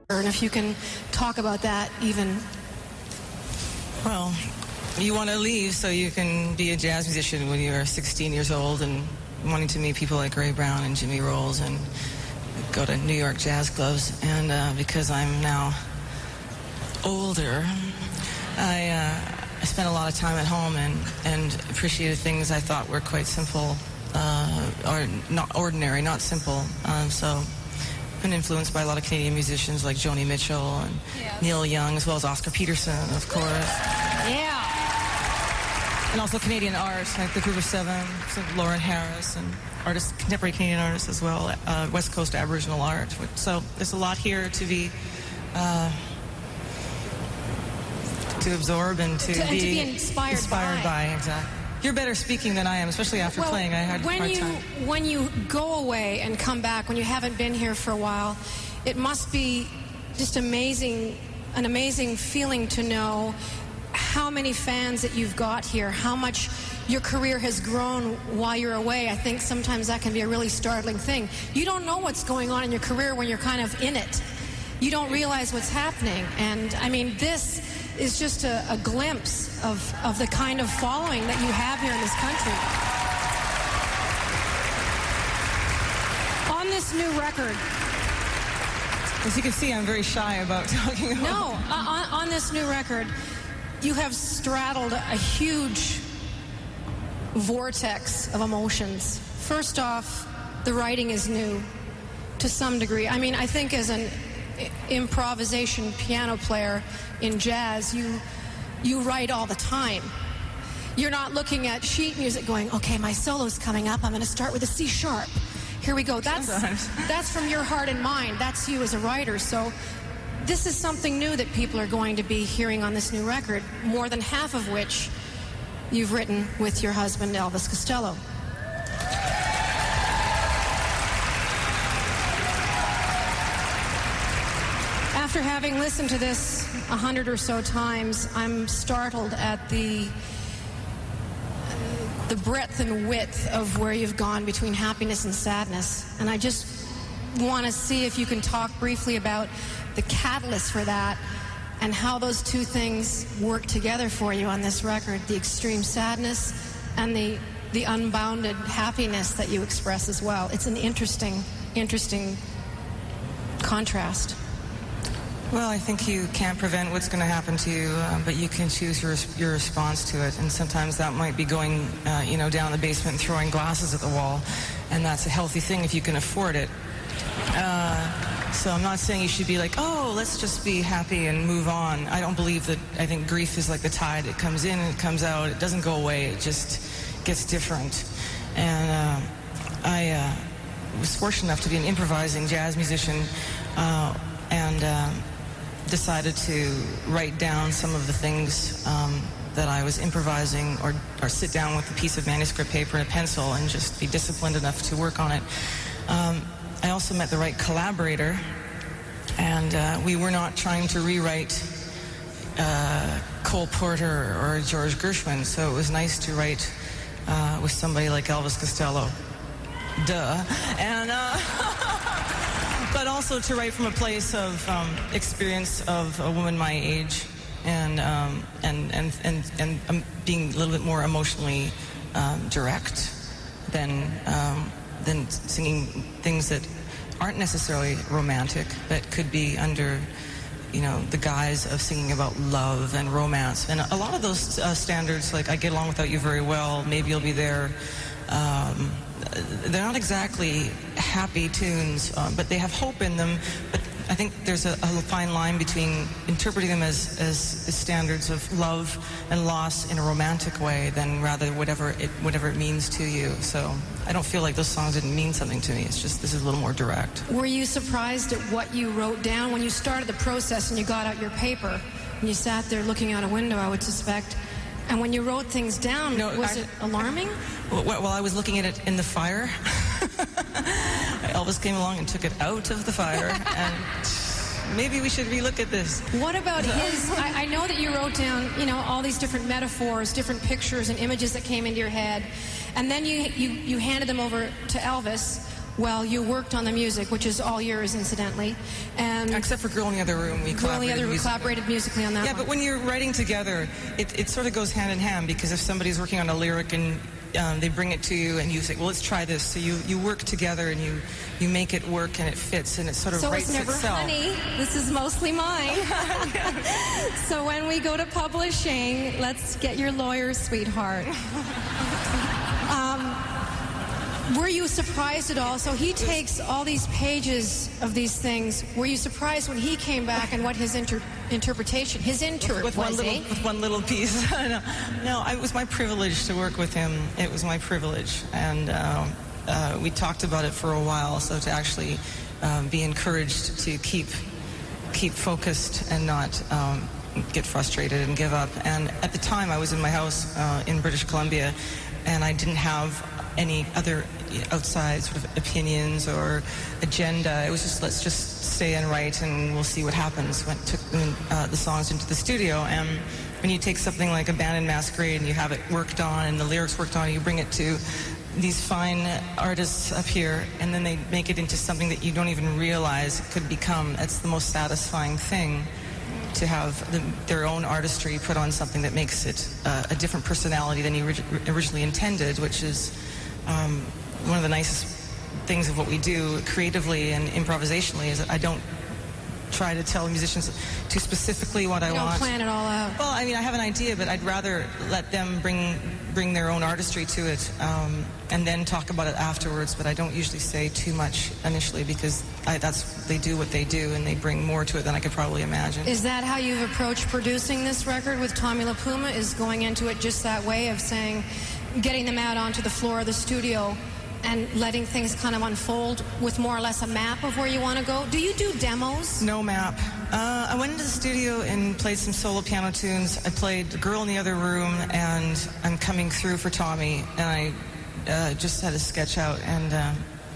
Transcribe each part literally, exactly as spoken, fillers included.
And if you can talk about that even. Well, you want to leave so you can be a jazz musician when you're sixteen years old and wanting to meet people like Ray Brown and Jimmy Rolls and go to New York jazz clubs. And uh, because I'm now older, I, uh, I spent a lot of time at home and, and appreciated things I thought were quite simple, uh, or not ordinary, not simple. Um, so I've been influenced by a lot of Canadian musicians like Joni Mitchell and yes. Neil Young, as well as Oscar Peterson, of course. Yeah. And also Canadian art, like the Group of Seven, so Lauren Harris, and artists, contemporary Canadian artists as well, uh, West Coast Aboriginal art. So there's a lot here to be, uh, to absorb and to, to, be, and to be inspired, inspired by. by. Exactly. You're better speaking than I am, especially after well, playing. I had when a hard you, time. When you go away and come back, when you haven't been here for a while, it must be just amazing, an amazing feeling to know how many fans that you've got here, how much your career has grown while you're away. I think sometimes that can be a really startling thing. You don't know what's going on in your career when you're kind of in it. You don't realize what's happening. And I mean, this is just a, a glimpse of, of the kind of following that you have here in this country. On this new record, as you can see, I'm very shy about talking about No, on, on this new record, you have straddled a huge vortex of emotions. First off, the writing is new to some degree. I mean, I think as an improvisation piano player in jazz, you you write all the time. You're not looking at sheet music going, okay, my solo's coming up, I'm going to start with a C sharp. Here we go. That's that's from your heart and mind. That's you as a writer. So this is something new that people are going to be hearing on this new record, more than half of which you've written with your husband, Elvis Costello. After having listened to this a hundred or so times, I'm startled at the the breadth and width of where you've gone between happiness and sadness. And I just want to see if you can talk briefly about the catalyst for that and how those two things work together for you on this record, the extreme sadness and the the unbounded happiness that you express as well. It's an interesting, interesting contrast. Well, I think you can't prevent what's going to happen to you, uh, but you can choose your your response to it. And sometimes that might be going, uh, you know, down the basement and throwing glasses at the wall, and that's a healthy thing if you can afford it. Uh, so I'm not saying you should be like, oh, let's just be happy and move on. I don't believe that. I think grief is like the tide. It comes in and it comes out. It doesn't go away. It just gets different. And uh, I uh, was fortunate enough to be an improvising jazz musician, uh, and uh, decided to write down some of the things um, that I was improvising, or, or sit down with a piece of manuscript paper and a pencil and just be disciplined enough to work on it. Um, I also met the right collaborator, and uh, we were not trying to rewrite uh, Cole Porter or George Gershwin, so it was nice to write uh, with somebody like Elvis Costello. Duh. And uh, but also to write from a place of um, experience of a woman my age, and um, and and and and um, being a little bit more emotionally um, direct than um, than singing things that aren't necessarily romantic, but could be under, you know, the guise of singing about love and romance. And a lot of those uh, standards, like I Get Along Without You Very Well, Maybe You'll Be There, um, they're not exactly happy tunes, uh, but they have hope in them. But I think there's a, a fine line between interpreting them as, as, as standards of love and loss in a romantic way than rather whatever it, whatever it means to you. So I don't feel like those songs didn't mean something to me. It's just this is a little more direct. Were you surprised at what you wrote down when you started the process and you got out your paper and you sat there looking out a window, I would suspect? And when you wrote things down, no, was I, it alarming? Well, well, I was looking at it in the fire. Elvis came along and took it out of the fire, and maybe we should relook at this. What about his... I, I know that you wrote down, you know, all these different metaphors, different pictures and images that came into your head, and then you, you, you handed them over to Elvis. well, you worked on the music, which is all yours, incidentally. And except for Girl in the Other Room, we Girl in the collaborated, Other Room musically. collaborated musically on that Yeah, one. but when you're writing together, it, it sort of goes hand in hand, because if somebody's working on a lyric and um, they bring it to you and you say, well, let's try this. So you, you work together and you, you make it work and it fits and it sort of so writes it's never itself. honey. This is mostly mine. So when we go to publishing, let's get your lawyer, sweetheart. Um, were you surprised at all? So he takes all these pages of these things. Were you surprised when he came back and what his inter- interpretation, his inter with was, one little, eh? with one little piece. no, no, it was my privilege to work with him. It was my privilege, and uh, uh, we talked about it for a while. So to actually um, be encouraged to keep keep focused and not um, get frustrated and give up. And at the time, I was in my house uh, in British Columbia, and I didn't have any other outside sort of opinions or agenda. It was just, let's just stay and write and we'll see what happens. Went took uh, the songs into the studio, and when you take something like Abandoned Masquerade and you have it worked on and the lyrics worked on, you bring it to these fine artists up here, and then they make it into something that you don't even realize it could become. That's the most satisfying thing, to have the, their own artistry put on something that makes it uh, a different personality than you orig- originally intended, which is um, one of the nicest things of what we do creatively and improvisationally, is that I don't try to tell musicians too specifically what I You don't want. plan it all out. Well, I mean, I have an idea, but I'd rather let them bring bring their own artistry to it, um, and then talk about it afterwards. But I don't usually say too much initially, because I, that's they do what they do, and they bring more to it than I could probably imagine. Is that how you've approached producing this record with Tommy LaPuma, is going into it just that way of saying, getting them out onto the floor of the studio and letting things kind of unfold with more or less a map of where you want to go? Do you do demos? No map. Uh, I went into the studio and played some solo piano tunes. I played Girl in the Other Room and I'm Coming Through for Tommy, and I uh, just had a sketch out, and uh,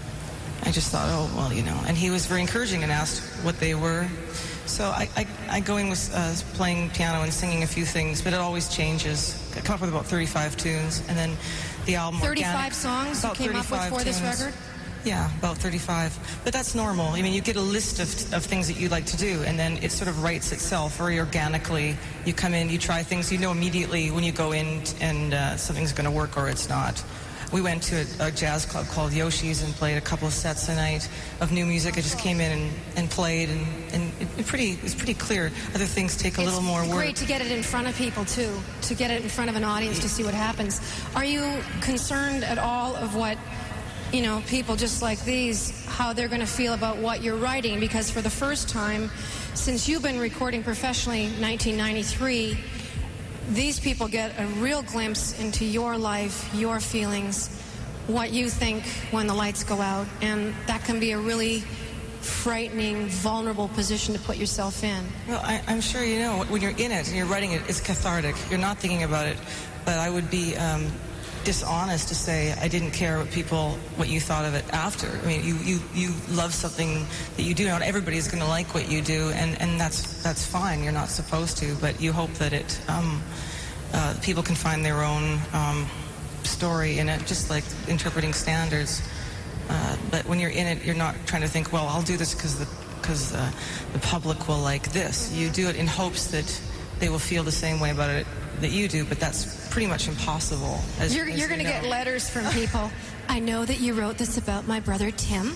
I just thought, oh, well, you know, and he was very encouraging and asked what they were. So I, I, I go in with uh, playing piano and singing a few things, but it always changes. I come up with about thirty-five tunes, and then the album thirty-five organic, songs you about came up with for this tunes. record? Yeah, about thirty-five. But that's normal. I mean, you get a list of, of things that you like to do, and then it sort of writes itself very organically. You come in, you try things, you know immediately when you go in and uh, something's going to work or it's not. We went to a, a jazz club called Yoshi's and played a couple of sets a night of new music. I just came in and, and played, and, and it, it pretty, it's pretty clear. Other things take a It's little more work. great to get it in front of people, too, to get it in front of an audience to see what happens. Are you concerned at all of what, you know, people just like these, how they're going to feel about what you're writing? Because for the first time since you've been recording professionally, nineteen ninety-three, these people get a real glimpse into your life, your feelings, what you think when the lights go out. And that can be a really frightening, vulnerable position to put yourself in. Well, I, I'm sure you know, when you're in it and you're writing it, it's cathartic. You're not thinking about it. But I would be um, dishonest to say I didn't care what people, what you thought of it after. I mean, you, you, you love something that you do. Not everybody's going to like what you do, and, and that's that's fine. You're not supposed to, but you hope that it um, uh, people can find their own um, story in it, just like interpreting standards. Uh, but when you're in it, you're not trying to think, well, I'll do this because the because uh, the public will like this. You do it in hopes that they will feel the same way about it that you do, but that's pretty much impossible. As, You're, as you're going to you know. get letters from people. I know that you wrote this about my brother Tim.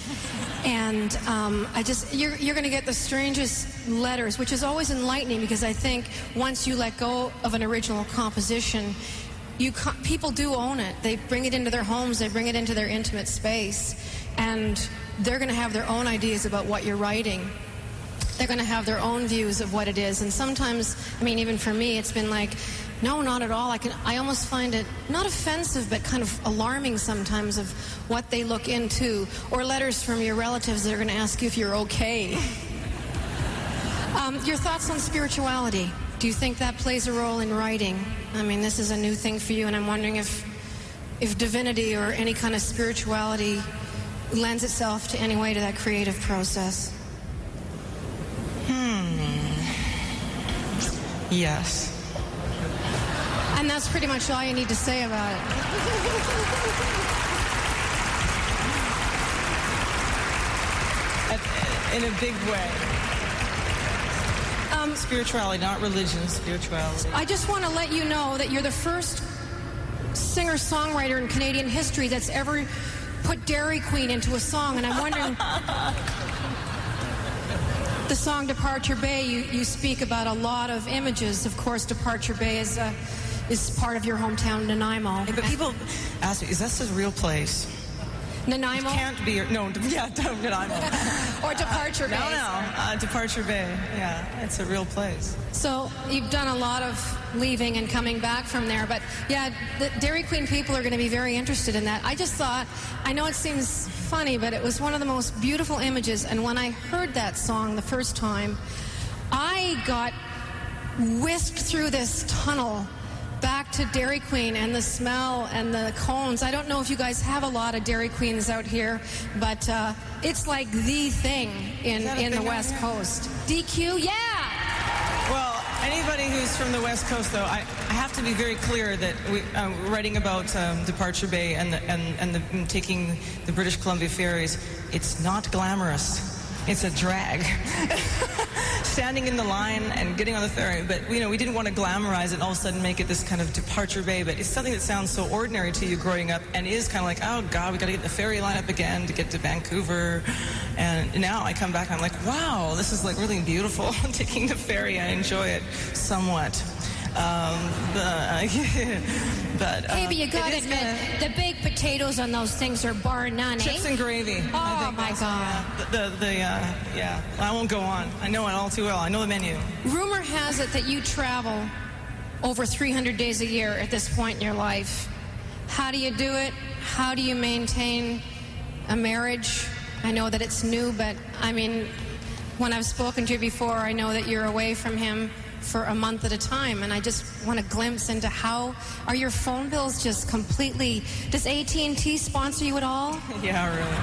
And um, I just, you're, you're going to get the strangest letters, which is always enlightening, because I think once you let go of an original composition, you co- people do own it. They bring it into their homes, they bring it into their intimate space, and they're going to have their own ideas about what you're writing. They're going to have their own views of what it is. And sometimes, I mean, even for me, it's been like, no, not at all. I can, I almost find it not offensive, but kind of alarming sometimes of what they look into. Or letters from your relatives that are going to ask you if you're okay. um, your thoughts on spirituality. Do you think that plays a role in writing? I mean, this is a new thing for you, and I'm wondering if, if divinity or any kind of spirituality lends itself to any way to that creative process. Yes. And that's pretty much all you need to say about it. in a big way. Um, spirituality, not religion, spirituality. I just want to let you know that you're the first singer-songwriter in Canadian history that's ever put Dairy Queen into a song, and I'm wondering... The song Departure Bay, you, you speak about a lot of images. Of course, Departure Bay is uh, is part of your hometown, Nanaimo. But people ask me, is this a real place? Nanaimo? It can't be. No, yeah, Nanaimo. Or Departure Bay. No, no, uh, Departure Bay. Yeah, it's a real place. So you've done a lot of leaving and coming back from there. But yeah, the Dairy Queen people are going to be very interested in that. I just thought, I know it seems funny, but it was one of the most beautiful images. And when I heard that song the first time, I got whisked through this tunnel back to Dairy Queen and the smell and the cones. I don't know if you guys have a lot of Dairy Queens out here, but uh, it's like the thing in, in the West Coast. D Q, yeah! Well, anybody who's from the West Coast, though, I, I have to be very clear that we, uh, writing about um, Departure Bay and, the, and, and, the, and taking the British Columbia ferries, it's not glamorous. It's a drag. Standing in the line and getting on the ferry. But, you know, we didn't want to glamorize it and all of a sudden make it this kind of Departure Bay. But it's something that sounds so ordinary to you growing up and is kind of like, oh, God, we got to get the ferry line up again to get to Vancouver. And now I come back and I'm like, wow, this is like really beautiful. Taking the ferry, I enjoy it somewhat. Um, uh, but uh, hey, but you gotta admit, gonna, the baked potatoes on those things are bar none, chips eh? and gravy. Oh my God! Yeah, the the, the uh, yeah. I won't go on. I know it all too well. I know the menu. Rumor has it that you travel over three hundred days a year at this point in your life. How do you do it? How do you maintain a marriage? I know that it's new, but I mean, when I've spoken to you before, I know that you're away from him for a month at a time, and I just want a glimpse into how are your phone bills just completely... Does A T and T sponsor you at all? Yeah, really.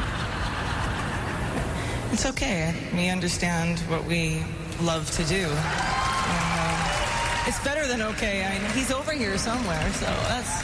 It's okay. We understand what we love to do. And, uh, it's better than okay. I mean, he's over here somewhere, so that's...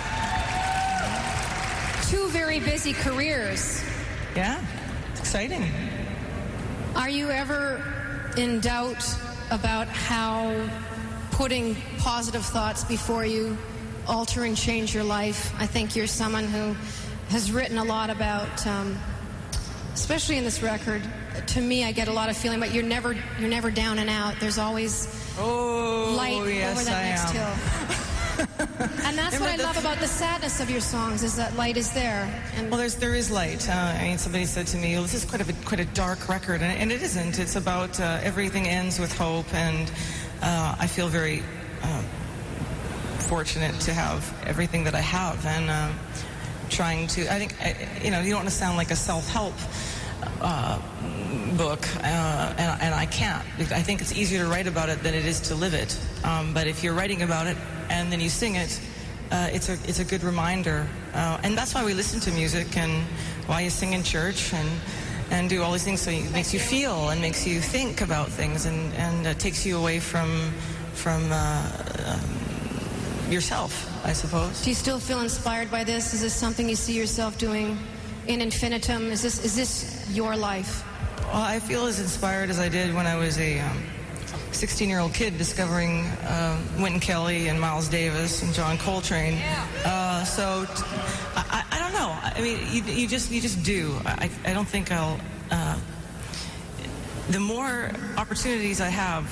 Two very busy careers. Yeah, it's exciting. Are you ever in doubt about how putting positive thoughts before you alter and change your life? I think you're someone who has written a lot about, um, especially in this record. To me, I get a lot of feeling, but you're never you're never down and out. There's always oh, light yes, over that I next am. hill. And that's what I love about the sadness of your songs, is that light is there. And well, there's there is light. Uh, I mean, somebody said to me, well, "This is quite a quite a dark record," and, and it isn't. It's about uh, everything ends with hope, and uh, I feel very uh, fortunate to have everything that I have, and uh, trying to. I think I, you know, you don't want to sound like a self-help uh, book, uh, and, and I can't. I think it's easier to write about it than it is to live it. Um, but if you're writing about it and then you sing it, uh, it's a it's a good reminder, uh, and that's why we listen to music and why you sing in church and and do all these things. So it makes you feel and makes you think about things, and and uh, takes you away from from uh, um, yourself, I suppose. Do you still feel inspired by this? Is this something you see yourself doing in infinitum? Is this is this your life? Well, I feel as inspired as I did when I was a um, sixteen-year-old kid discovering uh, Wynton Kelly and Miles Davis and John Coltrane. Uh, so t- I, I don't know. I mean, you, you just you just do. I, I don't think I'll. Uh, the more opportunities I have,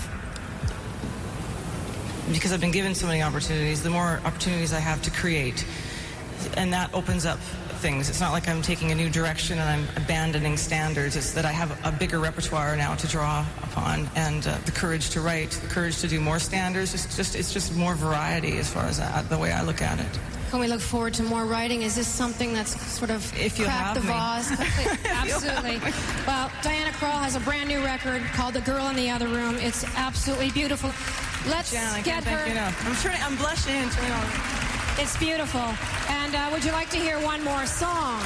because I've been given so many opportunities, the more opportunities I have to create, and that opens up things. It's not like I'm taking a new direction and I'm abandoning standards. It's that I have a bigger repertoire now to draw upon, and uh, the courage to write, the courage to do more standards. It's just, it's just more variety as far as I, the way I look at it. Can we look forward to more writing? Is this something that's sort of if you cracked the me. vase? Absolutely. Well, Diana Krall has a brand new record called "The Girl in the Other Room." It's absolutely beautiful. Let's Jan, I get can't her. Thank you enough. I'm turning. I'm blushing and turning on. It's beautiful. And uh, would you like to hear one more song?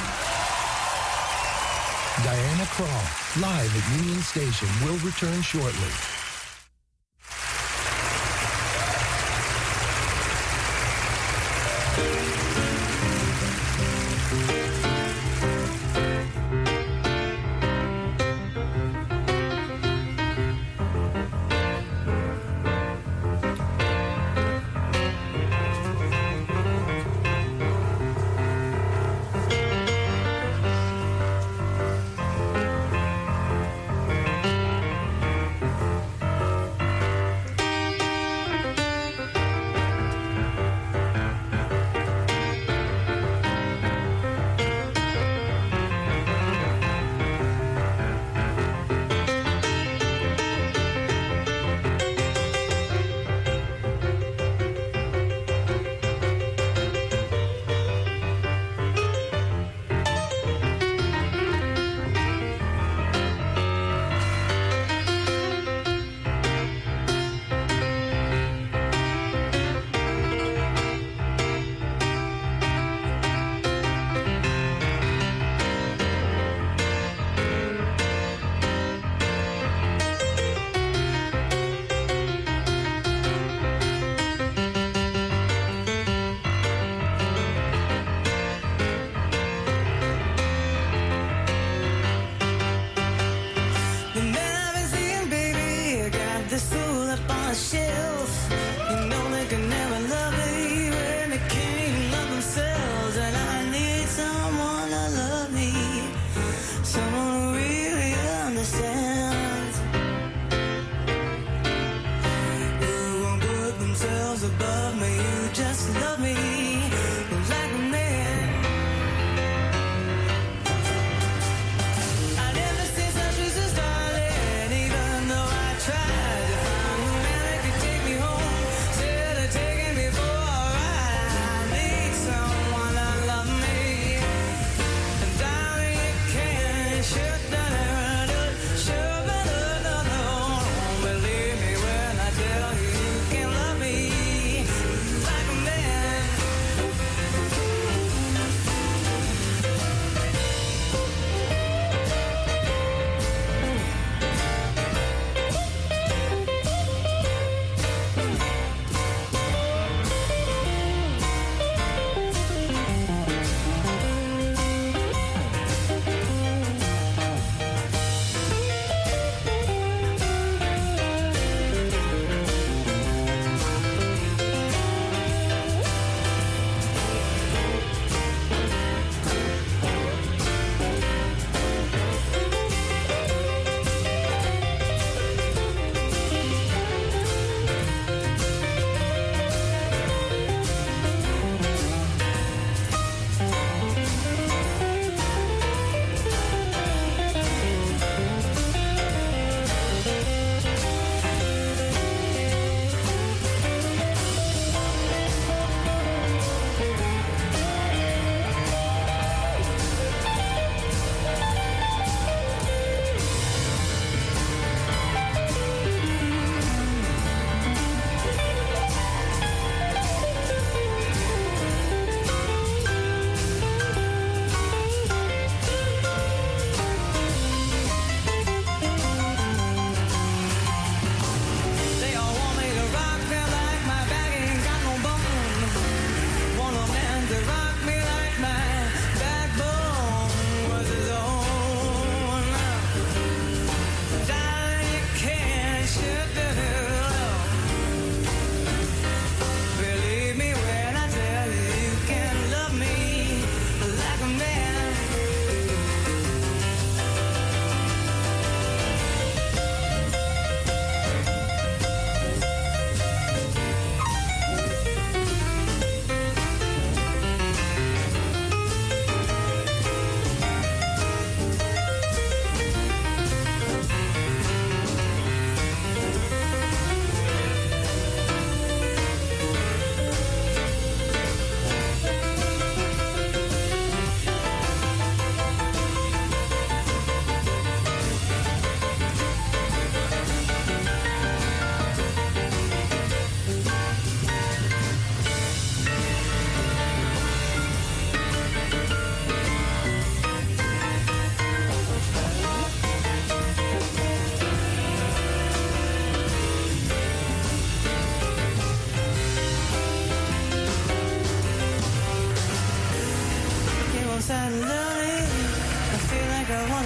Diana Krall, live at Union Station, will return shortly.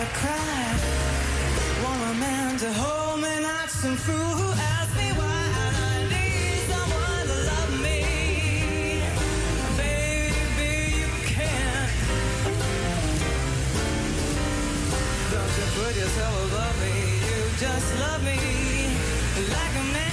cry. Want a man to hold me, not some fool who asks me why. And I need someone to love me. Baby, you can't. Don't you put yourself above me. You just love me like a man.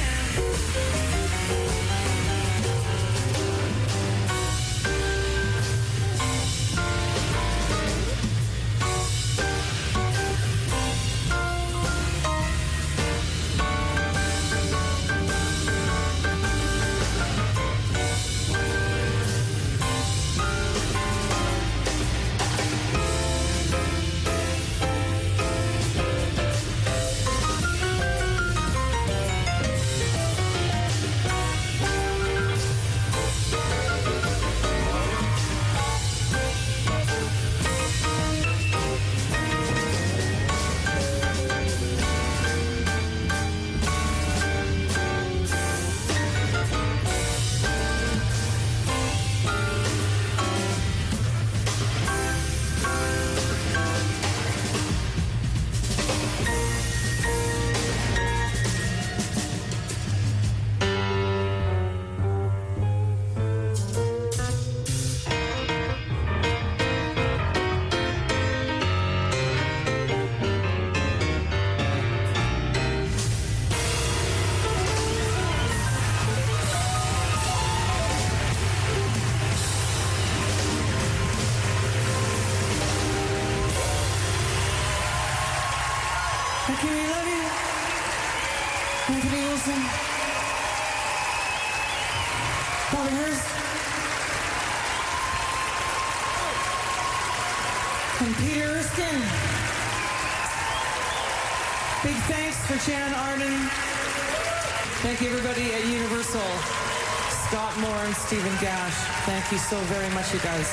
Shannon Arden. Thank you, everybody at Universal. Scott Moore and Stephen Gash. Thank you so very much, you guys.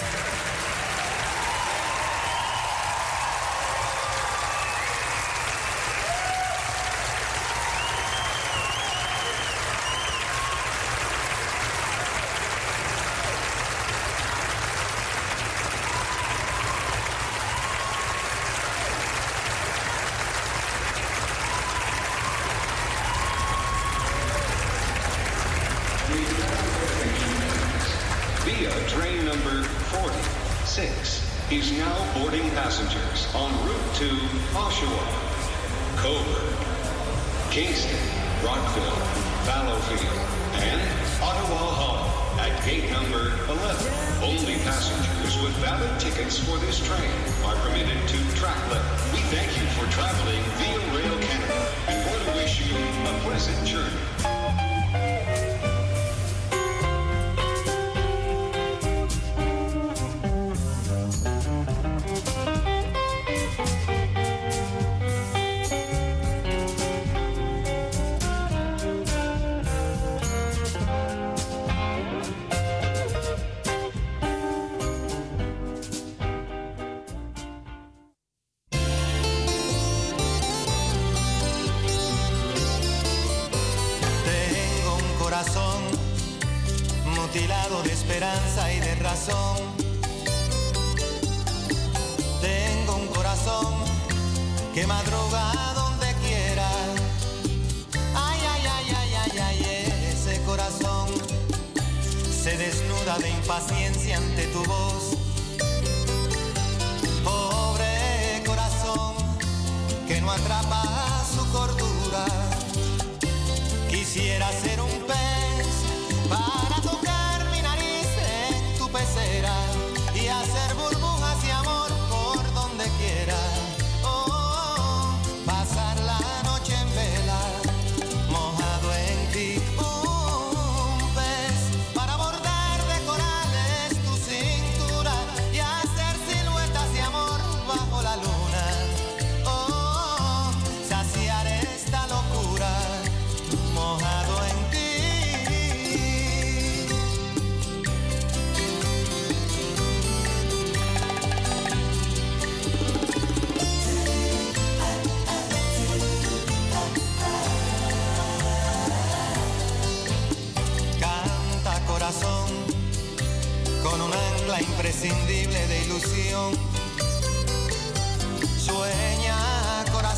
mutilado de esperanza y de razón. Tengo un corazón que madruga donde quiera. Ay, ay, ay, ay, ay, ay, ese corazón se desnuda de impaciencia ante tu voz. Pobre corazón que no atrapa su cordura. Quisiera ser un pez para tocar mi nariz en tu pecera y hacer burbujas de amor por donde quiera. Oh, oh, pasar la noche en vela, mojado en ti. Un pez para bordar de corales tu cintura y hacer siluetas de amor bajo la luna. Oh, oh, saciar esta locura, mojado en ti. Canta corazón con un ancla imprescindible de ilusión. Sueña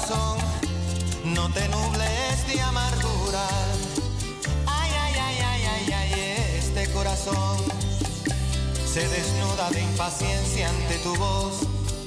corazón, no te nubles de amargura. Ay, ay, ay, ay, ay, ay, este corazón se desnuda de impaciencia ante tu voz.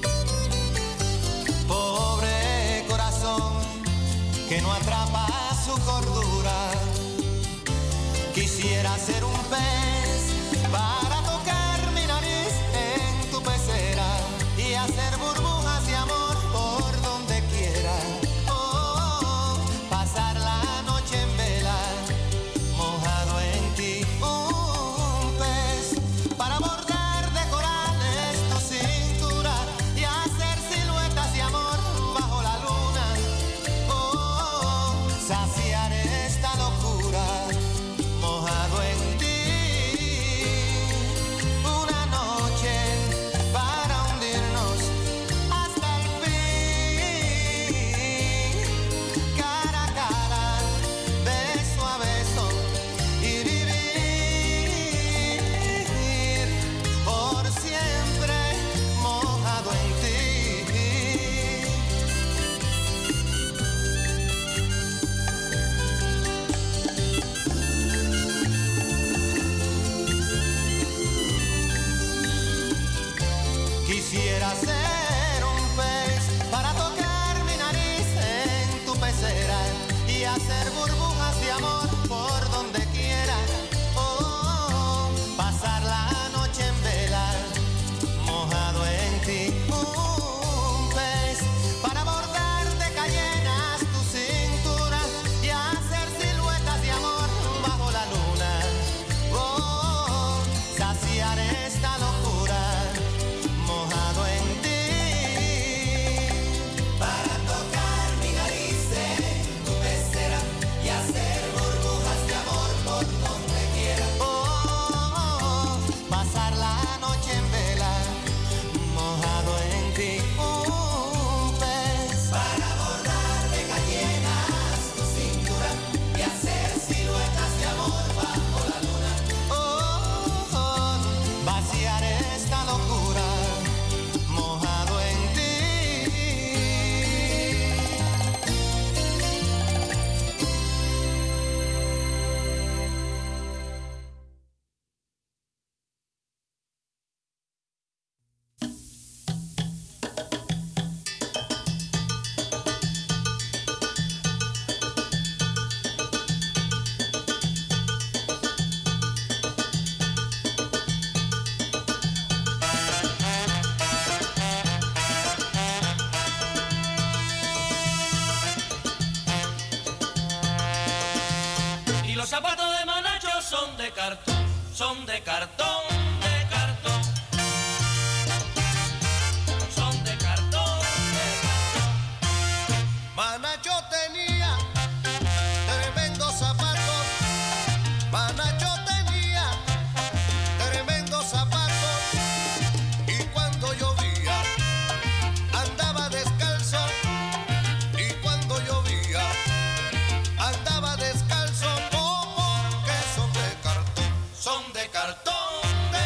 Pobre corazón que no atrapa su cordura. Quisiera ser un pez para tocar mi nariz en tu pecera y hacer burbujas de amor por donde quiera. Oh, pasar la noche en vela, mojado en ti. Un pez para bordar de corales tu cintura y hacer siluetas de amor bajo la luna. Oh, saciar esta locura, mojado en ti. Una noche para hundirnos hasta el fin, cara a cara, beso a beso y vivir por siempre mojado en ti. Quisiera ser un pez para tocar mi nariz en tu pecera y hacer burbujas de amor por donde quiera. Oh, pasar la noche en vela, mojado en ti. Un pez para bordar de cayenas tu cintura y hacer siluetas de amor bajo la luna. Oh, saciar esta locura, mojado en ti. Para tocar mi nariz en tu pecera y hacer burbujas de amor por donde quiera. Oh, pasar la noche en vela, mojado en ti. Un pez para bordar de cayenas tu cintura y hacer siluetas de amor bajo la luna. Oh, vaciar esta locura, mojado en ti. Y los zapatos de Manacho son de cartón, son de cartón, de cartón. Son de cartón, de cartón. Manacho tenía tremendos zapatos. Manacho tenía tremendos zapatos. Y cuando llovía andaba descalzo. Y cuando llovía andaba descalzo. Oh, porque son de cartón. Son de cartón,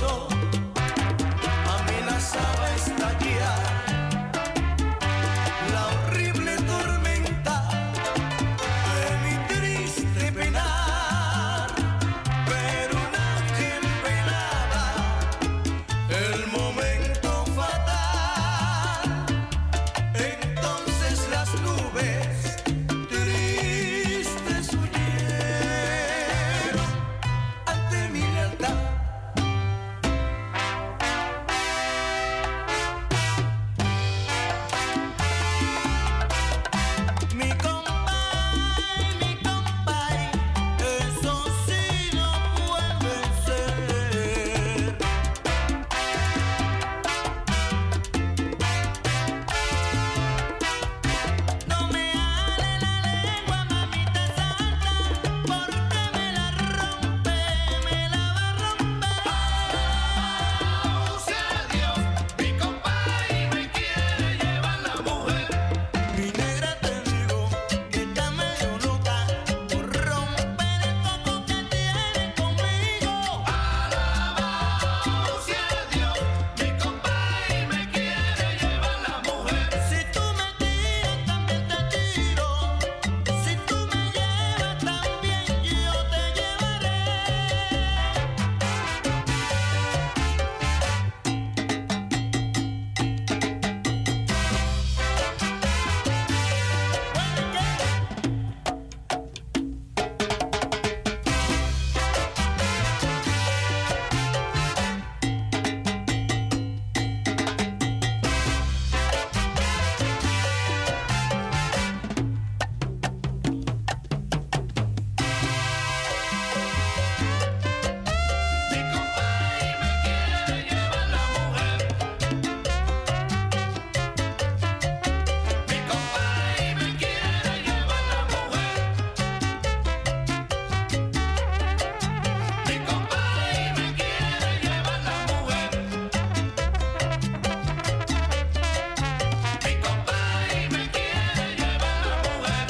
peligroso, amenazaba estallar la horrible tormenta de mi triste penar, pero un ángel velaba el momento fatal. Entonces las nubes tristes huyeron ante mi lealtad. Mi compay, mi compay, eso sí no puede ser. No me hable la lengua, mamita santa, porque me la rompe, me la va a romper. Sea Dios, mi compay me quiere llevar la mujer. Mi negra te digo que está medio loca por romper el coco que tiene conmigo. Alabado sea Dios, mi compay me quiere llevar la mujer. Si tú me tiras también te tiro, si tú me llevas también yo te llevaré. Mi compay me quiere llevar la mujer. Mi compay me quiere llevar la mujer. Mi compay me quiere llevar la mujer. Mi compay me quiere llevar la mujer.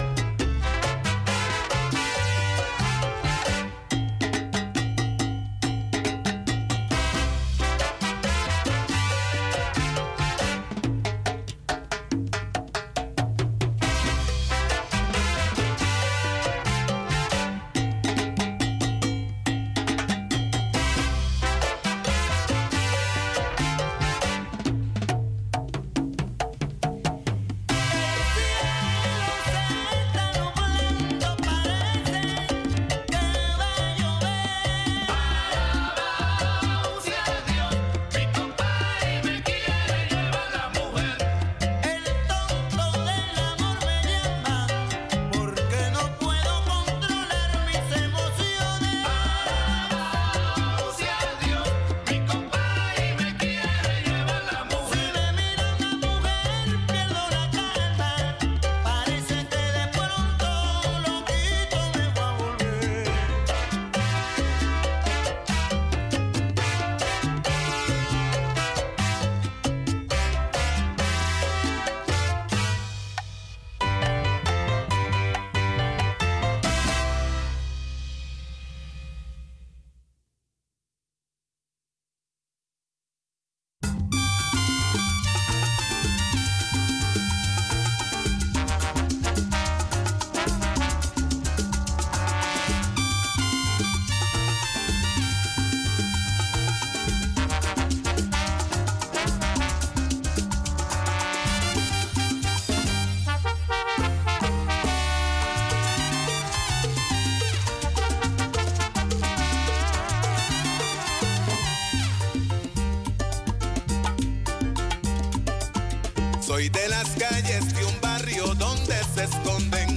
Soy de las calles de un barrio donde se esconden,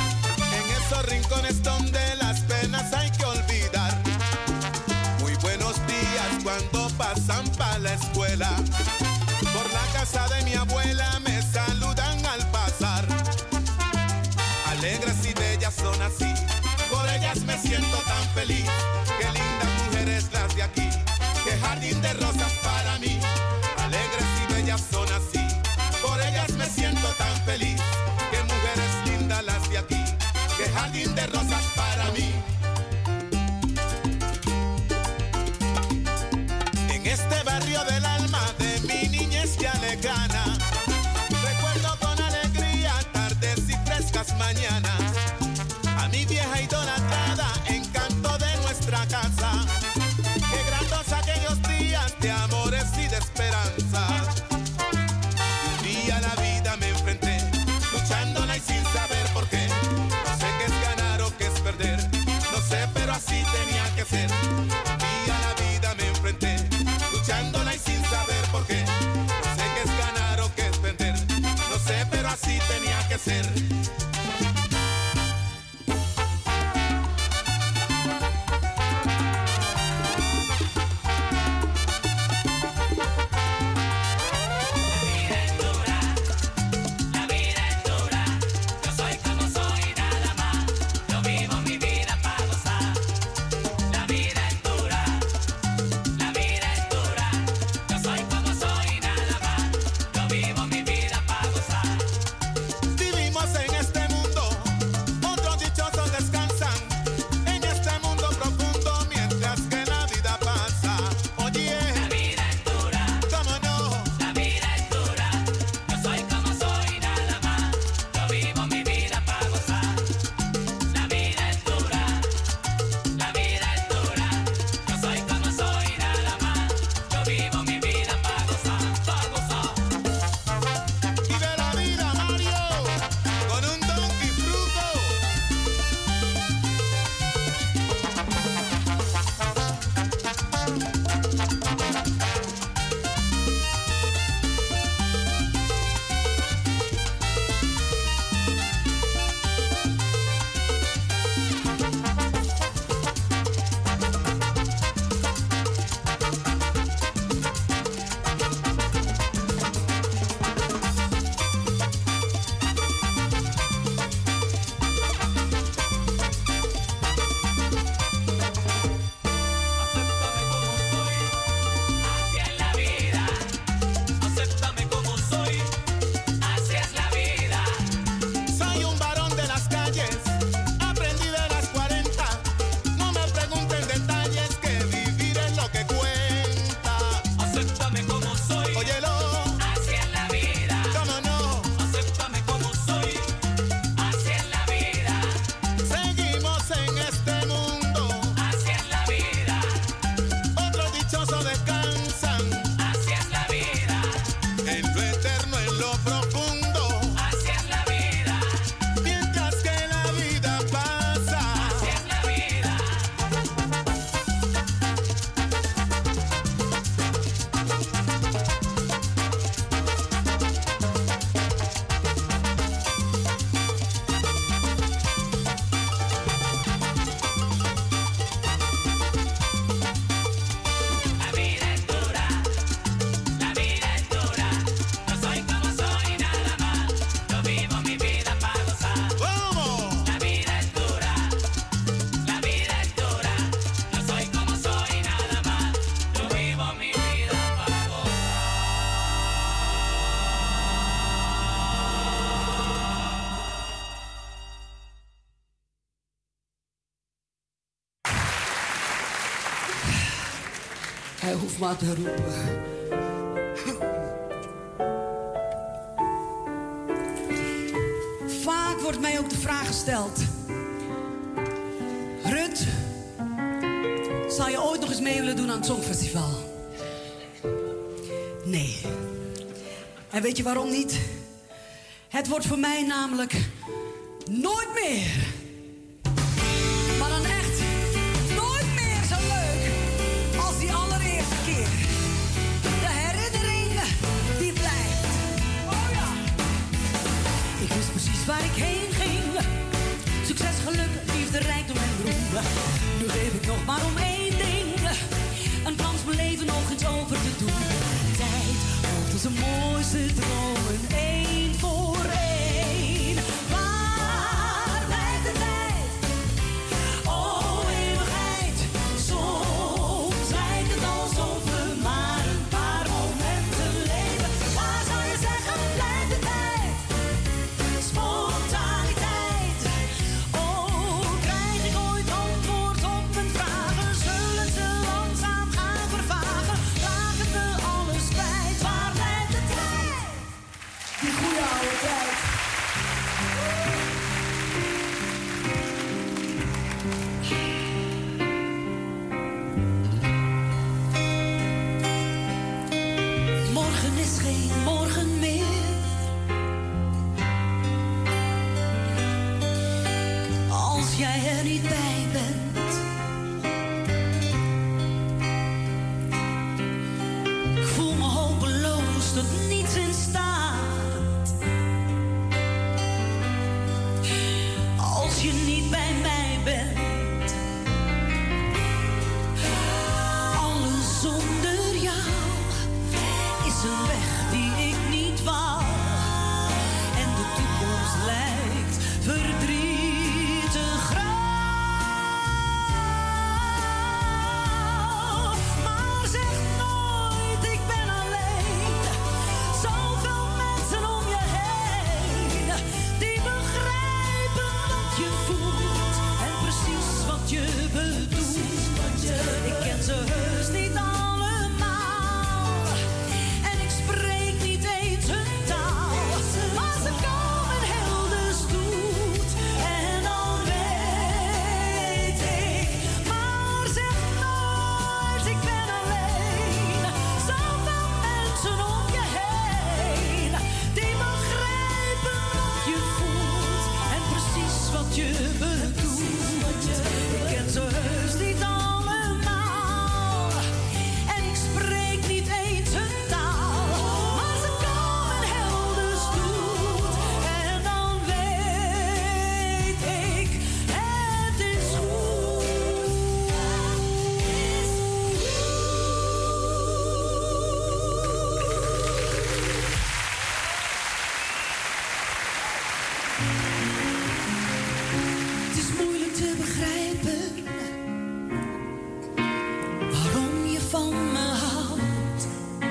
en esos rincones donde las penas hay que olvidar. Muy buenos días cuando pasan pa' la escuela, por la casa de mi abuela me saludan al pasar. Alegres y bellas son así, por ellas me siento tan feliz. Qué lindas mujeres las de aquí, qué jardín de rosas para mí. Alegres y bellas son así, por ellas me siento tan feliz. Qué mujeres lindas las de aquí, qué jardín de rosas para mí. Hij hoeft maar te roepen. Vaak wordt mij ook de vraag gesteld: Rut, zou je ooit nog eens mee willen doen aan het Songfestival? Nee. En weet je waarom niet? Het wordt voor mij namelijk nooit meer. Maar dan echt nooit meer zo leuk als die allereerste keer. De herinnering die blijft. Oh ja. Ik wist precies waar ik heen ging. Succes, geluk, liefde, rijkdom en roem. Nu geef ik nog maar om één ding. Een kans mijn leven nog eens over te doen. Tijd volgt onze mooiste dromen één voor één. Waar blijft de tijd? Oh, eeuwigheid. Soms lijkt het alsof we maar een paar momenten leven. Waar zou je zeggen, blijft de tijd? Spontaniteit. Oh, krijg ik ooit antwoord op mijn vragen? Zullen ze langzaam gaan vervagen? Raken we alles kwijt? Waar blijft de tijd? Die goede oude tijd. Morgen is geen morgen meer. Als jij er niet bij bent. Ik voel me hopeloos tot niets in staat. Als je niet bij mij bent. Alles zonder jou is een weg die ik niet wou. En de toekomst lijkt verdrietig grauw. Maar zeg nooit, ik ben alleen. Zoveel mensen om je heen. Die begrijpen wat je voelt. En precies wat je bedoelt. Ik ken ze heus niet allemaal. En ik spreek niet eens hun taal. Maar ze komen heel de stoet. En dan weet ik. Maar zeg nooit, ik ben alleen. Zoveel mensen om je heen. Die begrijpen wat je voelt. En precies wat je bedoelt. Ik ken ze heus niet allemaal. En ik spreek niet eens hun taal. Maar ze komen heel de stoet. En dan weet ik, het is goed. Het is moeilijk te begrijpen waarom je van me houdt.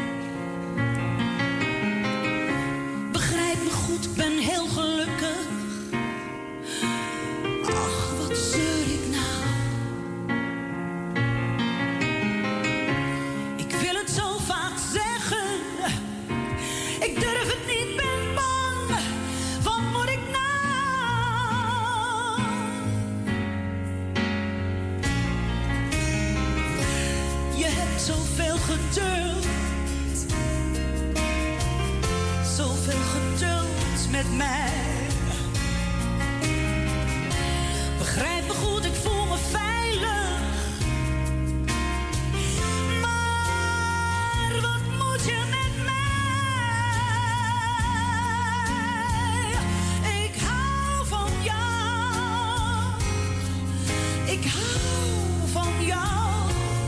Begrijp me goed, ik ben heel gelukkig. Ach, wat zeur ik nou? Ik wil het zo vaak zeggen. Ik durf het niet, ben bang. Wat moet ik nou? Je hebt zoveel geduld. Zoveel geduld met mij. Begrijp me goed, ik voel me veilig. Maar wat moet je met mij? Ik hou van jou. Ik hou van jou.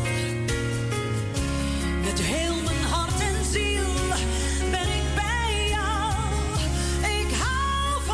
Met heel mijn hart en ziel ben ik bij jou. Ik hou van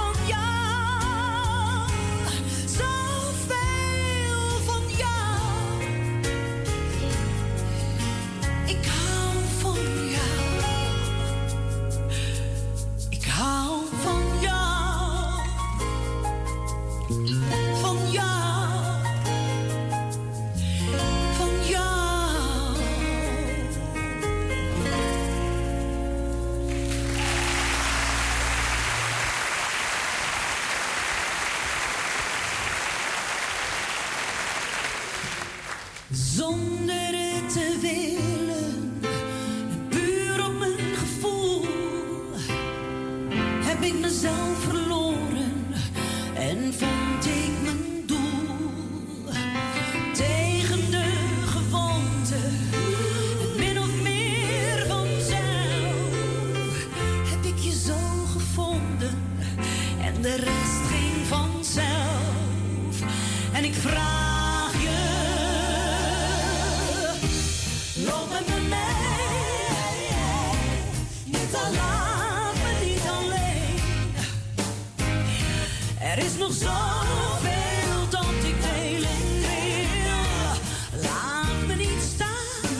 nog zoveel dat ik delen wil. Laat me niet staan.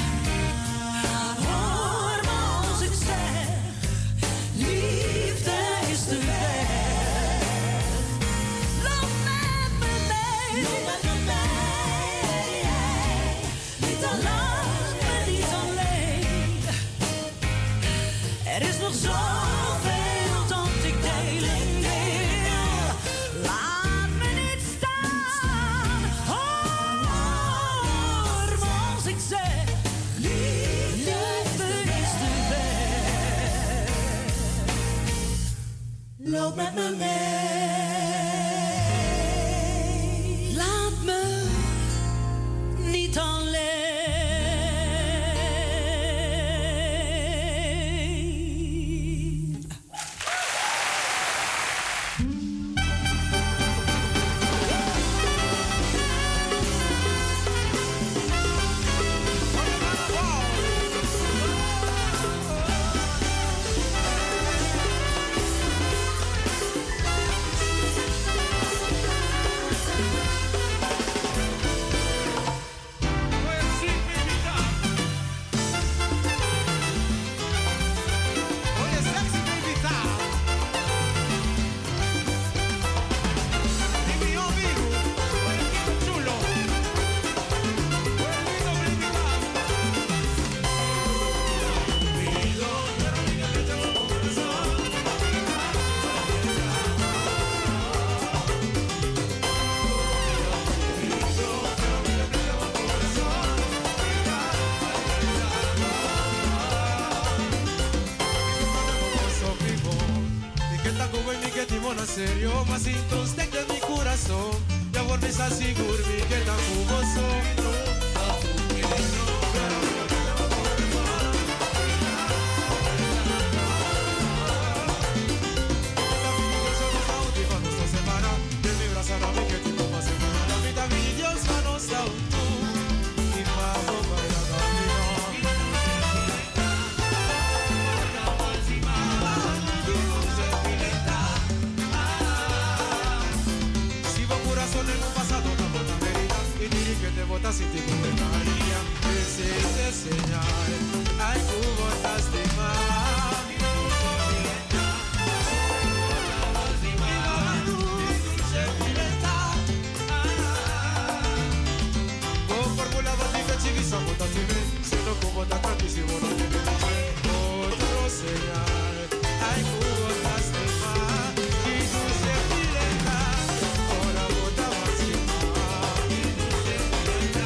Hoor me als ik zeg, liefde is de weg. Loop met me mee. Loop met me mee. Niet al laat me niet alleen. Er is nog zoveel dat ik delen wil. Laat me niet staan. Hoor me als ik zeg, liefde is de weg. Loop met me mee. Laat me niet alleen. Oye, sexy baby tal. Y mi amigo, oye, qué chulo. Oye, lindo baby tal. Pido, pero ni que te tengo corazón. Posso vivo, ni que tá com ni que timo na serio, mas então tem de mi coração. Ya vuelves a segurmi que tá com você. Si vos corazón en un pasado no una herida y diri que te botas y te condenaría. Ese es señal, ay, tú botas de más. Vos formulabas mi cachivisa, botas de mí, sino como tan tantísimo no te ves. Otro señal, ay, tú botas de más. Y tú se pileta, ahora bota más y más. Y tú se pileta.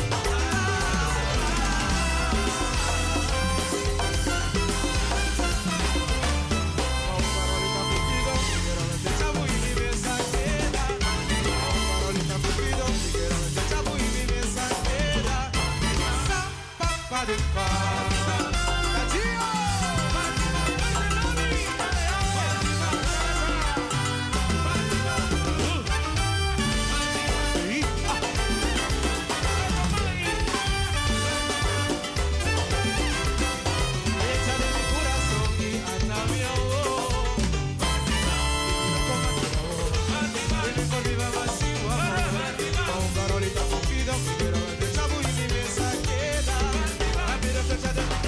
Parolita Cupido, ligeramente chavo y mi mesa queda. Parolita Cupido, ligeramente chavo y mi mesa queda. Sa, pa, pa, de, pa. ¡Cachillo! Echa de mi corazón y anda mi amor. Ven por viva vacío amor. Con Carolita Cupido, ligeramente chavo y mi mesa queda. A mí de fecha de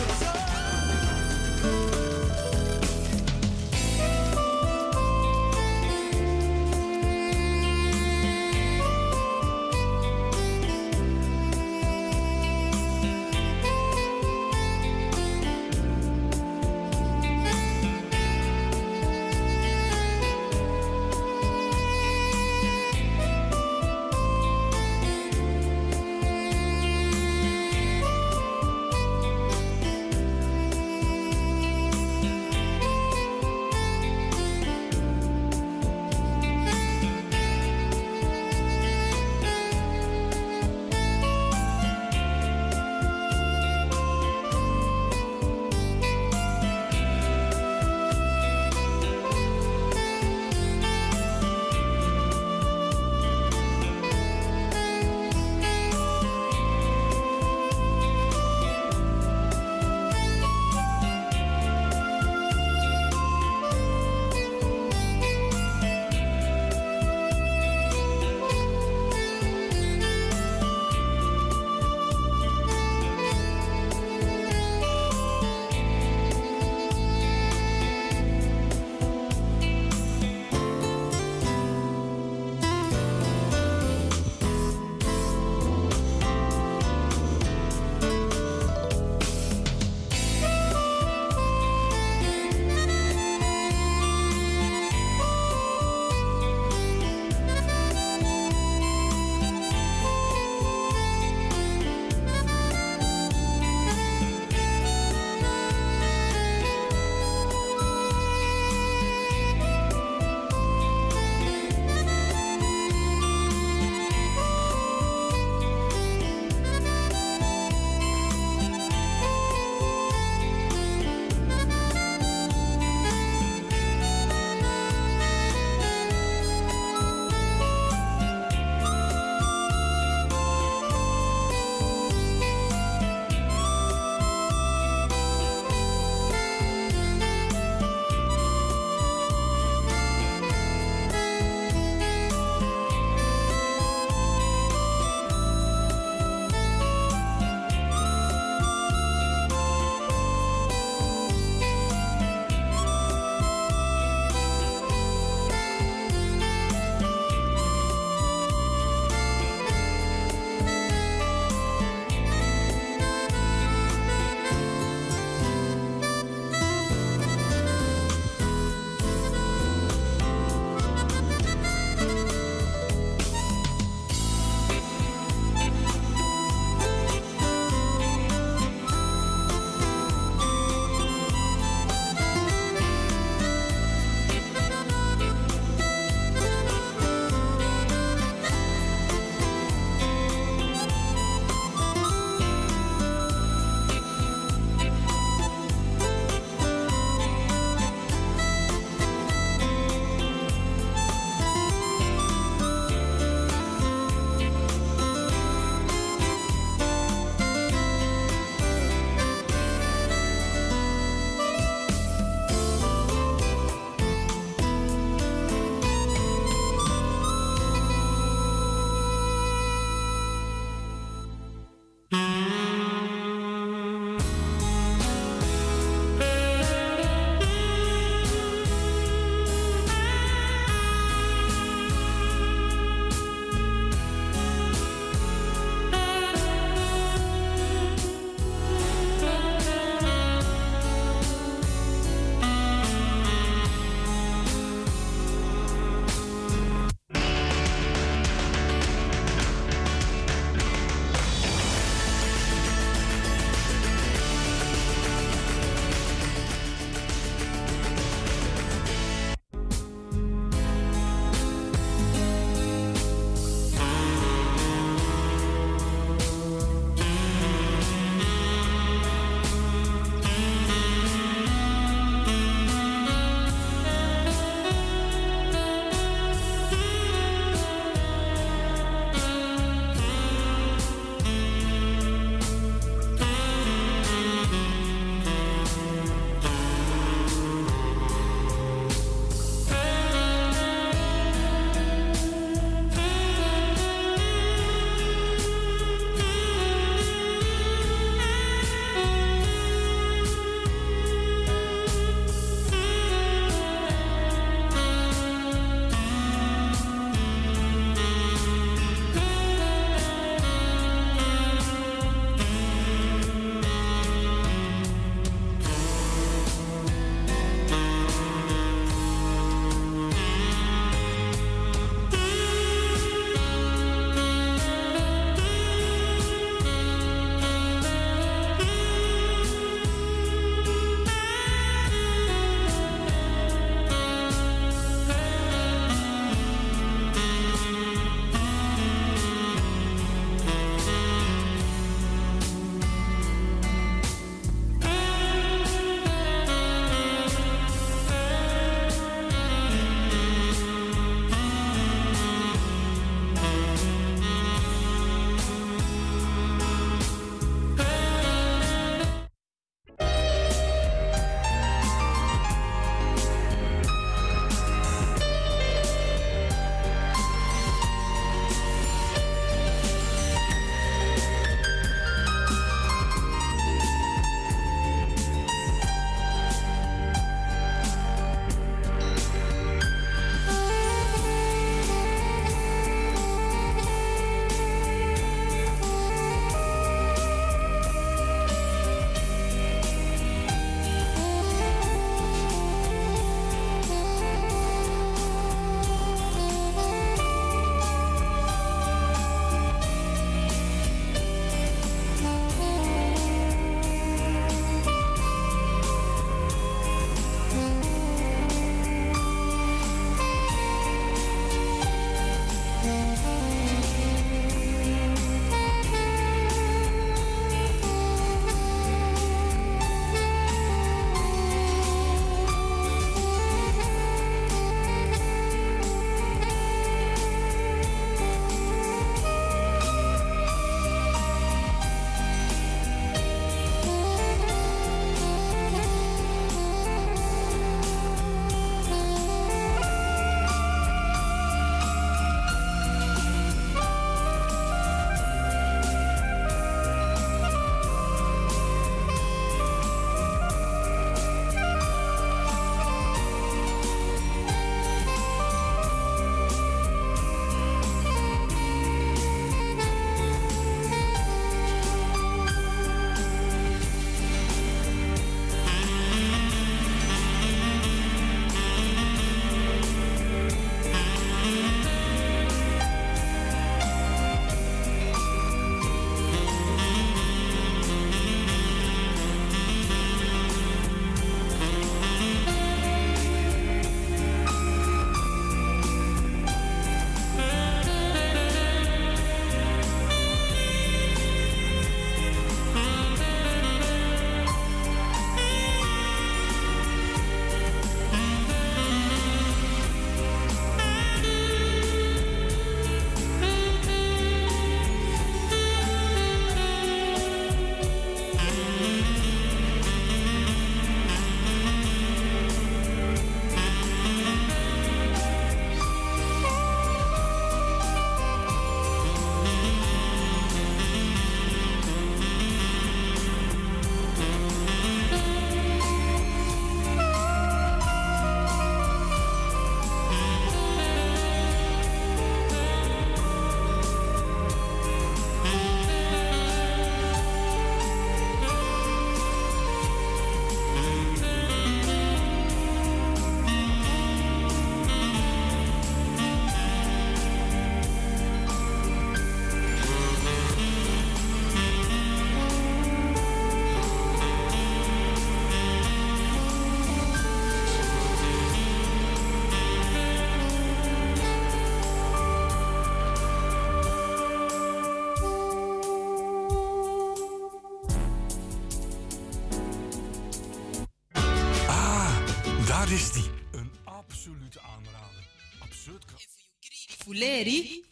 Daar is die. Een absolute aanrader. Absurd. Fuleri.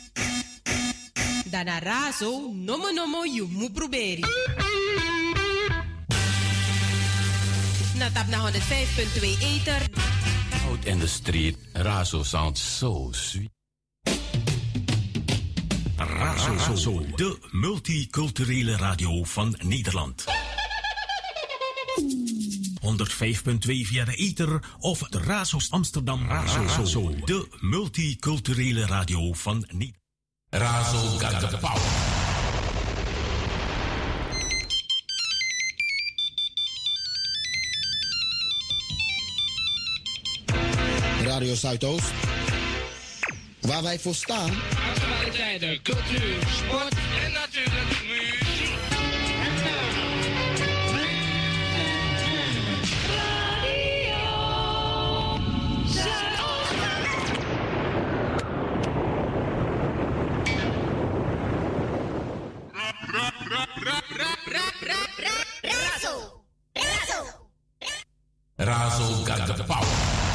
Dana raso, nomo nomo you mu proberi. Natap na honderdvijf komma twee Ether. Out in the street, Razo sounds so sweet. Razo, Razo, de multiculturele radio van Nederland. honderdvijf komma twee via de ether of de Razo's Amsterdam. Razo, Razo, de multiculturele radio van Nederland. Razo got the power. Radio Zuidoost, waar wij voor staan. Actualiteiten, cultuur, sport en natuurlijk muziek. Radio Zuidoost. Razo. Razo got the power.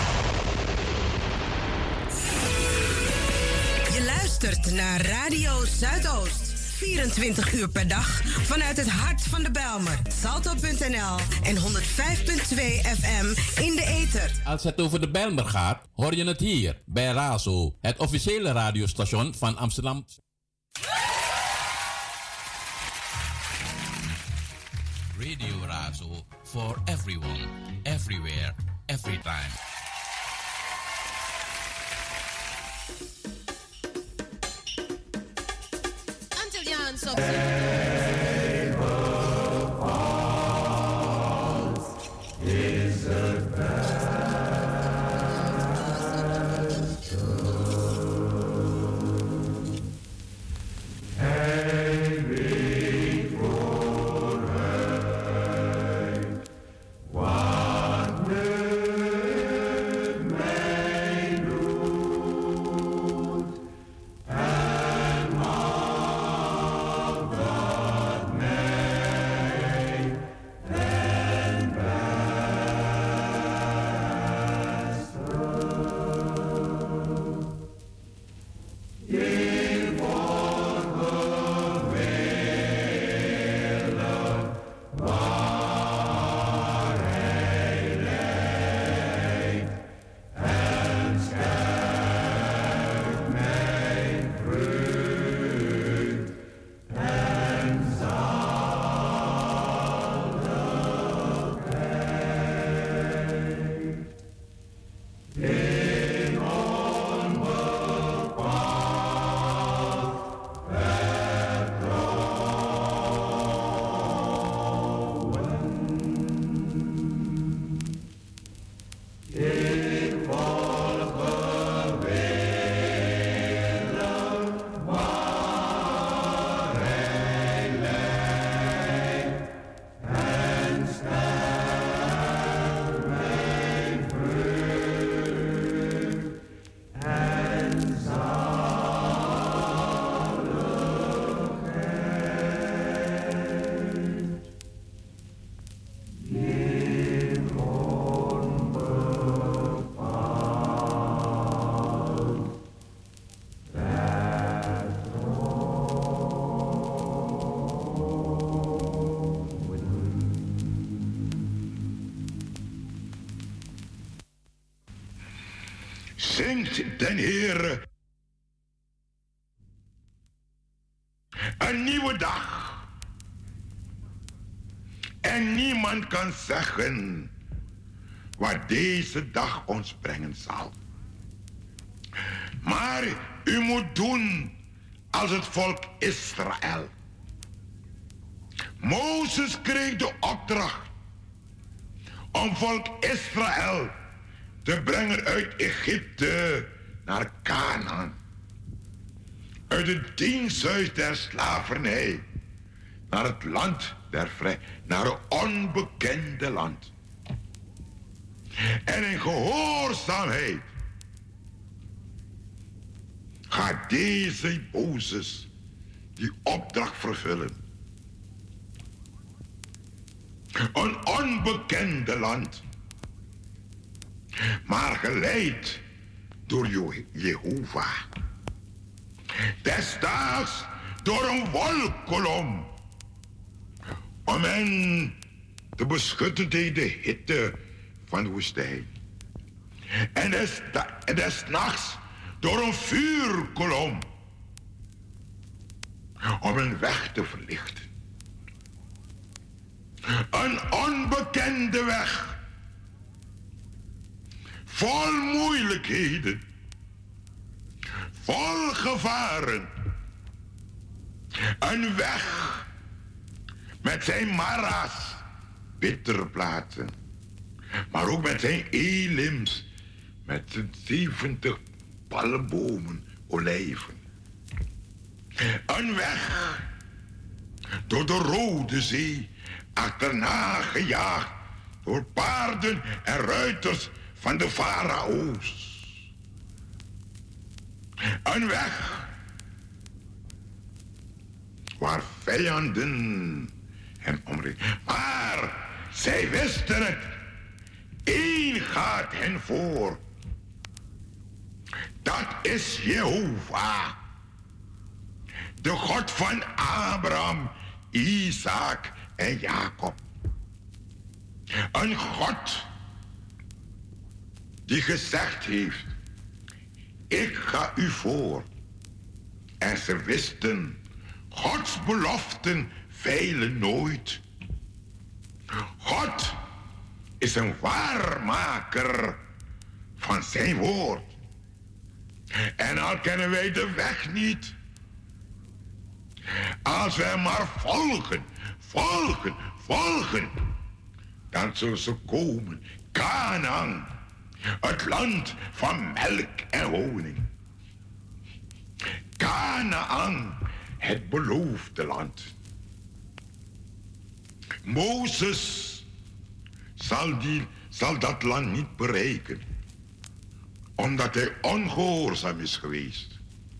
Luistert naar Radio Zuidoost. vierentwintig uur per dag vanuit het hart van de Bijlmer. Salto punt n l en honderdvijf komma twee F M in de ether. Als het over de Bijlmer gaat, hoor je het hier bij Razo, het officiële radiostation van Amsterdam. Radio Razo for everyone, everywhere, every time. Antilliaans op is het Zingt den Heere. Een nieuwe dag. En niemand kan zeggen wat deze dag ons brengen zal. Maar u moet doen als het volk Israël. Mozes kreeg de opdracht om volk Israël te brengen uit Egypte naar Canaan. Uit het diensthuis der slavernij naar het land der vrij, naar een onbekende land. En in gehoorzaamheid gaat deze Mozes die opdracht vervullen. Een onbekende land. maar geleid door Je- Jehovah. Desdaags door een wolkkolom, om hen te beschutten tegen de hitte van de woestijn. En des, en des nachts door een vuurkolom, om een weg te verlichten. Een onbekende weg, vol moeilijkheden, vol gevaren. Een weg met zijn mara's, bittere plaatsen, maar ook met zijn elims, met zijn zeventig palmbomen, olijven. Een weg door de Rode Zee, achterna gejaagd door paarden en ruiters van de farao's. Een weg waar vijanden hem omringen. Maar zij wisten het. Eén gaat hen voor. Dat is Jehovah. De God van Abraham, Isaac en Jacob. Een God die gezegd heeft: ik ga u voor. En ze wisten, Gods beloften veilen nooit. God is een waarmaker van zijn woord. En al kennen wij de weg niet, als wij maar volgen, volgen, volgen, dan zullen ze komen. Kanaan, het land van melk en honing. Kanaan, het beloofde land. Mozes zal, die, zal dat land niet bereiken, omdat hij ongehoorzaam is geweest.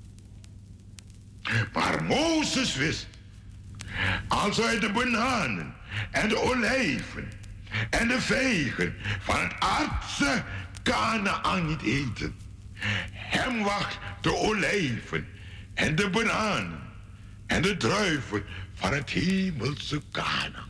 Maar Mozes wist, als hij de bananen en de olijven en de vijgen van het aardse Kanaan niet eten, hem wacht de olijven en de bananen en de druiven van het hemelse Kanaan.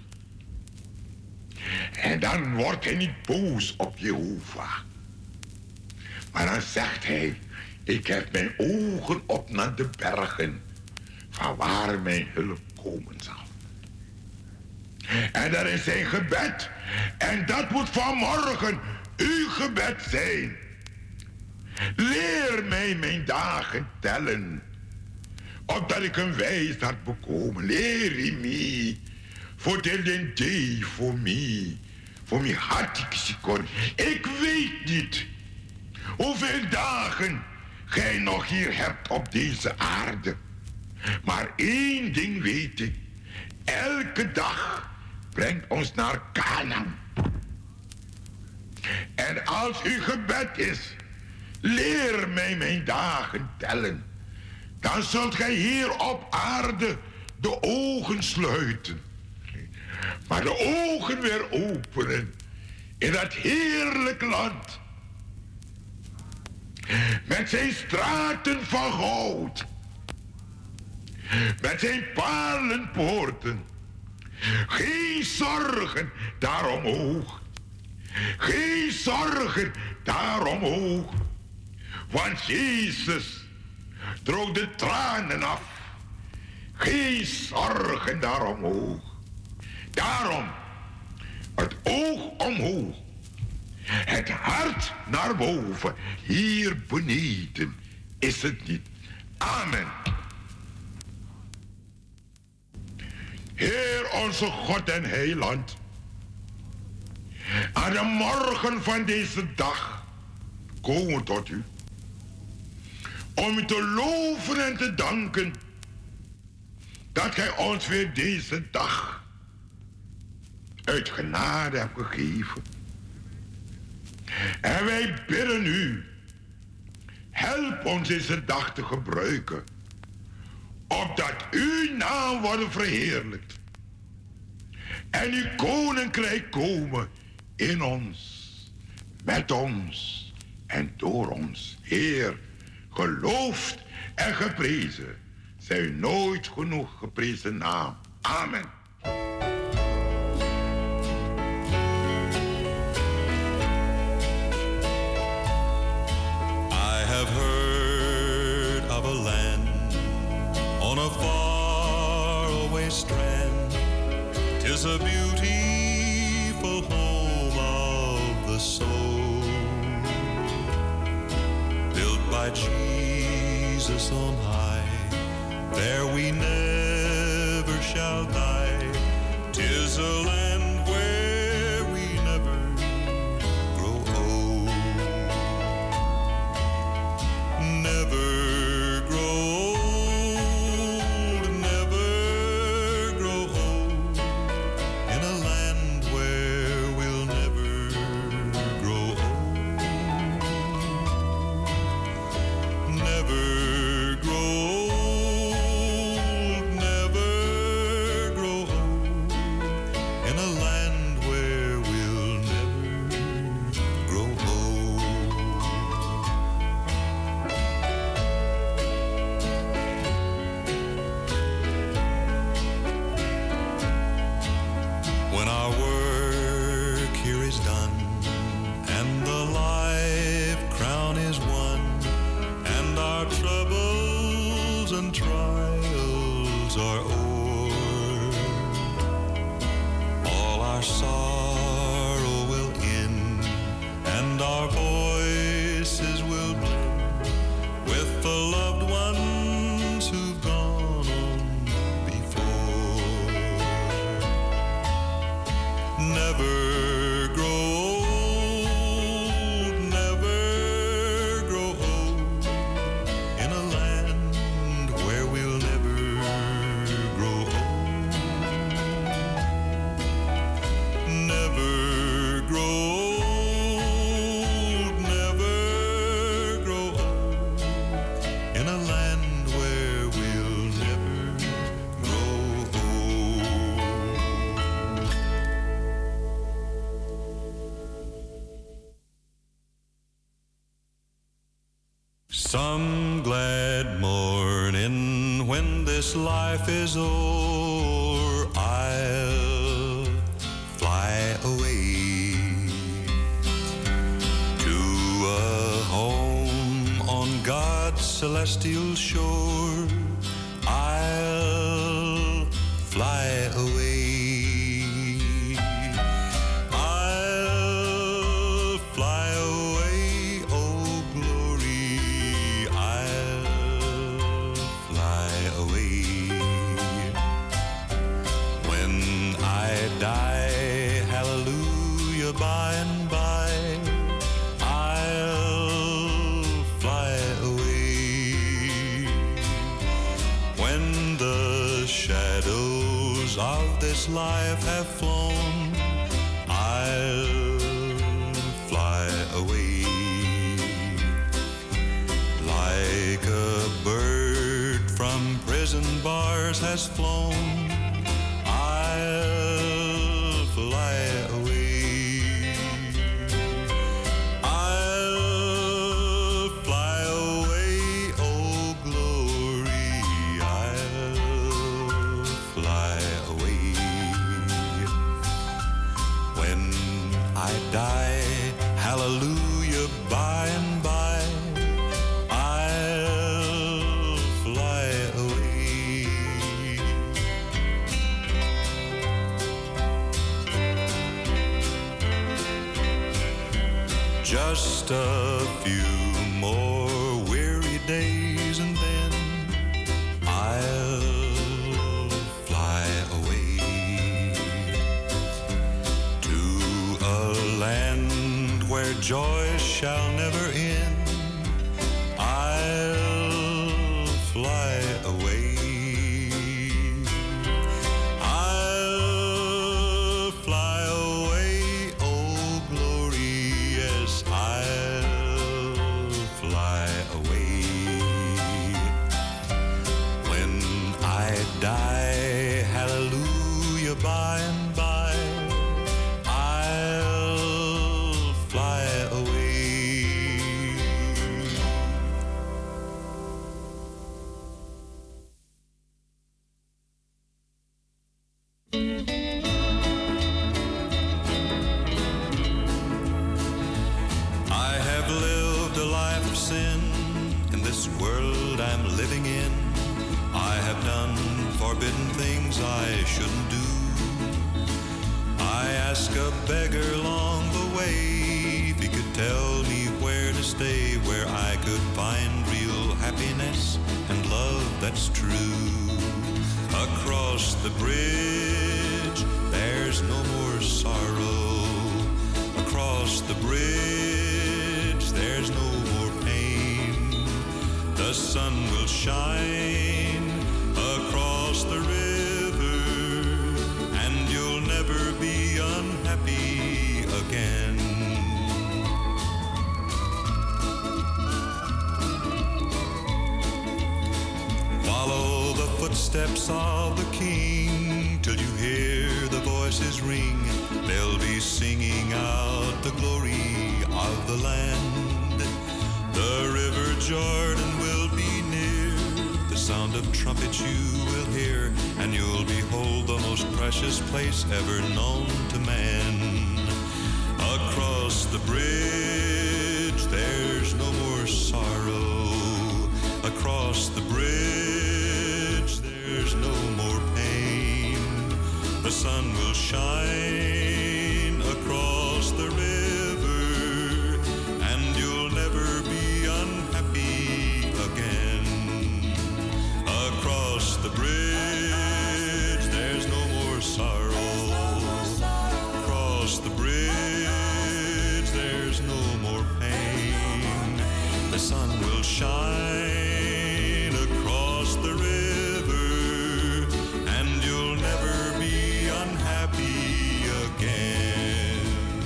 En dan wordt hij niet boos op Jehovah, maar dan zegt hij: ik heb mijn ogen op naar de bergen, van waar mijn hulp komen zal. En dat is zijn gebed. En dat moet vanmorgen uw gebed zijn. Leer mij mijn dagen tellen, opdat ik een wijsheid bekomen. Leer me, voor de day voor mij, voor mij had ik sikon. Ik weet niet hoeveel dagen gij nog hier hebt op deze aarde. Maar één ding weet ik: elke dag brengt ons naar Kanaan. En als uw gebed is: leer mij mijn dagen tellen, dan zult gij hier op aarde de ogen sluiten, maar de ogen weer openen in dat heerlijk land, met zijn straten van goud, met zijn paarlenpoorten. Geen zorgen daar omhoog, geen zorgen daar omhoog, want Jezus droog de tranen af. Geen zorgen daar omhoog. Daarom het oog omhoog, het hart naar boven. Hier beneden is het niet. Amen. Heer onze God en Heiland, aan de morgen van deze dag komen we tot u, om u te loven en te danken dat gij ons weer deze dag uit genade hebt gegeven. En wij bidden u, help ons deze dag te gebruiken, opdat uw naam wordt verheerlijkt en uw koninkrijk komen in ons. met ons en door ons. Heer, geloofd en geprezen. Zij u nooit genoeg geprezen naam. Amen. I have heard of a land on a faraway strand. 'Tis a beautiful home of the soul, built by Jesus on high. There we never shall die. 'Tis a land where we never grow old. Never grow old, never grow old. In a land where we'll never grow old. Never grow old, never grow old. In a land where we'll never grow old. When our work here is done and the life crown is won, and our troubles and trials are o'er, all our sorrow will end, and our voices will blend with the loved ones who've gone on before. Never grow old, never grow old. In a land where we'll never grow old. Never grow old, never grow old. In a land where we'll never grow old. Some glad morning when this life is o'er, I'll fly away to a home on God's celestial shore. I'll fly away. I'll fly away, oh glory. I'll fly away. When I die, hallelujah, by and by, I'll fly away. When the shadows of this life have flown, I'll fly away. Like a bird from prison bars has flown, I'll fly away. I'll fly away, oh glory. I'll fly away. When I die, hallelujah, by and by, I'll fly away. Just a few more weary days and then I'll fly away to a land where joy shall never end. I'll fly away. I'll fly away, oh glory, yes, I'll fly away. When I die, hallelujah, by and by, I'll fly away. living in. I have done forbidden things I shouldn't do. I asked a beggar along the way if he could tell me where to stay, where I could find real happiness and love that's true. Across the bridge, there's no more sorrow. Across the bridge, there's no more pain. The sun will shine across the river, and you'll never be unhappy again. Follow the footsteps of the King till you hear the voices ring. They'll be singing out the glory of the land. The river Jordan will be near. The sound of trumpets you will hear, and you'll behold the most precious place ever known to man. Across the bridge, there's no more sorrow. Across the bridge, there's no more pain. The sun will shine across the river, and you'll never be unhappy again. Across the bridge, there's no more sorrow. Across the bridge, there's no more pain. The sun will shine across the river, and you'll never be unhappy again.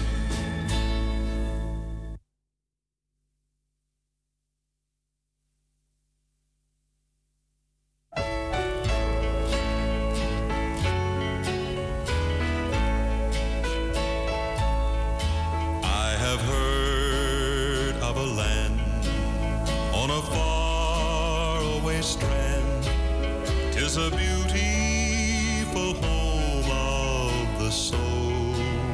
I have heard of a land on a faraway strand. 'Tis a beautiful home of the soul,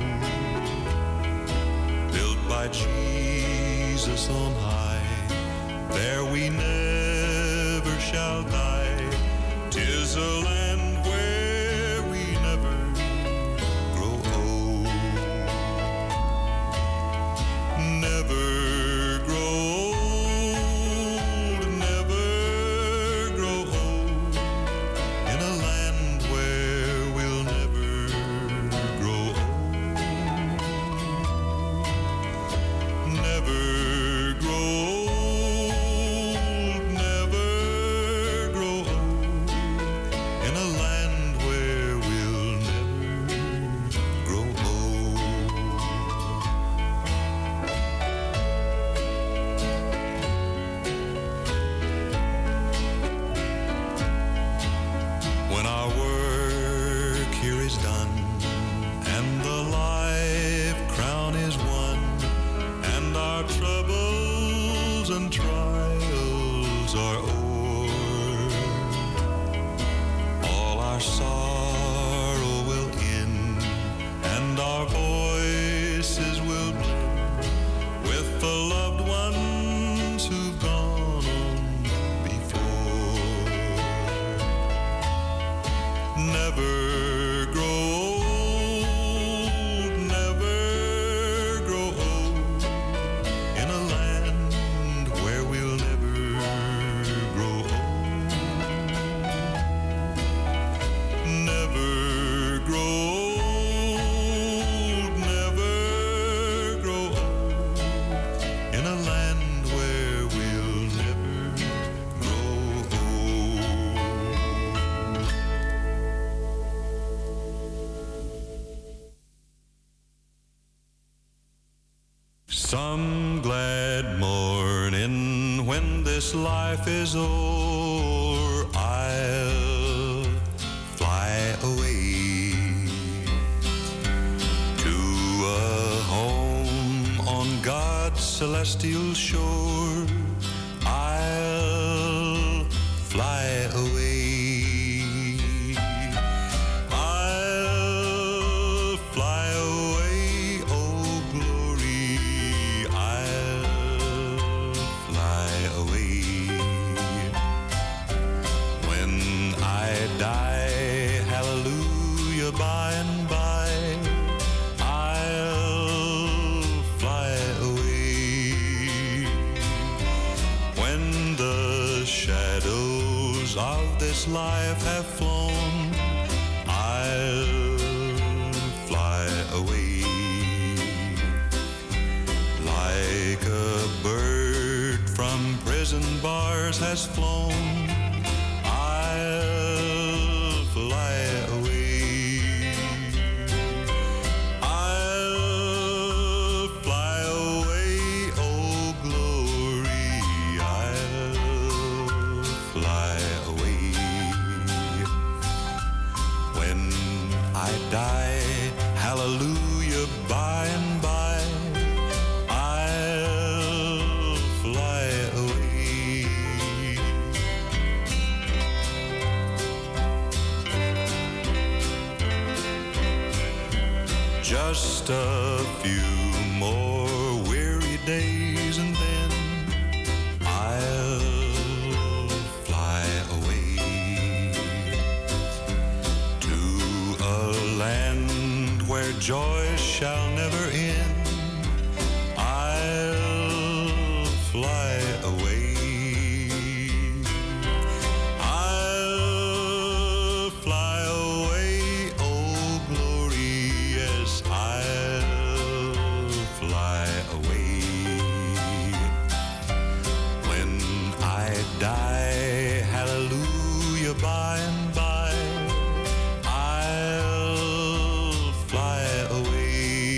built by Jesus on high. There we never shall die. 'Tis a land where we never grow old. Never grow old, never grow old, in a land where we'll never grow old. Never grow old, never grow old, in a land where we'll never grow old. When our work here is done, and the life crown is won, and our troubles and trials are o'er, all our sorrow will end, and our voices will blend with the loved ones who've gone on before. Never grow old, never grow old, in a land where we'll never grow old. Never grow old, never grow old, in a land where we'll never grow old. Some glad morning when this life is o'er, I'll fly away to a home on God's celestial shore. I'll fly away. I'll fly away, oh glory. I'll fly away. this life have flown, I'll fly away. Like a bird from prison bars has flown, I'll fly away. I'll fly away, oh glory, I'll fly away. When I die, hallelujah, by and by, I'll fly away. Just a few more weary days and then I'll fly away to a land where joy shall never end. I'll fly away. I'll fly away, oh glory, yes, I'll fly away. When I die, hallelujah, by and by, I'll fly away.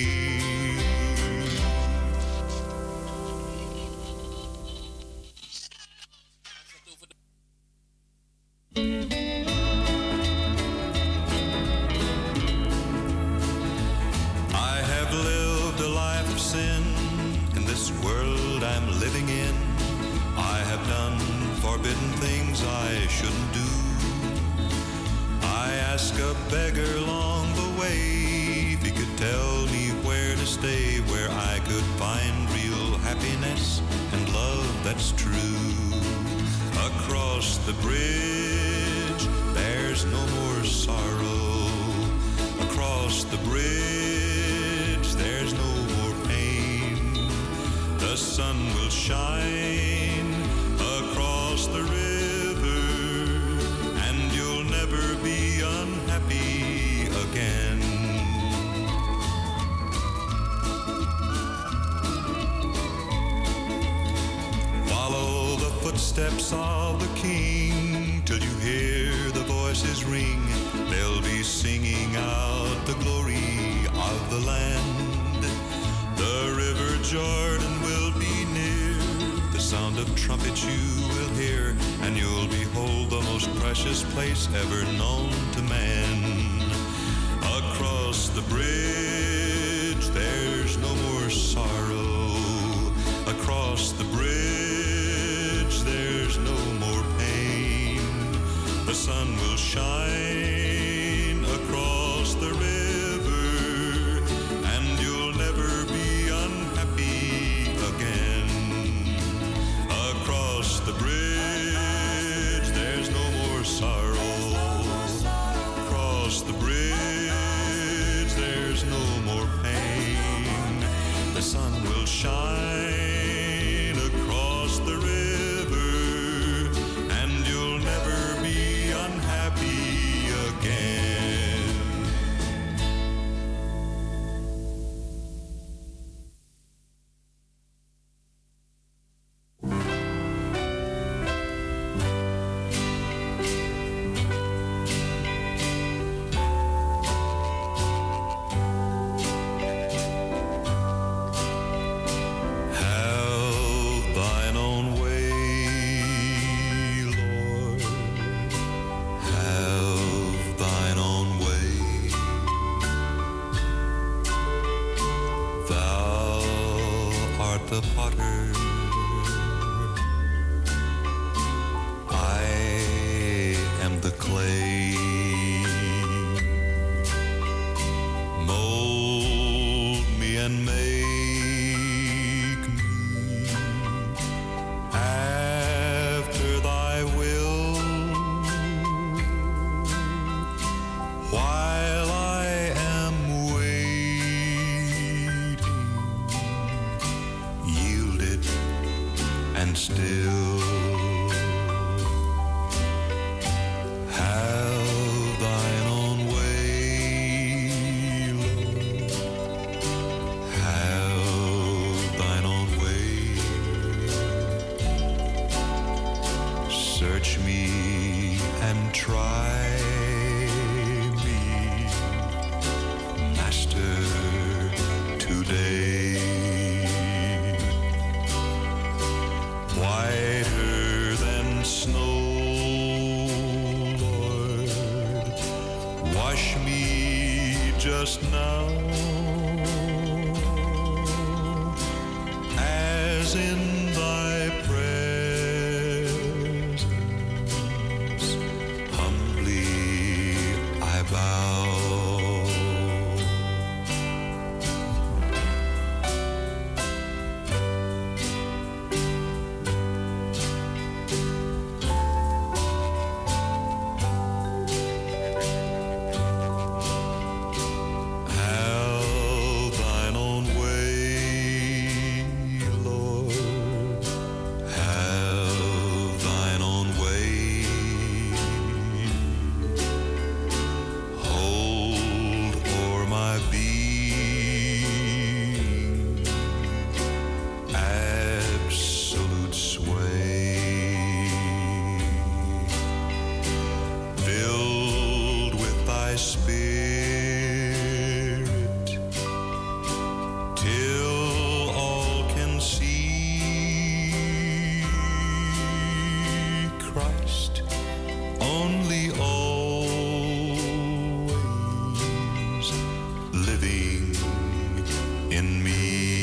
I have lived a life of sin in this world I'm living in. I have done forbidden things I shouldn't do. I asked a beggar along the way if he could tell me where to stay, where I could find real happiness and love that's true. Across the bridge, there's no more sorrow. Across the bridge, there's no more pain. The sun will shine across the river, and you'll never be unhappy again. Follow the footsteps of the King till you hear the voices ring. They'll be singing out the glory of the land. The river Jordan will be near. The sound of trumpets you will hear, and you'll behold the most precious place ever known to man. Across the bridge, there's no more sorrow. Across the bridge, there's no more pain. The sun will shine across the river, and you'll never be unhappy again. Across the bridge, there's no more sorrow. Across the bridge, there's no more pain. The sun will shine across the river, and you'll never be unhappy again. Have thine own way, Lord. Have thine own way. Thou art the potter, I am the clay. Mold me and make me after thy will, while I am waiting, yielded and still. and try me, Master, today. Whiter than snow, Lord, wash me just now, as in thy presence humbly I bow. Have thine own way, Lord, have thine own way. Hold o'er my being absolute sway, filled with thy spirit, till all can see Christ only, always living in me.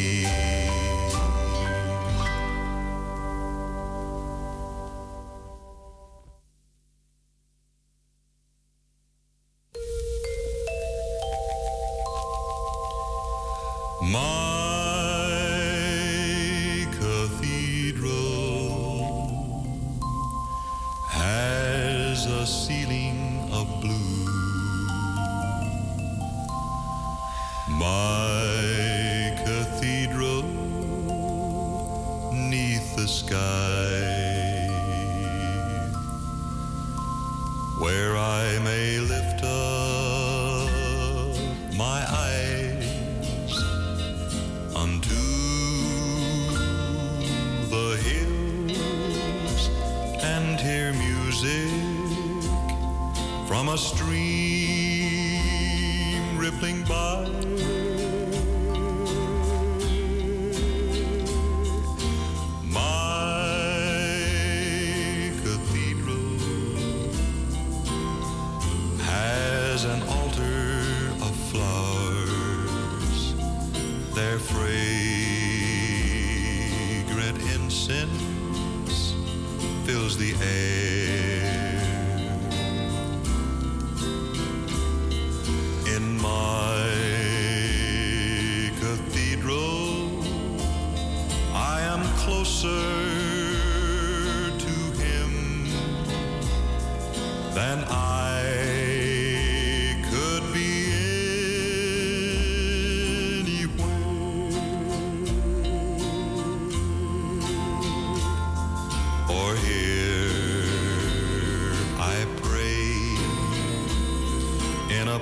My cathedral has a ceiling of blue. My cathedral neath the sky, where I may lift up my eyes unto the hills and hear music from a stream rippling by. My cathedral has an altar of flowers, their fragrant incense fills the air. In my cathedral, I am closer to Him than I could be or here I pray in a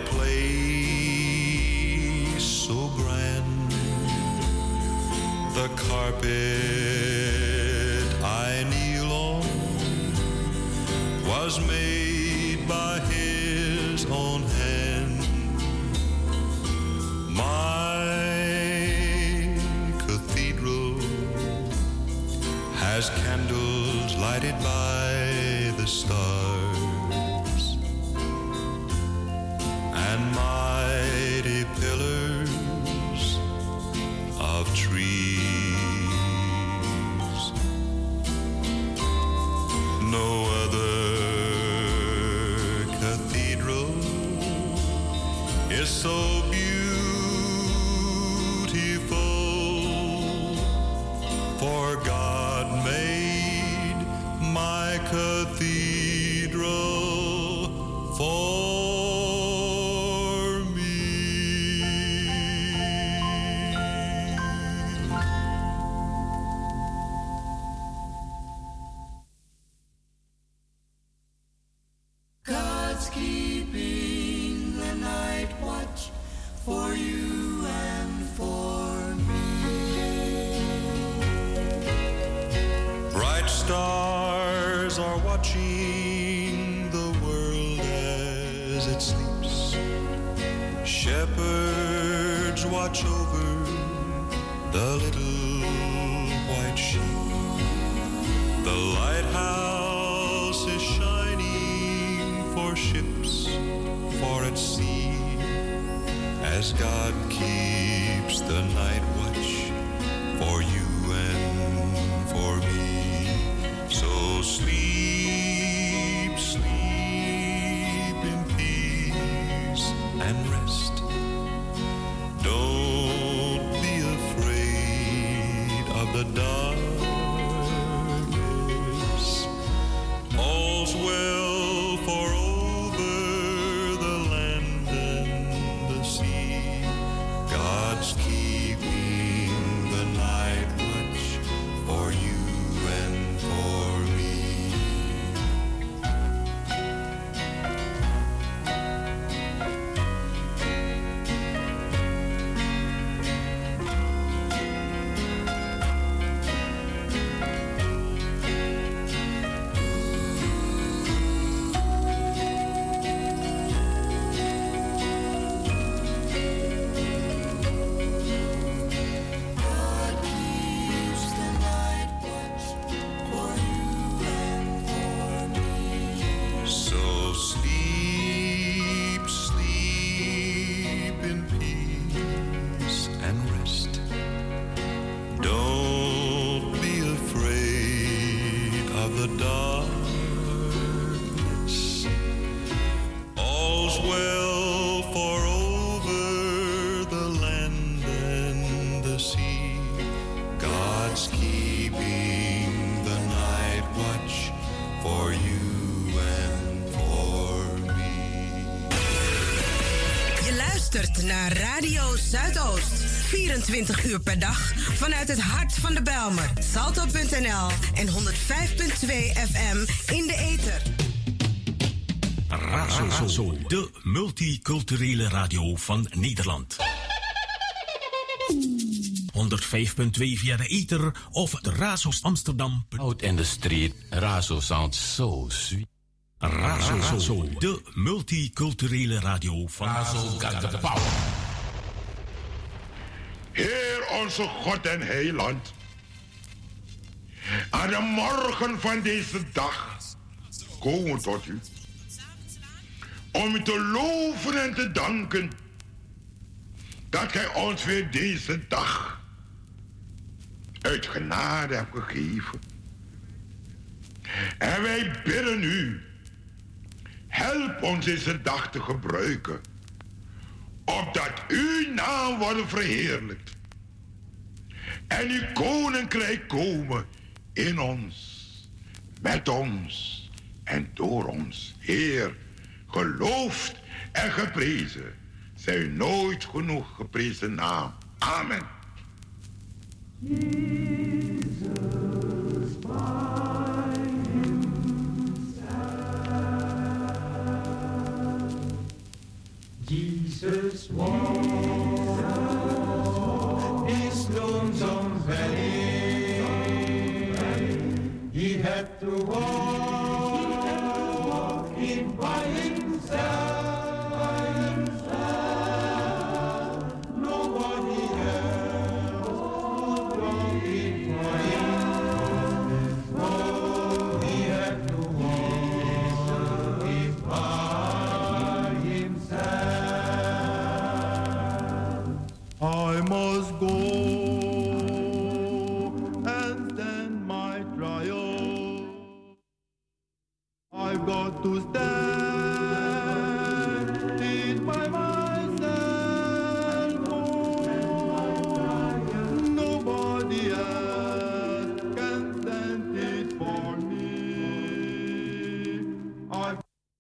place so grand, the carpet I kneel on was made by His own hand. My cathedral has candles lighted by the stars and mighty pillars of trees. No other cathedral is so beautiful, for God made my cathedral for God's keeping the night watch for you and for me. Bright stars are watching the world as it sleeps. Shepherds watch over the little white sheep. The lighthouse is shining for ships for at sea, as God keeps the night watch for you and for me. So sleep, sleep in peace and rest. Don't be afraid of the darkness. All's well, for over the land and the sea, God's keeping the night watch for you and for me. So sleep, sleep in peace and rest. Don't be afraid of the darkness. All's well, for over the land and the sea, God's keeping the night watch for you and for me. Je luistert naar Radio Zuidoost. vierentwintig uur per dag vanuit het hart van de Bijlmer. Salto punt n l en honderdvijf komma twee F M in de ether. Razo, de multiculturele radio van Nederland. honderdvijf komma twee via de ether of de Razo's Amsterdam. Out in the street, Razo sounds so sweet. Razo, de multiculturele radio van Razo got the power. Heer onze God en Heiland, aan de morgen van deze dag komen we tot u, om u te loven en te danken dat gij ons weer deze dag uit genade hebt gegeven. En wij bidden u, help ons deze dag te gebruiken, opdat uw naam wordt verheerlijkt en uw koninkrijk komen in ons, met ons en door ons. Heer, geloofd en geprezen zij uw nooit genoeg geprezen naam. Amen. Jesus walked this lonesome valley. He had to walk it by himself. Nobody else could walk it for him. No, he had to walk it by himself. I must go and stand my trial. I've got to stand it by myself. Nobody else can stand it for me. I've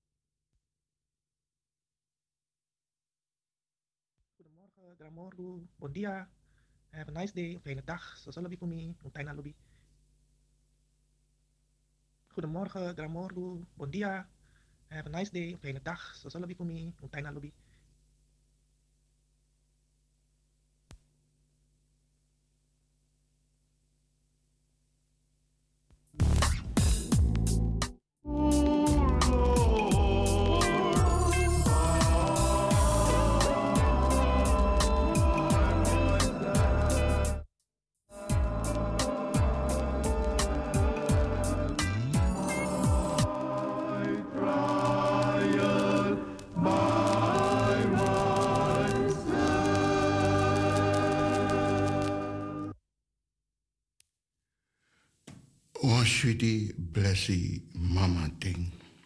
Goedemorgen, Gramorgo, bon dia. Have a nice day, fijne dag. Zo zal het voor mij, een fijne lobby. Goedemorgen, Gramorgo, bon dia. Have a nice day, fijne dag. Zo zal het voor mij, een fijne lobby. Onshwiti blessi mama ting.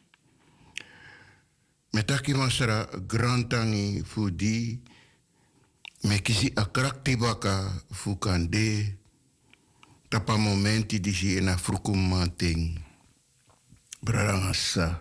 Metaki masra grantangi fudi mekisi akrakti baka fukande tapa momenti disi ena frukumanting brarangasa.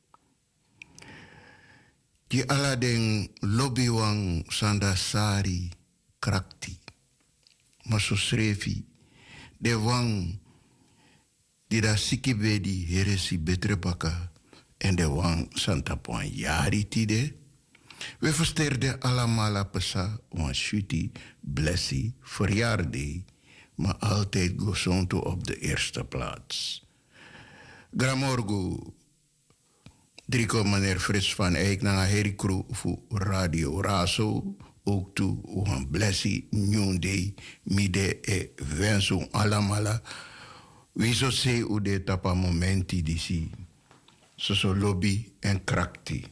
Di aladeng lobby wang sandasari krakti masusrefi de wang di da sikibedi heresi betre baka en de wang santa poin yari tide. We versterden allemaal pesa wan shuti blessi verjaarde, maar altijd gozonto op de eerste plaats. Gramorgo Drico meneer Frits van Eyck na Harry Crew voor Radio Razo. Ook toe wan blessi nyonde mide e wenso allemaal. We zo se u de tapa momenti disi. So so lobby en krakti.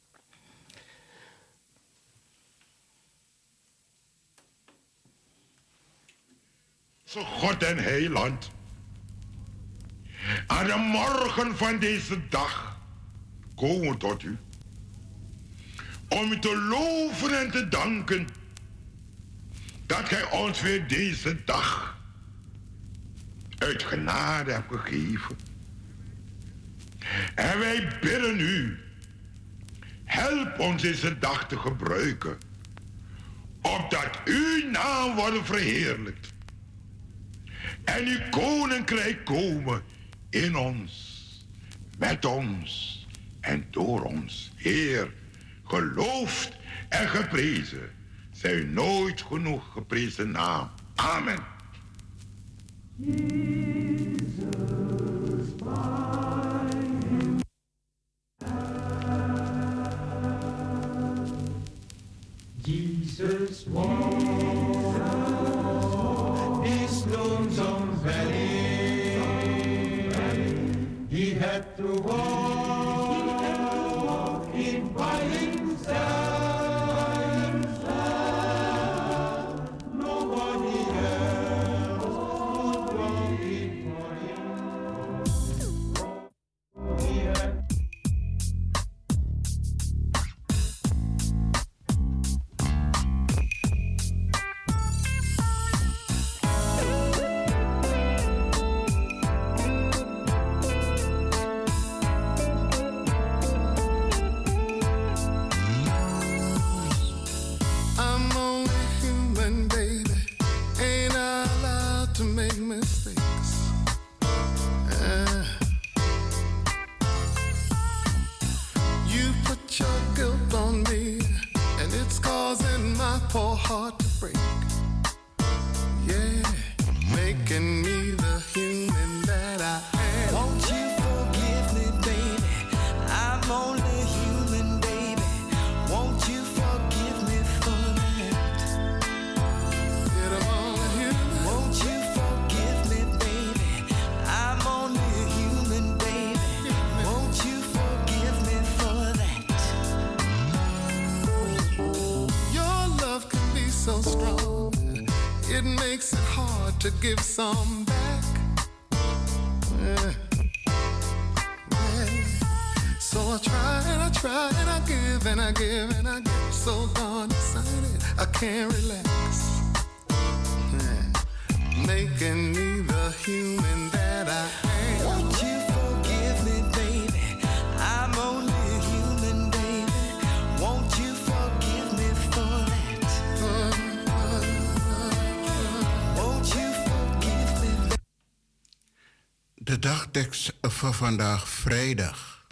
Zo God en heiland. Aan de morgen van deze dag komen we tot u. Om u te loven en te danken dat gij ons weer deze dag uit genade hebt gegeven. En wij bidden u, help ons deze dag te gebruiken, opdat uw naam wordt verheerlijkt en uw koninkrijk komen in ons, met ons en door ons. Heer, geloofd en geprezen zij uw nooit genoeg geprezen naam. Amen. Jesus walked this lonesome valley. He had to walk it by himself. Nobody else would walk it for him. He had heart to break. Yeah, making me the human that I am. Won't you forgive me, baby? I'm only human, baby. Won't you forgive me for that? Yet I'm only human. Won't you forgive me, baby? I'm only human, baby. Won't you forgive me for that? Your love can be so strong, it makes it hard to give some back. Yeah. Yeah. So I try and I try and I give and I give and I get so darn excited I can't relax. Yeah. Making me the human that I am. Won't you forgive me, baby? I'm only human, baby. Won't you forgive me for that? Won't you forgive me, baby? De dagtekst van vandaag, vrijdag.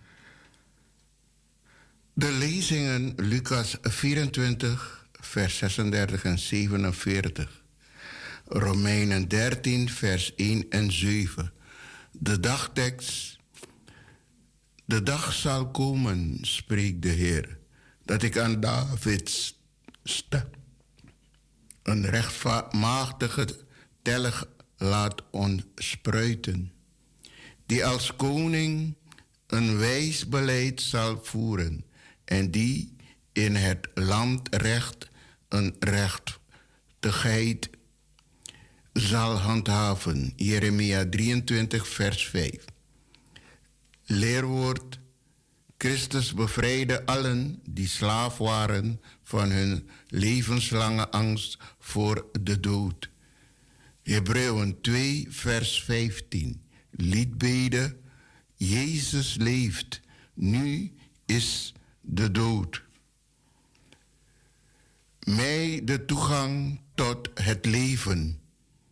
De lezingen Lucas vierentwintig, vers zesendertig en zevenenveertig. Romeinen dertien, vers één en zeven. De dagtekst. De dag zal komen, spreekt de Heer, dat ik aan Davids stem een rechtmatige telg laat ontspruiten, die als koning een wijs beleid zal voeren en die in het land recht een rechtigheid zal handhaven. Jeremia drieëntwintig, vers vijf. Leerwoord. Christus bevrijdde allen die slaaf waren van hun levenslange angst voor de dood. Hebreeën twee, vers vijftien. Liedbede. Jezus leeft. Nu is de dood. Mij de toegang tot het leven.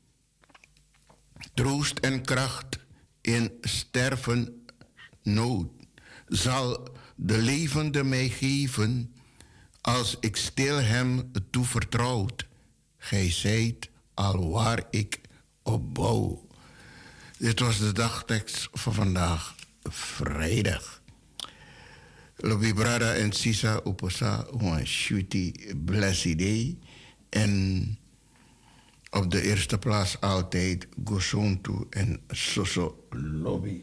Troost en kracht in sterven nood. Zal de levende mij geven als ik stil hem toevertrouwd. Gij zijt al waar ik op bouw. Dit was de dagtekst van vandaag, vrijdag. Lobi Brada en Sisa Oposa, een shooty blessed day. En op de eerste plaats altijd Gosontu en Soso Lobby.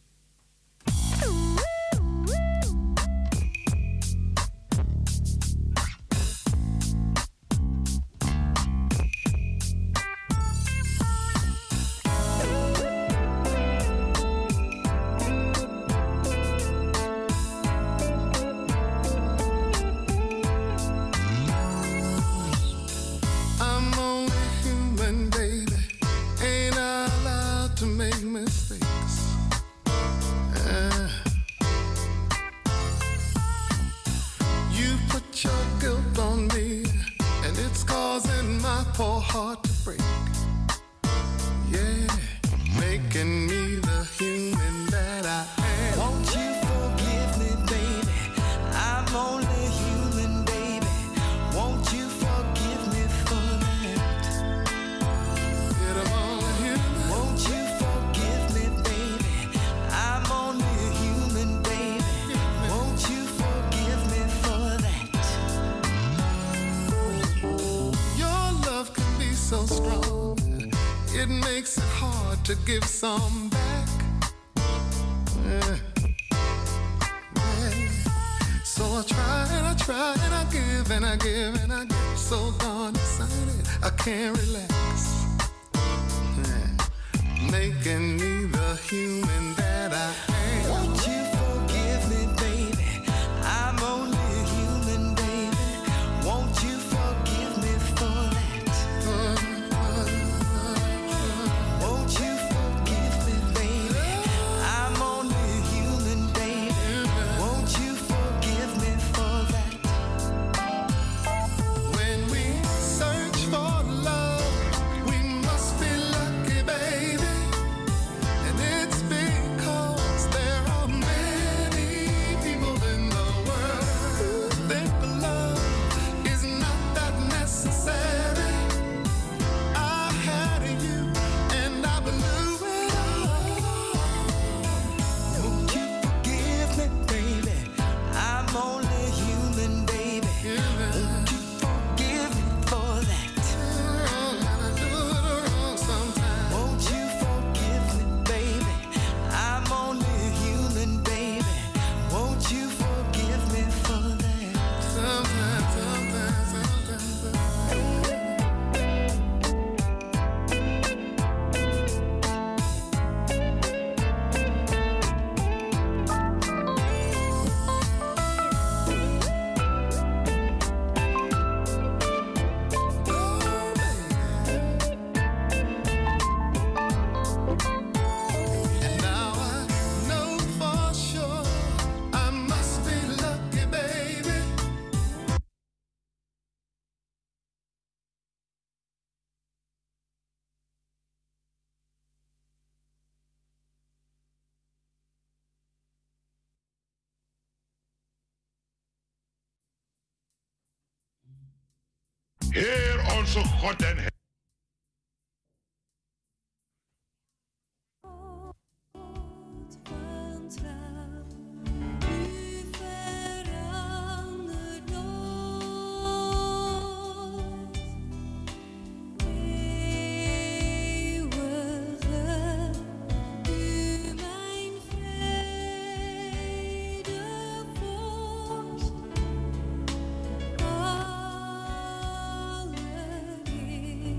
To give some back. Yeah. Yeah. So I try and I try and I give and I give and I give. So darn excited, I can't relax. Yeah. Making me the human that I am. Won't you forgive me, baby? I'm only a human, baby. Won't you forgive me for that? Uh, uh, Won't you forgive me, baby? I'm only a human, baby. Won't you forgive me for that? When we search for love, we must be lucky, baby. And it's because there are many people in the world who think love is not that necessary. I had you and I blew it all. Won't you forgive me, baby? I'm only human, baby. Won't you forgive me for that? I do it wrong sometimes. Won't you forgive me, baby? I'm only human, baby. Won't you forgive me for that? Sometimes, sometimes, sometimes. And now I know for sure I must be lucky, baby. Heer onze God en Heer. Alle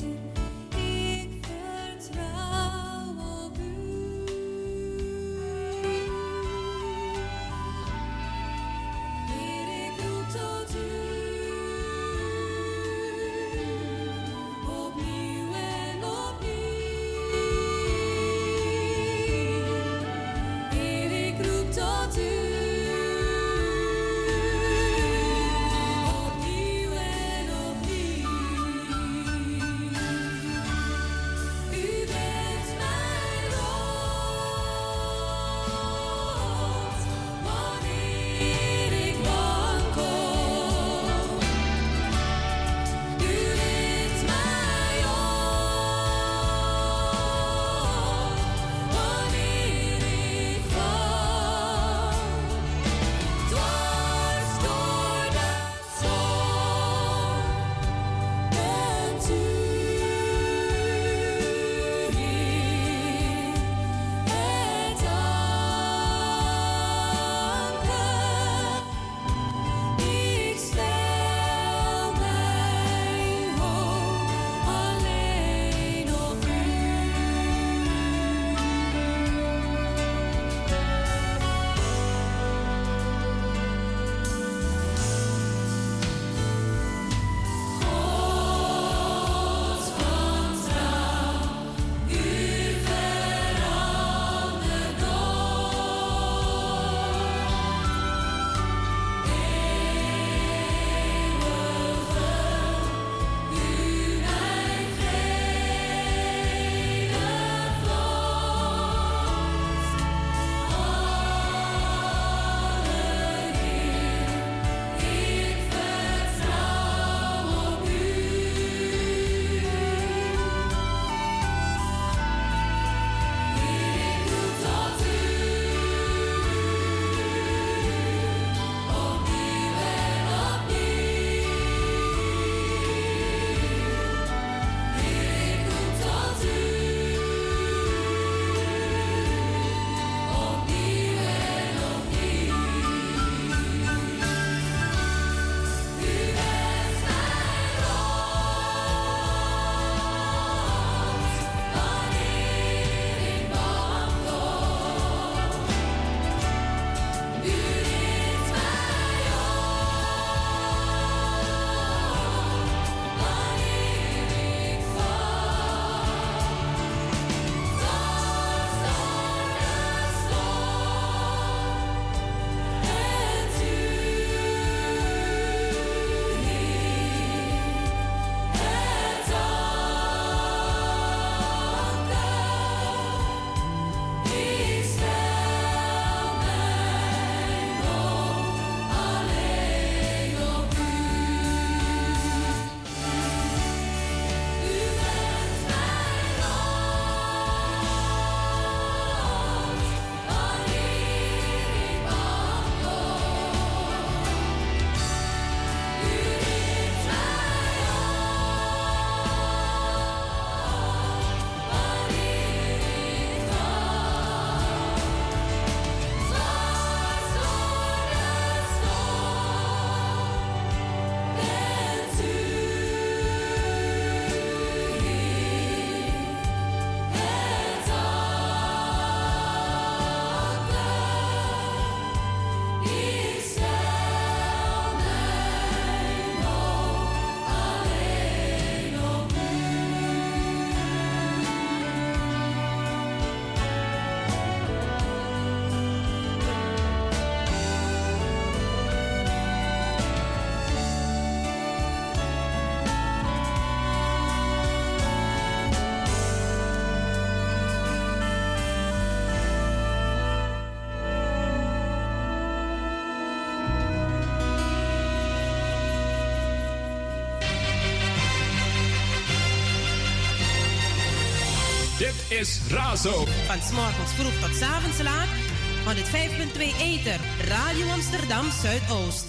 Dit is Razo. Van 's morgens vroeg tot 's avonds laat. honderdvijf komma twee Ether. Radio Amsterdam Zuidoost.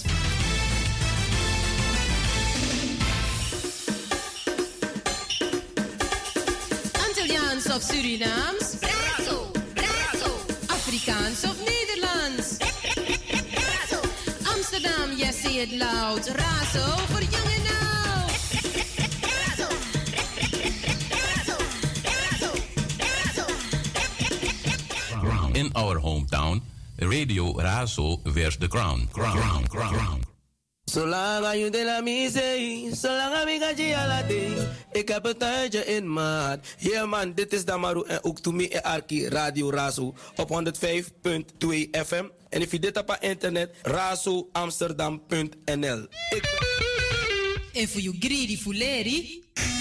Antilliaans of Surinaams? Razo, Razo. Afrikaans of Nederlands? Razo. Amsterdam, yes, say it loud. Razo voor jong en oud. Razo. Razo. Razo. Razo. In our hometown, Radio Razo wears the crown. Crown, crown, crown. Zolang je de la misee, zolang ik ga je ala day. Ik heb een tuintje in maat. Yeah man, dit is Damaru en ook to me en Arki Radio Razo op honderdvijf komma twee F M. En if je dit op internet, razo amsterdam punt n l. En voor je greedy fuleri,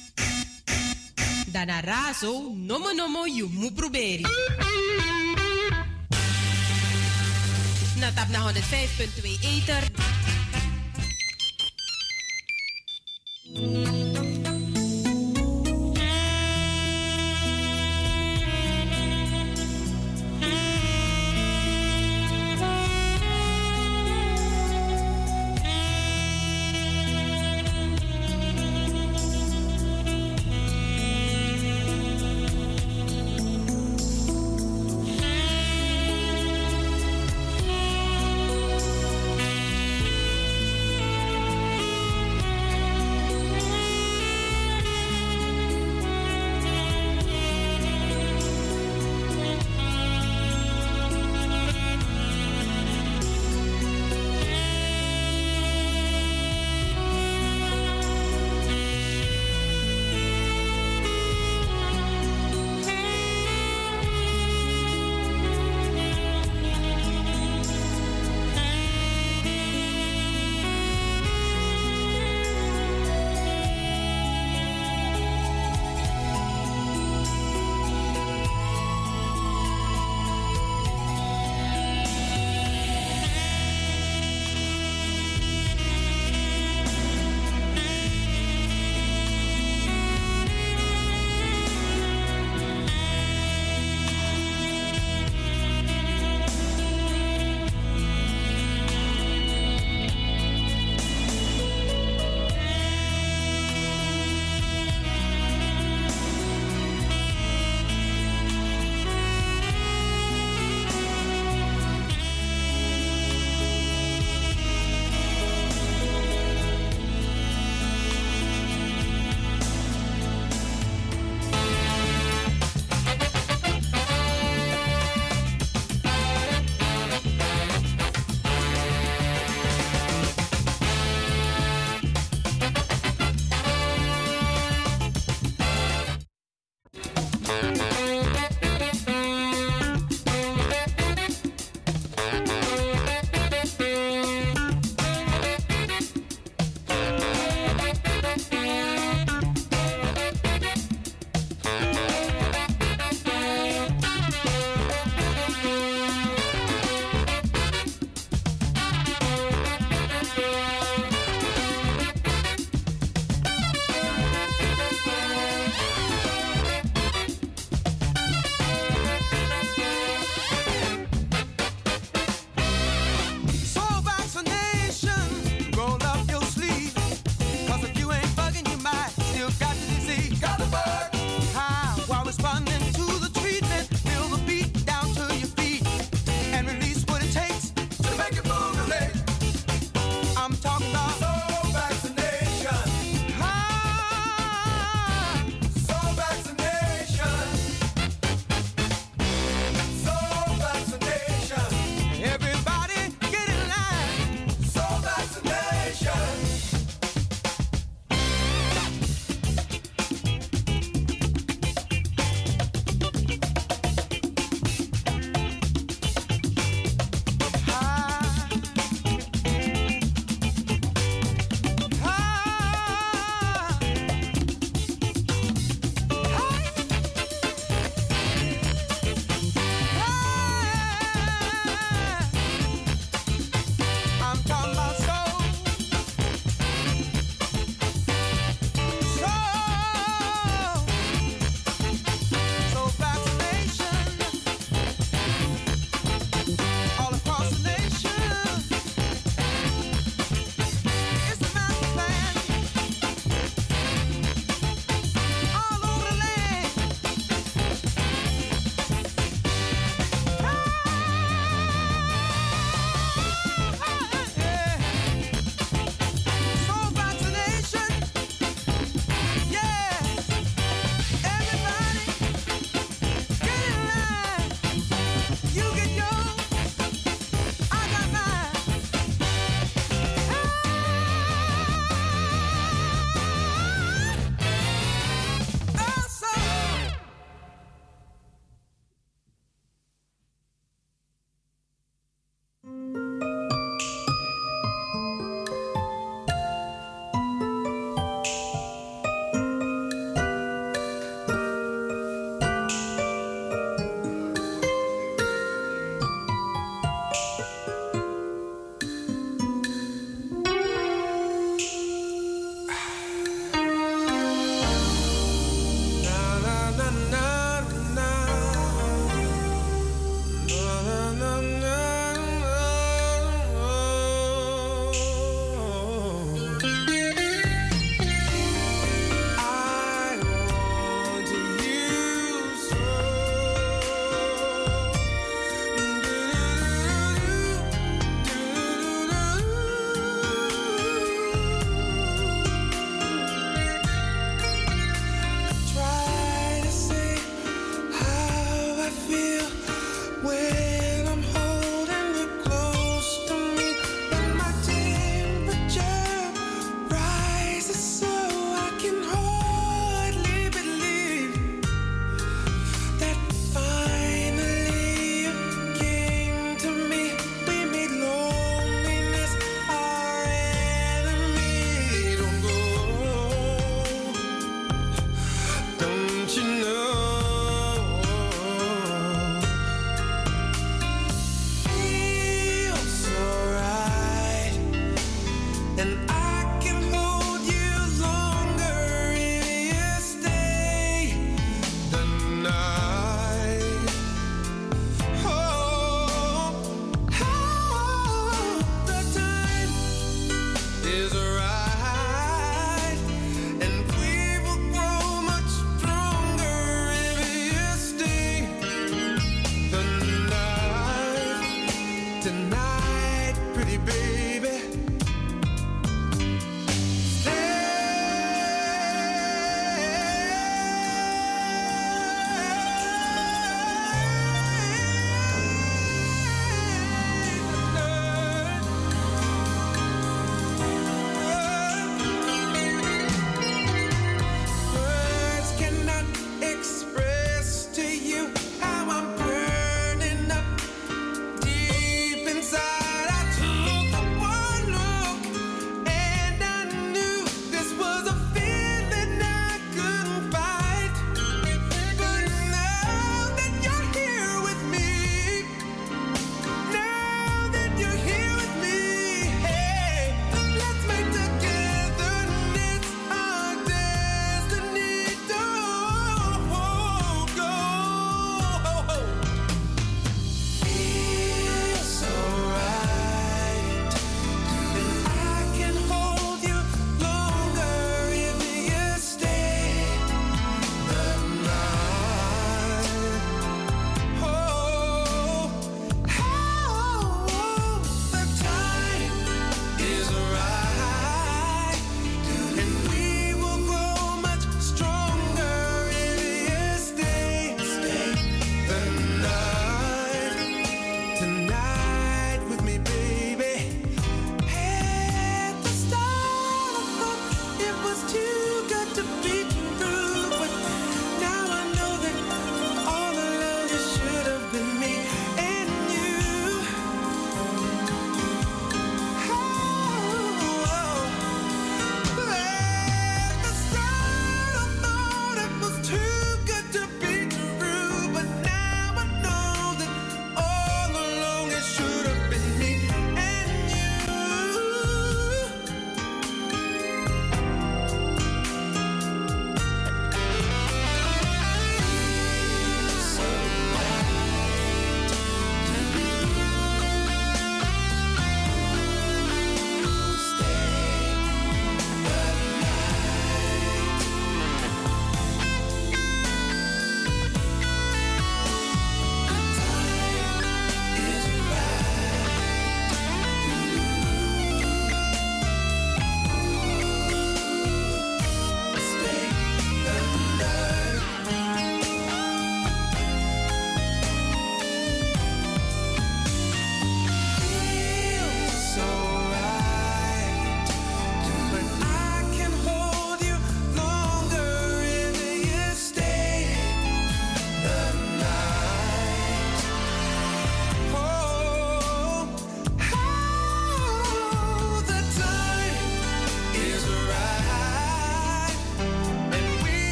dan naar Razo, nomo nomo, je moet proberen. Na tap naar honderdvijf komma twee Ether.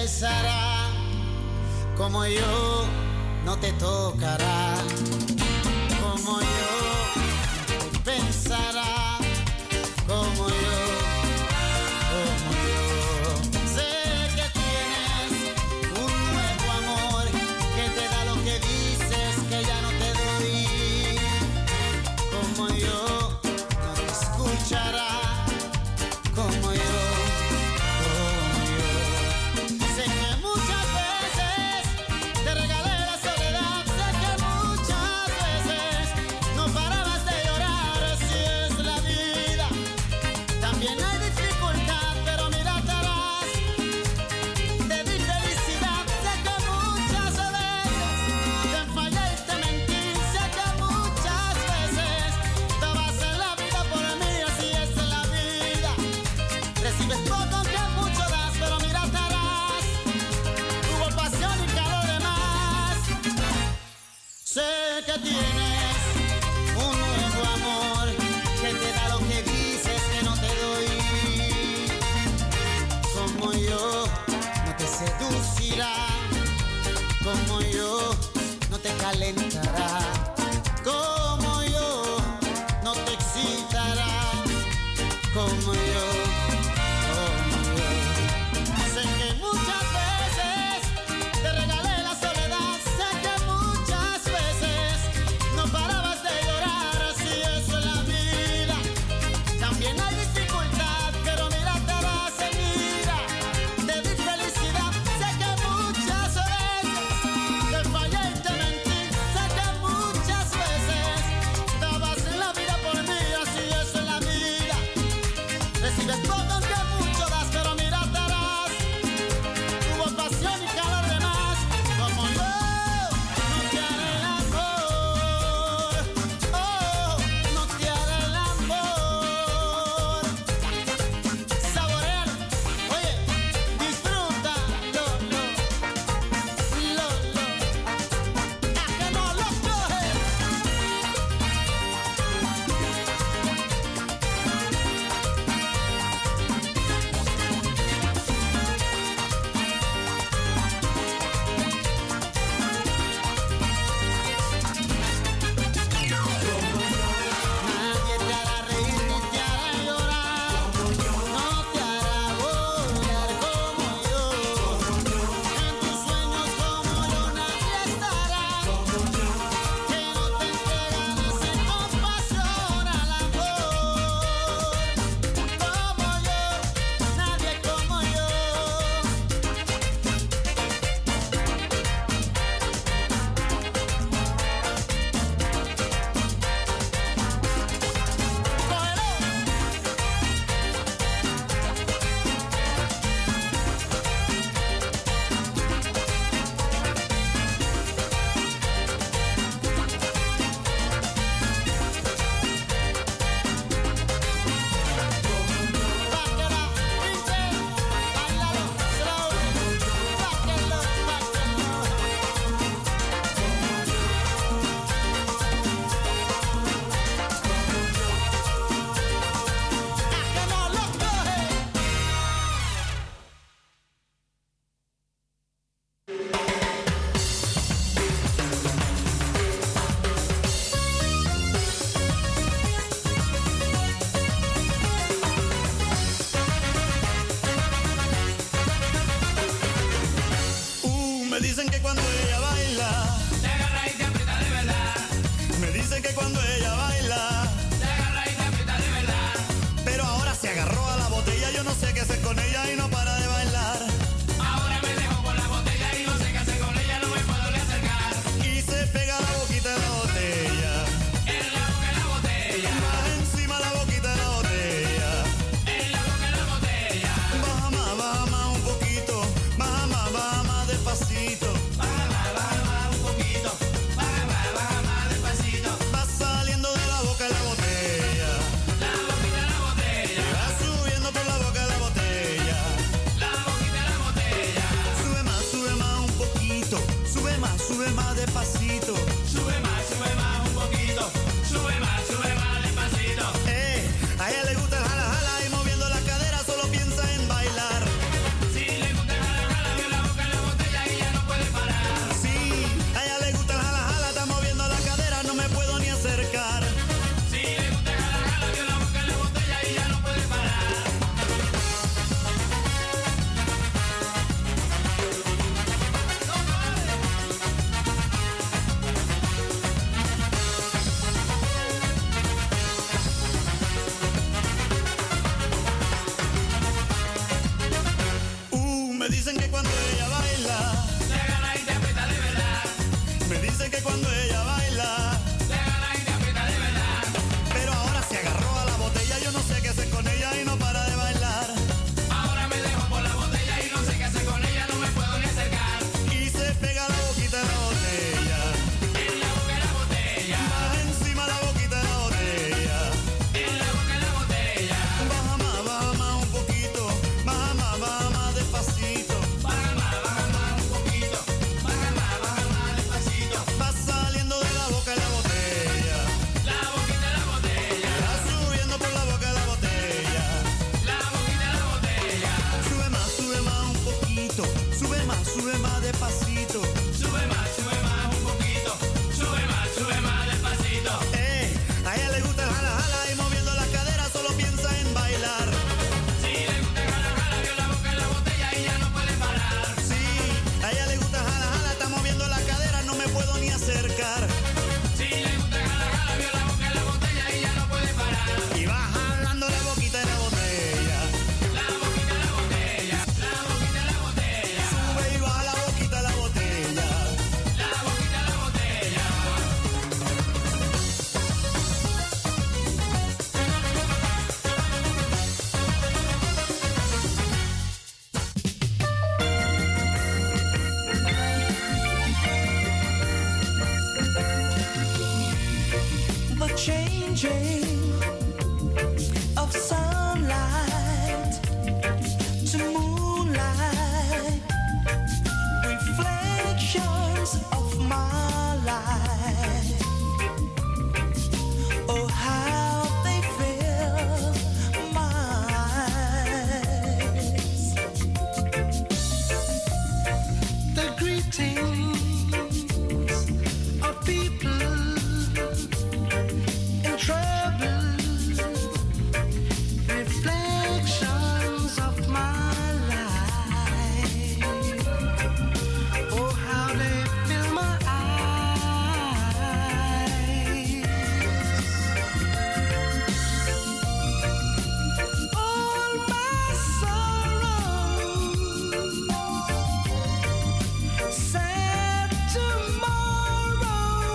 pensará como yo, no te tocará. Como yo, pensará como yo, como yo. Sé que tienes un nuevo amor que te da lo que dices que ya no te doy. Como yo, no te escuchará. Como yo, como yo. Sé que muchas veces te regalé la soledad. Sé que muchas veces no parabas de llorar. Si es la vida, también hay dificultad, pero mira atrás. Te di felicidad. Sé que muchas veces te fallé y te mentí. Sé que muchas veces dabas en la vida por mí. Así es la vida. Recibes poco aunque mucho das, pero mira atrás. Hubo pasión y calor de más. Sé que tienes un nuevo amor que te da lo que dices que no te doy. Como yo, no te seducirá. Como yo, no te calentará. Como yo, no te excitará. Como yo, como yo. Sé que muchas veces te regalé la soledad. Sé que muchas veces no parabas de llorar. Así es la vida. También hay dificultad, pero mira atrás, mira. Te di felicidad. Sé que muchas veces te fallé y te mentí. Sé que muchas veces dabas la vida por mí. Así es la vida. Recibes poco aunque mucho das, pero mira atrás. Hubo pasión y calor de más. Como yo, no te haré el amor. Oh, no te haré el amor. Saborealo. Oye, disfrútalo, lo, lo, lo, lo. ¿A que no lo coges? Nadie te hará reír ni te hará llorar. No te hará volar como yo. En tus sueños como yo nadie estará. Que no te entregarás sin compasión al amor. Como yo, nadie como yo. Uh, me dicen que cuando ella baila, te agarra y te aprieta de verdad. Me dicen que cuando ella baila, te agarra y te aprieta de verdad. Pero ahora se agarró a la botella, yo no sé qué hacer con ella y no para de bailar. Ahora me dejo con la botella y no sé qué hacer con ella, no me puedo ni acercar. Y se pega la boquita de la botella, en la boca de la botella, más encima la boquita de la botella, en la boca de la botella. Baja más, baja más un poquito, baja más, baja más despacito. Baja más, baja más un poquito, baja más, baja más despacito. Va saliendo de la boca de la botella, la boquita de la botella. Y va subiendo por la boca de la botella, la boquita de la botella. Sube más, sube más un poquito, sube más, sube más despacito. Sube más, sube más un poquito, sube más, sube más despacito. Eh, a ella le gusta el jala jala y moviendo la cadera solo piensa en bailar. Si le gusta el jala jala, despacito. Sube más, sube más un poquito. Sube más, sube más despacito. Eh, a ella le gusta el jala jala y moviendo la cadera solo piensa en bailar. Si le gusta el jala jala, vio la boca en la botella y ya no puede parar. Sí, a ella le gusta el jala jala, está moviendo la cadera, no me puedo ni acercar. Si le gusta el jala jala, vio la boca en la botella y ya no puede parar. Y va jalando la boquita de la botella. La boquita de la botella, la boquita de la botella. Sube y baja la boquita de la botella. La boquita de la botella. The changing of sunlight to moonlight, reflections of my life. Oh, how they fill my eyes. The greetings of people in trouble, reflections of my life. Oh, how they fill my eyes. All my sorrows, sad tomorrow.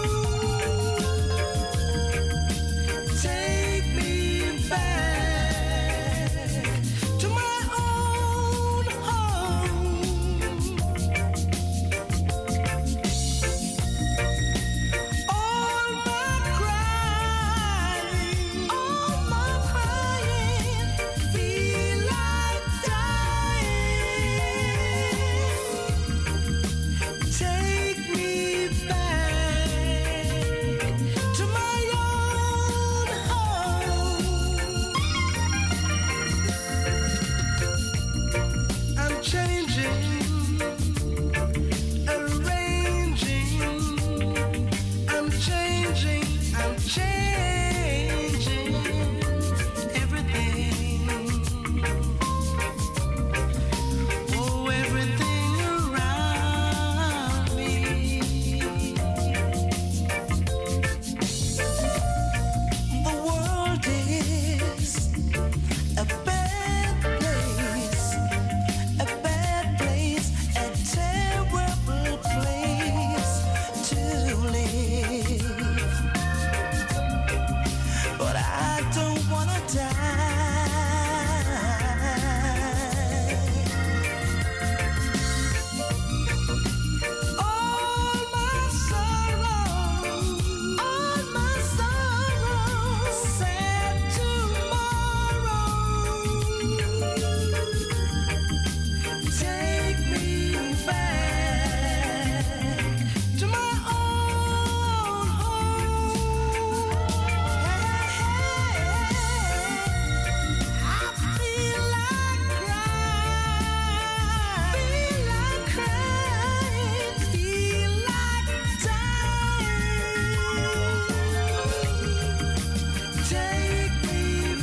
Take me back to my own home. All my crying, all my crying, feel like dying. Take me back to my own home. I'm changing, arranging. I'm changing, I'm changing everything. Oh, everything around me. The world is a bad place, a bad place, a terrible place to live. But I don't wanna die. All my sorrows, all my sorrows, sad tomorrow. Take me back to my own home. I feel like crying, feel like crying, feel like dying. Take me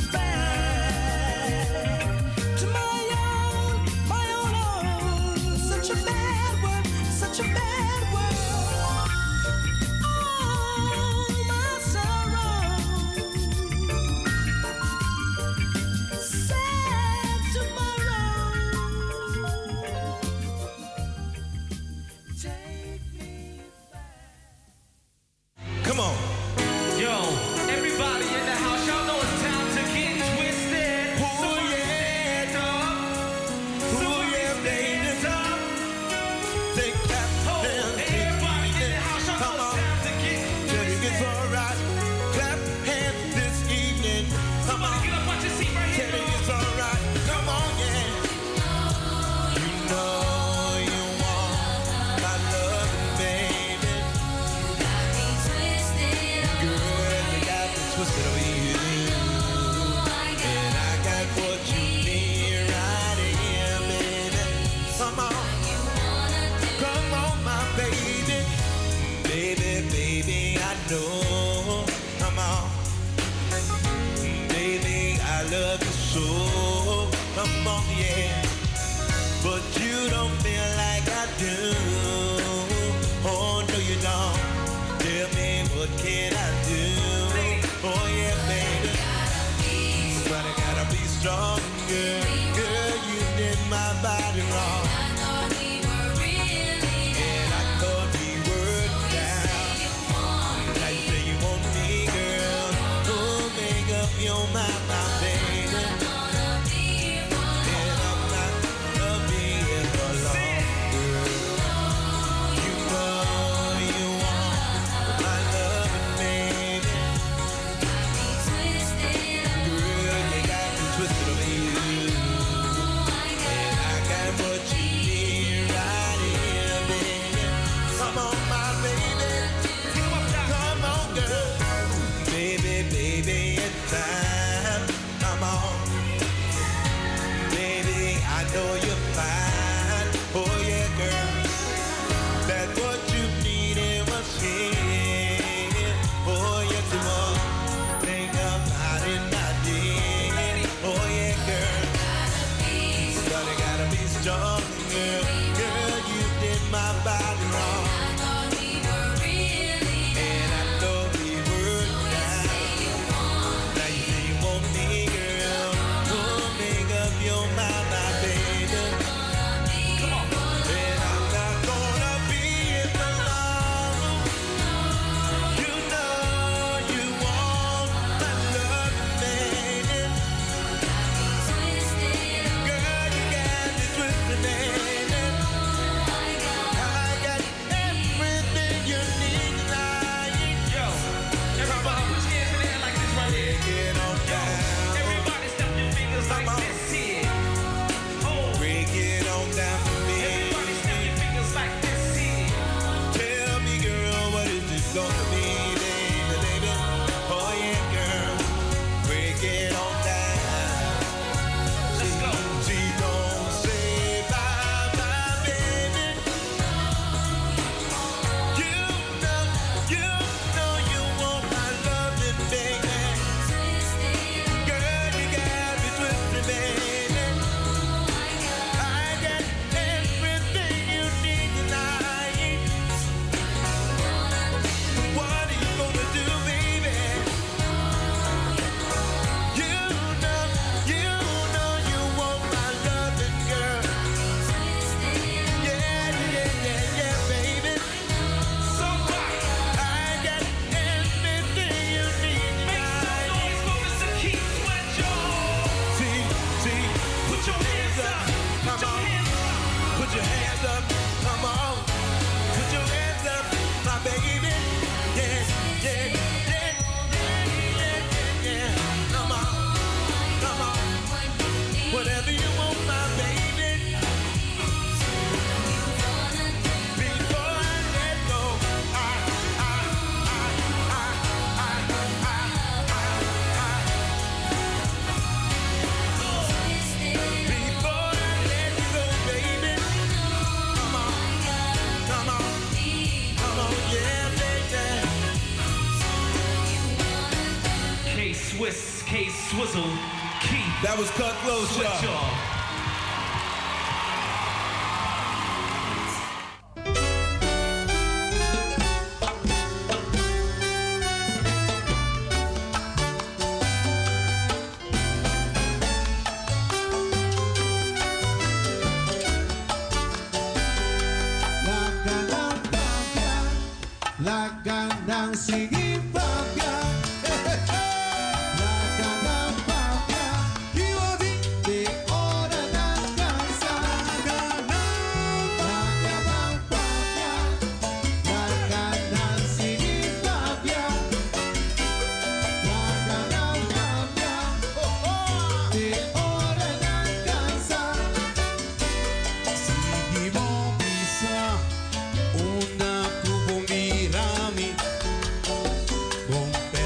back to my own, my own home. Such a bad world, such a bad world. All my sorrow, sad tomorrow. Take me Come on. Yo, everybody in the house, y'all know it's time to get twisted. So stand up. So stand up. Take that Oh, everybody in the house, y'all know it's time to get twisted. It's alright. Clap hands this evening. Come on. Get up on your seat right here. Tell it it's alright. Come on, yeah. You know you want my love, baby. Girl, you got me twisted over you. And I got what you need right here, baby. Come on. Come soul. Come on, yeah. But you don't feel like I do. Oh, no, you don't. Tell me, what can I do? Oh, yeah, baby. But I gotta be stronger. Girl, you did my body wrong. And I thought we were down. Now you say you want me, girl. Oh, make up your mind, my baby. And I'm not gonna be here for long, girl. You know you want my loving, baby. Girl, you got me twisted over you. And I got what you need right here, baby. Come on, my baby. Come on, girl. Baby, baby, it's time. Come on. Baby, I know you're fine. Oh, yeah, girl. That's what you needed was here. Oh, yes, it was. Think about it, I did. Oh, yeah, girl. But I gotta be stronger. Girl, you did my body wrong. And I thought we were down. Now you say you want me, girl. Oh, make up your mind, my baby. Come on. And I'm not gonna be here for long. You know you want my love, baby. Girl, you got me twisted, baby. I got everything you need tonight. Yo, everybody put your hands in the air like this right here. Get on down. Everybody step your fingers like this here. Oh, break it on down for me. Everybody step your fingers like this here. Tell me, girl, what is this gonna be, baby, baby? Oh yeah, girl, break it on down. Let's go. She don't say bye, bye, baby. You know, you know you want my loving, baby. Girl, you got me twisted, baby. I got everything you need tonight. What are you gonna do, baby? You know, you know you want my loving, girl. Yeah, yeah, yeah, yeah, baby. So what? I got everything you need tonight. Make some noise for Mister Keith Sweat, y'all. See, see, put your hands up, come on. Put your hands up, come on. Put your hands up, my baby. Yeah, yeah, yeah, yeah, yeah, yeah, yeah. Come on, come on. Whatever you want, my baby. Before I let go, I, I, I, I, I, I, I, Before I let you go, baby. Come on, come on, come on, yeah, baby. K Swiss, K Swizzle, Keith. That was Cut Close, y'all. La ganang sige papya, la ganang papya, iwadi de ora ng kansa. Ganang, la ganang papya, la ganang sige papya, la ganang papya, de ora ng kansa. Sige mo bisa una tu bombirami, bombe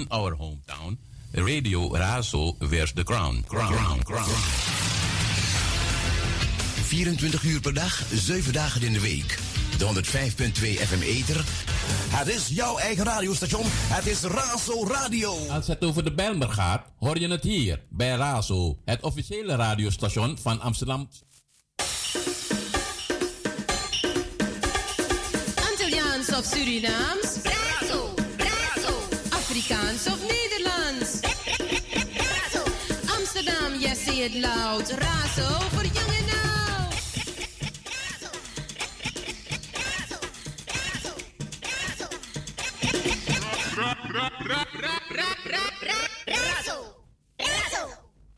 in our hometown, Radio Razo wears the crown. Crown, crown, crown. vierentwintig uur per dag, zeven dagen in de week. De honderdvijf punt twee F M Ether. Het is jouw eigen radiostation. Het is Razo Radio. Als het over de Bijlmer gaat, hoor je het hier bij Razo, het officiële radiostation van Amsterdam. Antilliaans of Surinaams? Razo, Razo. Afrikaans of Nederlands? Razo. Amsterdam, yes, say it loud. Razo voor jong en oud. Razo, Razo.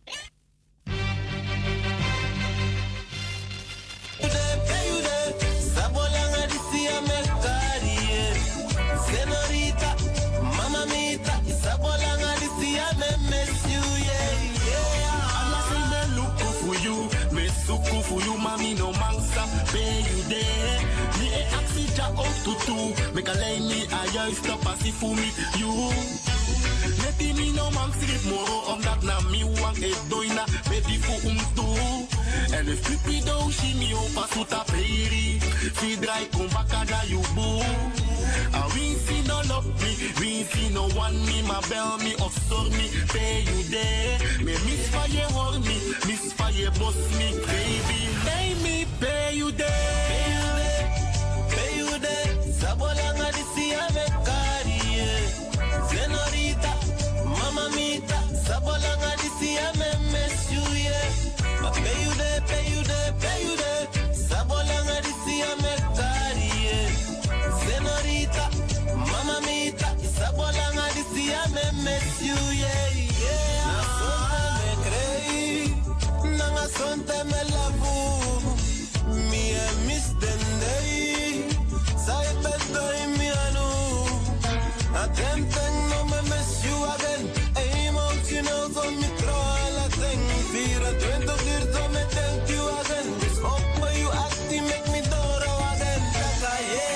Senorita, mamma mita, sabolanga disia me miss you, yeah, yeah. Allah say me look for you, me suku for you, mami no mangsa, pay you there. Me e aksija out to two, make a lay me a juist op as for me, you. Neti mi no mang strip moro, omdat na mi wang e doina, baby fu um tu. En if pipi do shi mi opa suta peri, fi dry kom bakada you boo. And we see no love me, we see no one me, my bell me, offshore me, pay you there. Me miss for you hold me, miss for you boss me, baby. Pay me, pay you there. Pay you there, pay you there. Sabolanga di siya me kariye. Senorita, mama mita, sabolanga di siya me miss you, yeah. But pay you there, pay you there, pay you there. Sabolanga di siya me kariye. Senorita, mama mita, sabolanga di siya me miss you, yeah, yeah. Na sonte me crei, nanga sonte me labu. Me e miss dendei, sai bedoi mi anu. Attempting no me miss you again. Emotional so me troll a thing. vierentwintig uur so me thank you again. This up where you acting make me doro again. Taka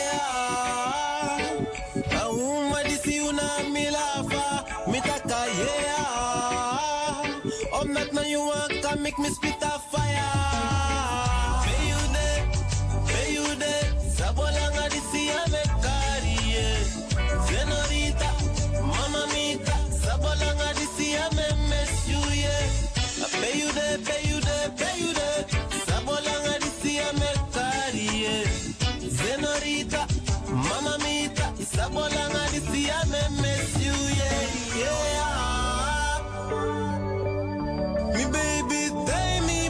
yeah. A woman di si una mi lafa. Mi taka yeah. Om not na you want can make me spit a fire. Pay you there, pay you there. Sabolanga di si a me kariye. Senorita, mama mita, sabolanga di siya me miss you, yeah. Pay you there, pay you there, pay you there. Sabolanga di siya me kariye. Senorita, mama mita, sabolanga di siya me miss you, yeah, yeah. Me baby, tell me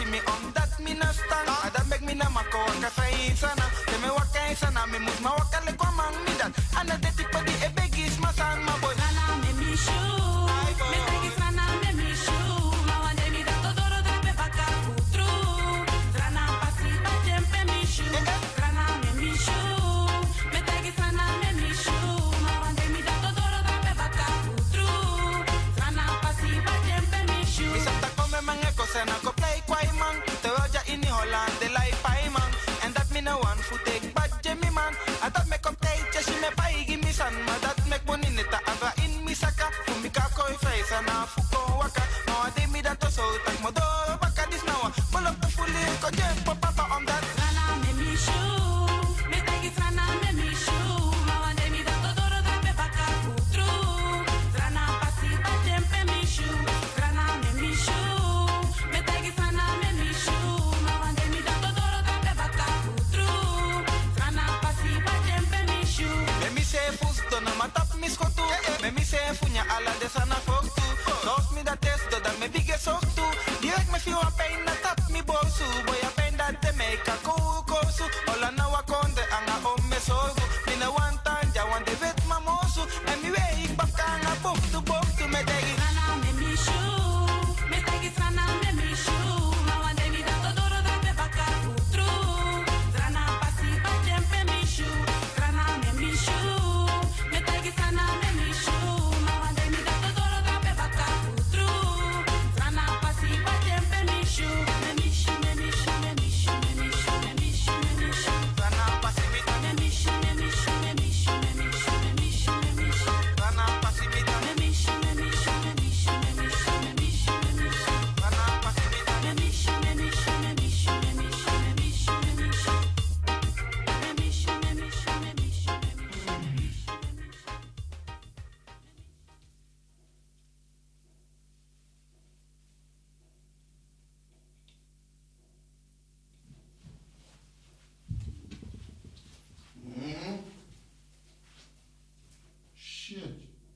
me om dat me na stand. Ah, dat make me na mako waka say sana. Te me waka sana me mus ma waka le kwa mang me dat. Ana de tipo di e begis ma san ma boy. Sana me mi shoe. Me tagi sana me mi shoe. Ma wande mi dat todo drape baka putru. Sana pasi ba tempe mi shoe. Sana me mi shoe. Me tagi sana me mi shoe. Ma wande mi dat todo drape baka putru. Sana pasi ba tempe mi shoe. Mi santa come mange cose na ko play kwai man. Te roja in Holland de lai pai man. And that me no one fu take bad Jimmy man. I thought me come take just me pai give me san. Ma that make money neta ava in mi saka. Fu mi ka koi face na fu ko waka. No ade mi dat so tak mo do baka dis now. Pull up the fully ko jem papa on that. Rana me mi shoe. Me tagi rana me mi shoe. Ma ade mi dat do do da be baka fu true. Rana pasi ba tempe mi shoe. Rana me mi shoe. Me tagi rana me mi shoe. Ma ade mi dat do do da be baka fu true. Rana pasi ba tempe mi shoe. Me mi se fus do na matap mi skotu. Me mi se funya ala de sana foktu. Dos mi dat test do da me bige soktu. Direct me feel a pain na tap mi bosu. Boy a pain dat te make a kukosu. Ola na wakonde anga om me sogu. Mi na one time ja wan de vet mamosu. En mi wey ik baf kanga bok tu bok tu me degi. Rana me mi shoe. Me tegi rana me mi shoe. Ma wan de mi dat odoro da be baka putru. Rana pasi ba tempe mi shoe. Rana me mi shoe. Me tegi rana me mi shoe. Ma wan de mi dat odoro da be baka putru. Rana pasi ba tempe mi shoe. Me mi shoe, me mi shoe, me mi shoe, me mi shoe, me mi shoe, me mi shoe. Rana pasi mi me mi shoe, me mi shoe, me mi shoe, me mi shoe, me mi shoe, me mi shoe. Rana pasi mi me mi shoe, me mi shoe, me mi shoe, me mi shoe, me mi shoe, me mi shoe. Rana pasi mi me mi shoe, me mi shoe, me mi shoe, me mi shoe, me mi shoe, me mi shoe. Me mi shoe, me mi shoe, me mi shoe, me mi shoe, me mi shoe. Shit.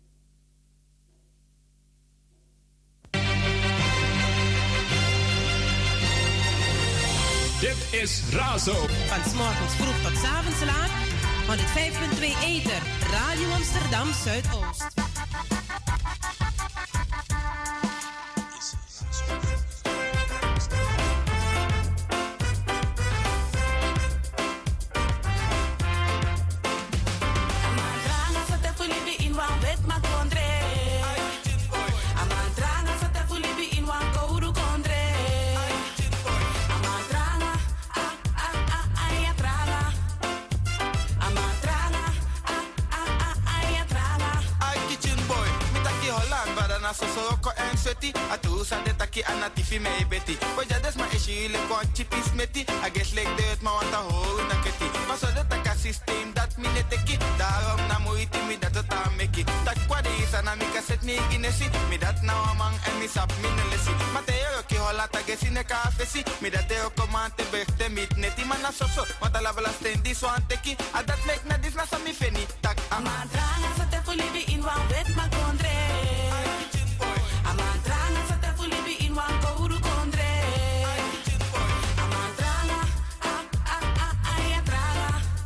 Dit is Razo. Van 's morgens vroeg tot 's avonds laat. honderdvijf komma twee Ether. Radio Amsterdam Zuidoost. Amandrana sa te fulibi in wan wet ma kondre. Amandrana sa te fulibi in wan kouru kondre. Amandrana, ah ah ah ay atrana. Amandrana, ah ah ah ay atrana. Ay kitchen boy, mi taki Holland, badana so so ko en sweaty. Atu sa de taki anatifi me beti. Boy ja des ma ishi le ko chipis meti. I guess like that ma wanta ho na keti. Ma so de taka system dat mi ne teki. Daarom na moeite mi dat het aan meki. Dat kwade is aan mi kaset ni ginesi. Mi dat na amang en mi sap mi ne lesi. Ma te yo ki hola ta gesi ne kafesi. Mi dat te ook komante bechte mit neti. Ma na so so, want ala bala stendi so an teki. A dat mek na dis na sa mi feni. Tak amandrana sa te fulibi in wan wet ma kondre. Amandrana sa te fulibi in wan kouru kondre. Amandrana, ah ah ah ay atrana.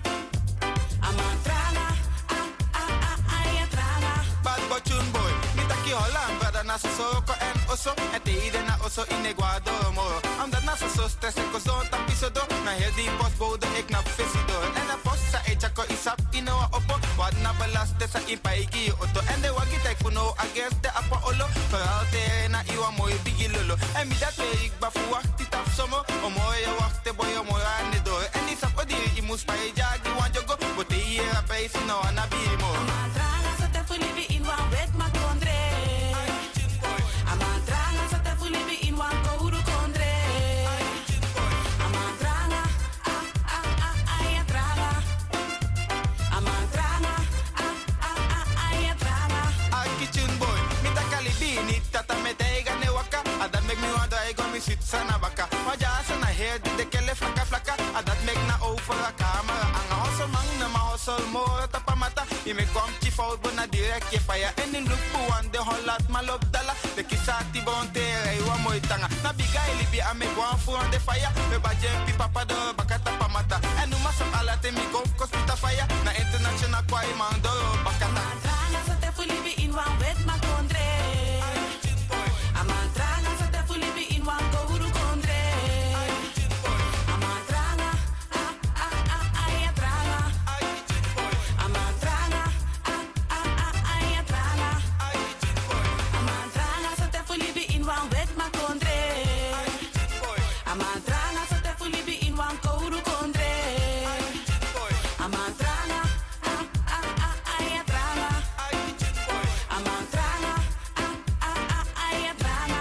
Amandrana, ah ah ah ay atrana. Bad bochun boy, mi taki Holland, brada na so so ko en oso. En te ide na oso in Ecuador moro. Omdat na so so stress en ko zon tapiso do. Na heel die postbode ik na visi do. En na post sa echa ko isap ino a opo. Wat na belaste sa impaiki auto. En de wagi tek funo ages de apa olo. Vooral te na iwa mooi bigi lolo. En mi dat we ik ba fu wacht dit af somo. O mooie wachte boy o mooi aan de door. En die sap odi i mus pa e jagi wan jogo. Bote hier a pay si no ana bimo. Amandrana sa te fulibi in wan wet ma kondre. Amandrana sa te fulibi in wan kouru kondre. Amandrana, ah ah ah ay atrana. Amandrana, ah ah ah ay atrana. Ay kitchen boy, mi ta kalibini tata me teiga ne waka. Adat make me wanda ego mi sit sana baka. Waja sana hair di de kele flaka flaka. Adat make na over a camera. Anga hustle mang na ma hustle more tapa mata. I me kwam chi fout bona direct je fire. En in look po wan de hollat malop dala. De kisati bon tere wa mooi tanga. Na biga libi ame gwan fu on de fire. We baje pi papa do bakata pamata. En nu masam ala te mi go kospita fire. Na international kwai man do bakata. Mantranga sa te fulibi in wan wet ma kondre. Amantranga sa te fulibi in wan kouru kondre. Amantranga, ah ah ah ay atranga. Amantranga, ah ah ah ay atranga. Amantranga sa te fulibi in wan wet ma kondre. Amantranga sa te fulibi in wan kouru kondre. Amantranga, ah ah ah ay atranga. Amantranga, ah ah ah ay atranga.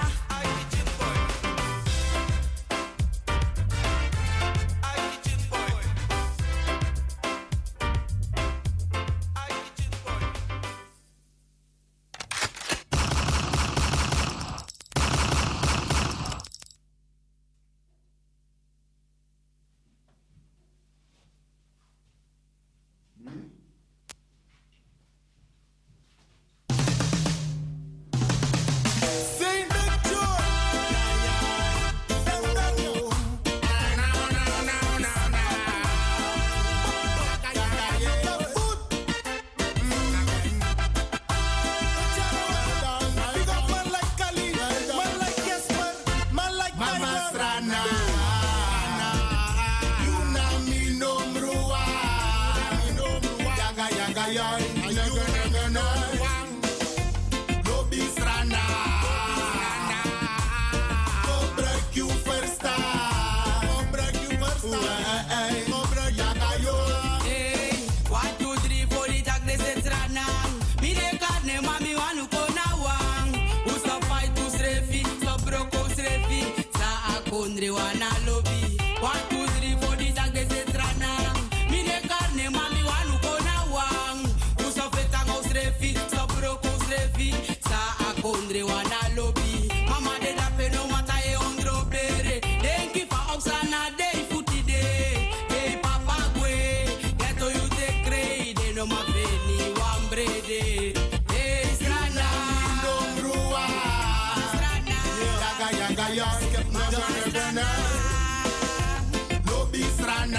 Saint Victor. Big up man like Kali, man like Jesper, man like Mama Strana. You know me no mruwa, yaga yaga yai, yaga yaga no. Lobby Strana. Gebruik je verstaan. Gebruik je verstaan. Gebruik yaga yo. Hey, one, two, three, four, die tak de zet ranang. Mire carne, mami wanu kona wang. Usa fight, tu srefi, so broko srefi. Sa akondre wana lobby. One, two, three, four, die tak de zet ranang. Mire carne, mami wanu kona wang. Usa fetang o srefi, so broko srefi. Sa akondre wana lobby. Mama de da peno mata e ondro bere. Denki fa oksana dei futi de. Hey papa gwe, geto you te crei de no ma veni wambrede. Hey strana, No mruwa. Yaga yaga yo. Yaga yaga no. Lobby Strana.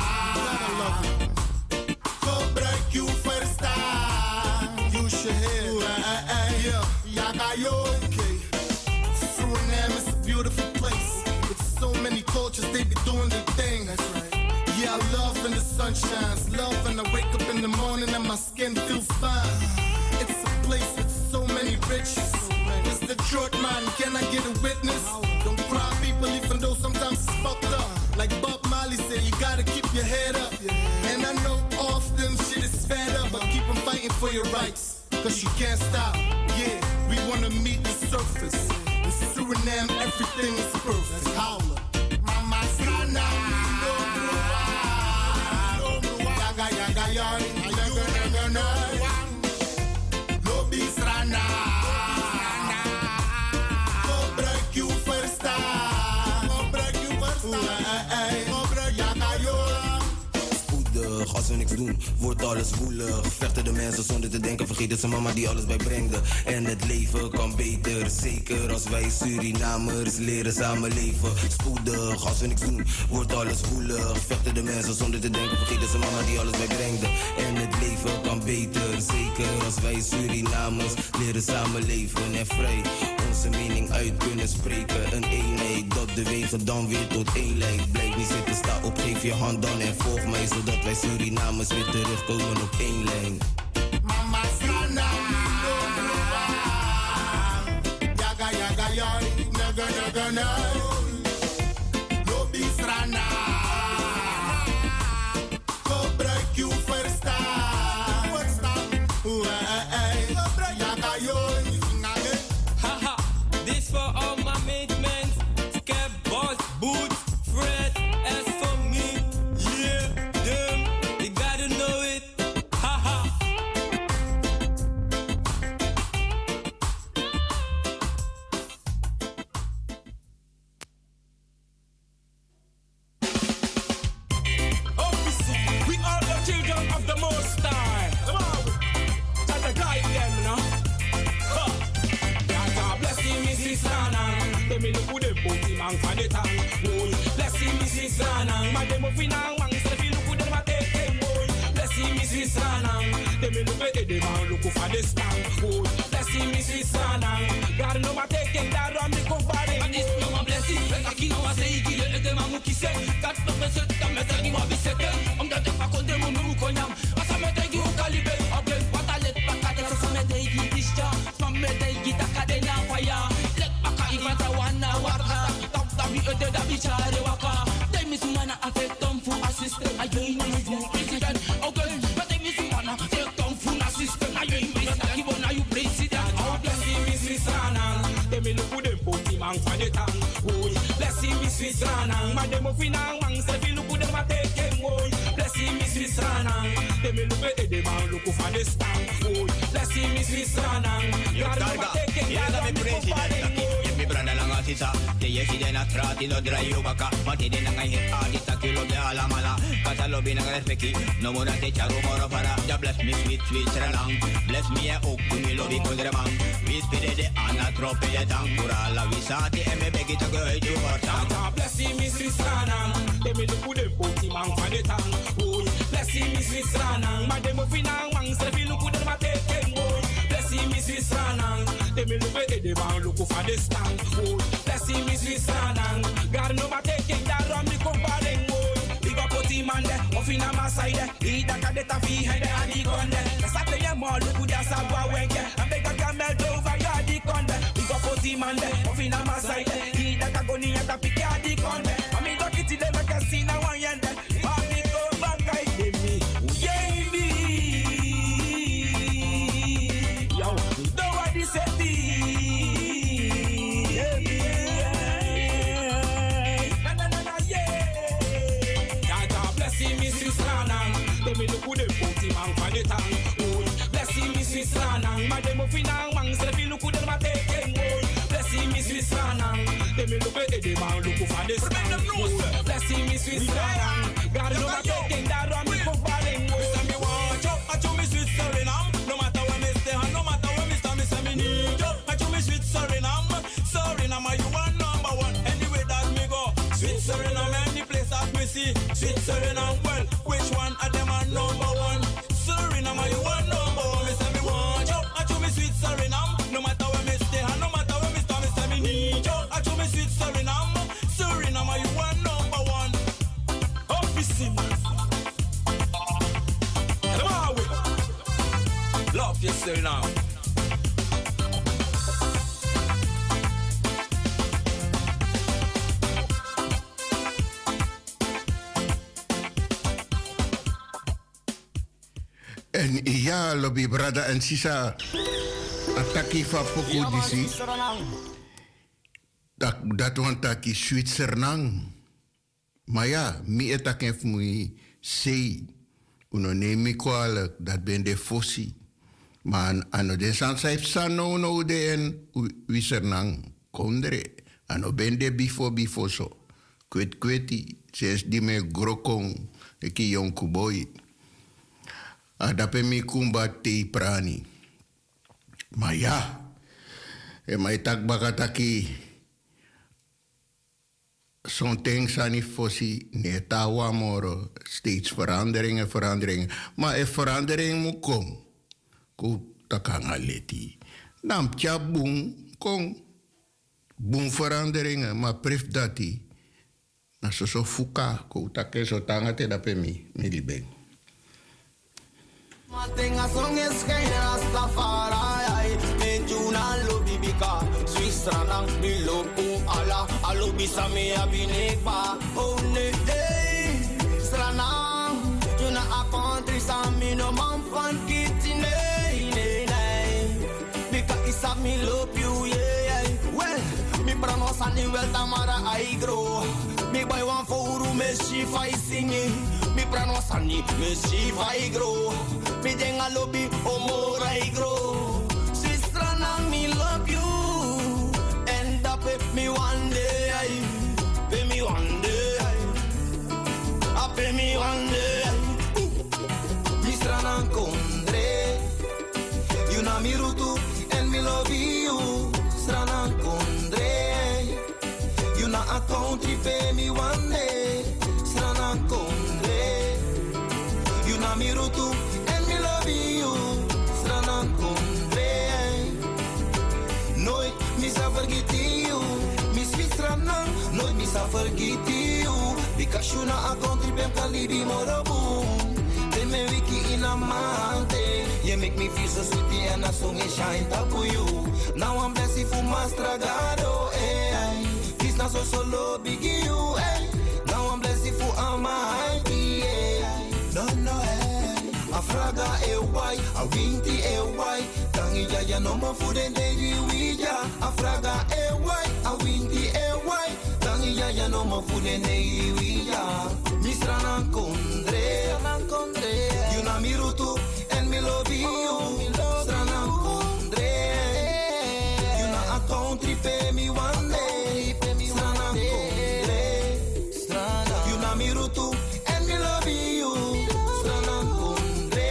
Gebruik je verstaan. Use your head. Yeah. Yaga yo. Suriname is a beautiful place. With so many cultures, they be doing their thing. That's right. Yeah, I love when the sun shines. Love when I wake up in the morning and my skin feels fine. It's a place with so many riches. It's the truth, man. Can I get a witness? Don't cry, people, even though sometimes it's fucked up. Like Bob Marley said, you gotta keep your head up. And I know often shit is fed up, but keep on fighting for your rights. Cause you can't stop. Yeah, we wanna meet the surface. In Suriname, everything is perfect. Howler. Mama Strana. Yaga yaga yai. Yaga yaga no. Lobby Strana. Gebruik je verstaan. Gebruik je verstaan. Gebruik yaga yo. Spoedig, als we niks doen, wordt alles woelig. Vechten de mensen zonder te denken, vergeten ze mama die alles bijbrengde. En het leven kan beter, zeker als wij Surinamers leren samenleven. Spoedig, als we niks doen, wordt alles woelig. Vechten de mensen zonder te denken, vergeten ze mama die alles bijbrengde. En het leven kan beter, zeker als wij Surinamers leren samenleven. En vrij onze mening uit kunnen spreken. Een eenheid dat de wegen dan weer tot één leidt. Blijf niet zitten, sta op, geef je hand dan en volg mij, zodat wij Surinamers weer terugkomen op één lijn. Mama Strana. Yaga yaga yai. Yaga yaga no. Lobby Strana. Gebruik je verstaan. Verstaan. Yaga yo. Haha, this for all my mates, man. Scab, boss, boots, Fred, as for me. Yeah, them, you gotta know it. Haha. me look good them booty man for the tang. Boy, bless him, Missus Ranang. My demo finang wang, so if you look good them a take them. Boy, bless him, Missus Ranang. They me look at the man look for the stand. Boy, bless him, Missus Ranang. God no ma take them that ram me compare. And this no ma bless him. Aquí no va a ser qui le de ma mu qui sait. God no me set them me tell you ma bisete. Om dat fa kon dem mu ko nyam. Asa me take you calibre. Again what I let back at so me take you discha. From me take you takadena fire. Let back at if I wanna warga. Top top you de da bichare waka. They miss mana affect them for assistant. I join you president. Okay, but they miss mana take them for assistant. I join Mister Kibona you president. Oh bless him Missus Ranang. They me look good them put him on for the tang. Oh bless him Missus Ranang. My demo finang wang say we look good them a take him. Oh bless him Missus Ranang. They me look at the man look for the stand. Oh bless him Missus Ranang. God no take him. Yeah, I'm president. Mi branda lang asisa, te yesi de na trati lo drayo baka, mati de nang hit adita kilo de ala mala, kata lo binang respeki, no mora te charu moro para, ja bless me sweet sweet seralang, bless me e okku mi lo bi kondremang, vispide de ana trope de tangura la visati e me begi to go ju portang. God bless him Missus Ranang, they me look good them put him on for the tang. Oh bless him Missus Ranang, my demo finang wang say we look good them a take him. Oh bless him Missus Ranang, they me look at the man look for the stand. Oh, bless him, Missus Ranang. God no ma taking that ram me comparing. Oh, big up put him on there, off in a my side. He da ka de ta fi head and he gone there. The Saturday more look good as a boy wenke. And beg a camel over ya di con there. Big up put him on there, off in a my side. He da ka go ni and ta pick ya di con there. I mean look it till them can see now one yende. I me go back I give me, yeah me. Yo, nobody said this. Me look good them put him on for the tang. Oh, bless him Missus Ranang. My demo finang wang say me look good them a take him. Oh, bless him Missus Ranang. They me look at the man look for the stand. Oh, bless him Missus Ranang. God no ma taking that ram me comparing. Oh, say me watch out, I show me sweet Suriname. No matter where me stay, and no matter where me stand, me say me need you. I show me sweet Suriname. Suriname, you are number one. Anyway that me go, sweet Suriname. Any place that me see, sweet Suriname. Well, which one of them are number one? Suriname, you are number one. Me say me want you. I show me sweet Suriname. No matter where me stay, and no matter where me stand, me say me need you. I show me sweet Suriname. Suriname, you are number one. Office. Come on, we love you, Suriname. En ja, lobby brada en sisa ataki van poku disi. Dat dat want taki Zwitserland. Maar ja, mi etaken fmui sei. Uno nemi kwalijk, dat ben de fossi. Maar ano de san saip sano no de en Zwitserland. Kondre. Ano ben de bifo bifo so. Kwet kweti. Ses di me grokong. Eki yonku boy. Adape mi kumba te prani. Maar ja, en mij tak bakataki. Zo'n ting sani fossi netawa moro. Steeds veranderingen, veranderingen. Maar er verandering moet komen. Ko takanga leti. Nam tja boom, kom. Boom veranderingen, maar pref dati. Na so so fuka, ko take so tanga te dape mi, mi libeng. Mating a song is kay Rastafari. Me juna lobi bika Switzerland mi lobu ala alobi sami abinekba. Oh ne hey Stranang juna a country sami no man fan kitty nei nei nei. Bika isa mi love you yeah. Well mi pronounce ani wel tamara I grow. Mi boy wan fouru me she fai singing. Mi pronounce ani me she fai grow. Mi denga lobby omora I grow. Sister nang me love you. End up with me one day. Pay me one day. I pay me one day. Sister nang kondre. You na mi rutu and me love you. Sister nang kondre. mirutu en mi love you. Stranan kondre. Nooit mi sa vergeten you. Mi sweet stranan, nooit mi sa vergeten you. Because you na a country pem kalibi morobu. Then me wiki in a mante. You make me feel so sweet and a song is shine tapu you. Now I'm blessed for my stragado, eh. Kiss na so solo biggie you, eh. Now I'm blessed for Almighty, eh. No, no, eh. Afraga, eh, why? A winti, eh, why? Tangi ya ya no more food and daily wija. Afraga, eh, why? A winti, eh, why? Tangi ya ya no more food and daily wija. Mistra nan kondre, nan kondre. You na mirutu and me love you. Mistra nan kondre. You na a country pay me one day. Mistra nan kondre. You na mirutu and me love you. Mistra nan kondre.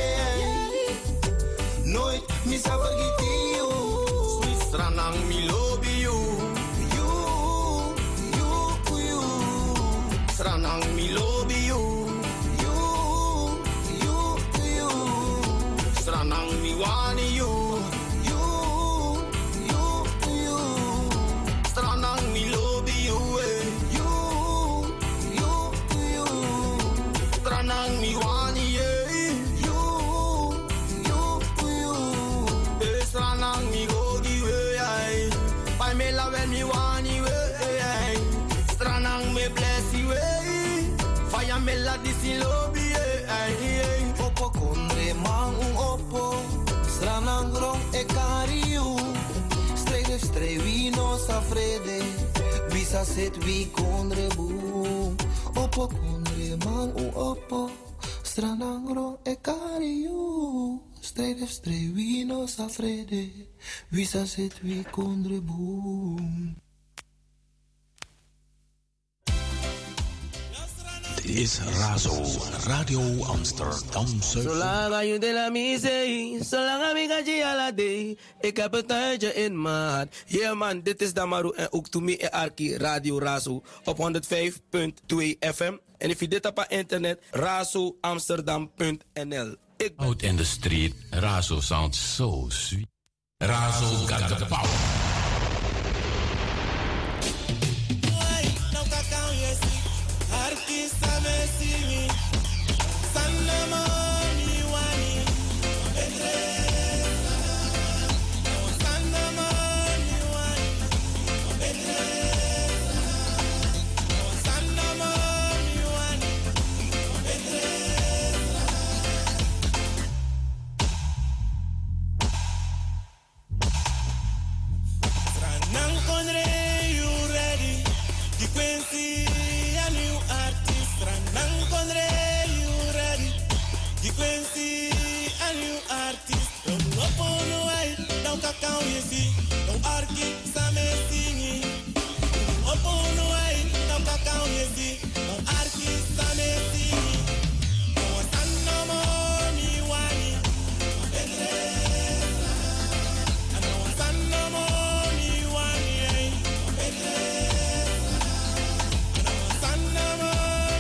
Nooit mi sa vergeten you. Mistra nan me love you. You, you, you. Mistra nan me love you. You, you, you. Mistra nan me want you. You, you, you. Mistra nan me love you. eh. You, you, you. Mistra nan me want you. You, you, you. Mistra nan me go give way. Pai me la when me want you. eh. Mistra nan me bless you. eh. Fire me la disi lobby. Opo kondre man un opo. Stranang rong e cariu. Strede strevino sa frede. Visa set vi kondre boom. Opo kondre man un opo. Stranang rong e cariu. Strede strevino sa frede. Visa set vi kondre boom. Dit is Razo, Radio Amsterdam Zuid. Zolang je de la misee, zolang ik ga je ala day. Ik heb het tijdje in maat. Yeah man, dit is Damaru en ook to me en Arki Radio Razo op honderdvijf komma twee F M. En if je dit op internet, razo amsterdam punt n l. Ik ben Out in the street, Razo sounds so sweet. Razo got the power. Artista me simi, sanna mami wani, bedresa. Sanna mami wani, bedresa. Sanna mami wani, bedresa. Tranang kondre, you ready? Di Quincy. Nang kondre you ready? Di Quincy a new artist. Don't up on the way, don't kakao you see. Don't argue, same singi. Up on the way, don't kakao you see. Don't argue, same singi. Don't stand no more me wani. Bedresa. I don't stand no more me wani. Bedresa. I don't stand no more.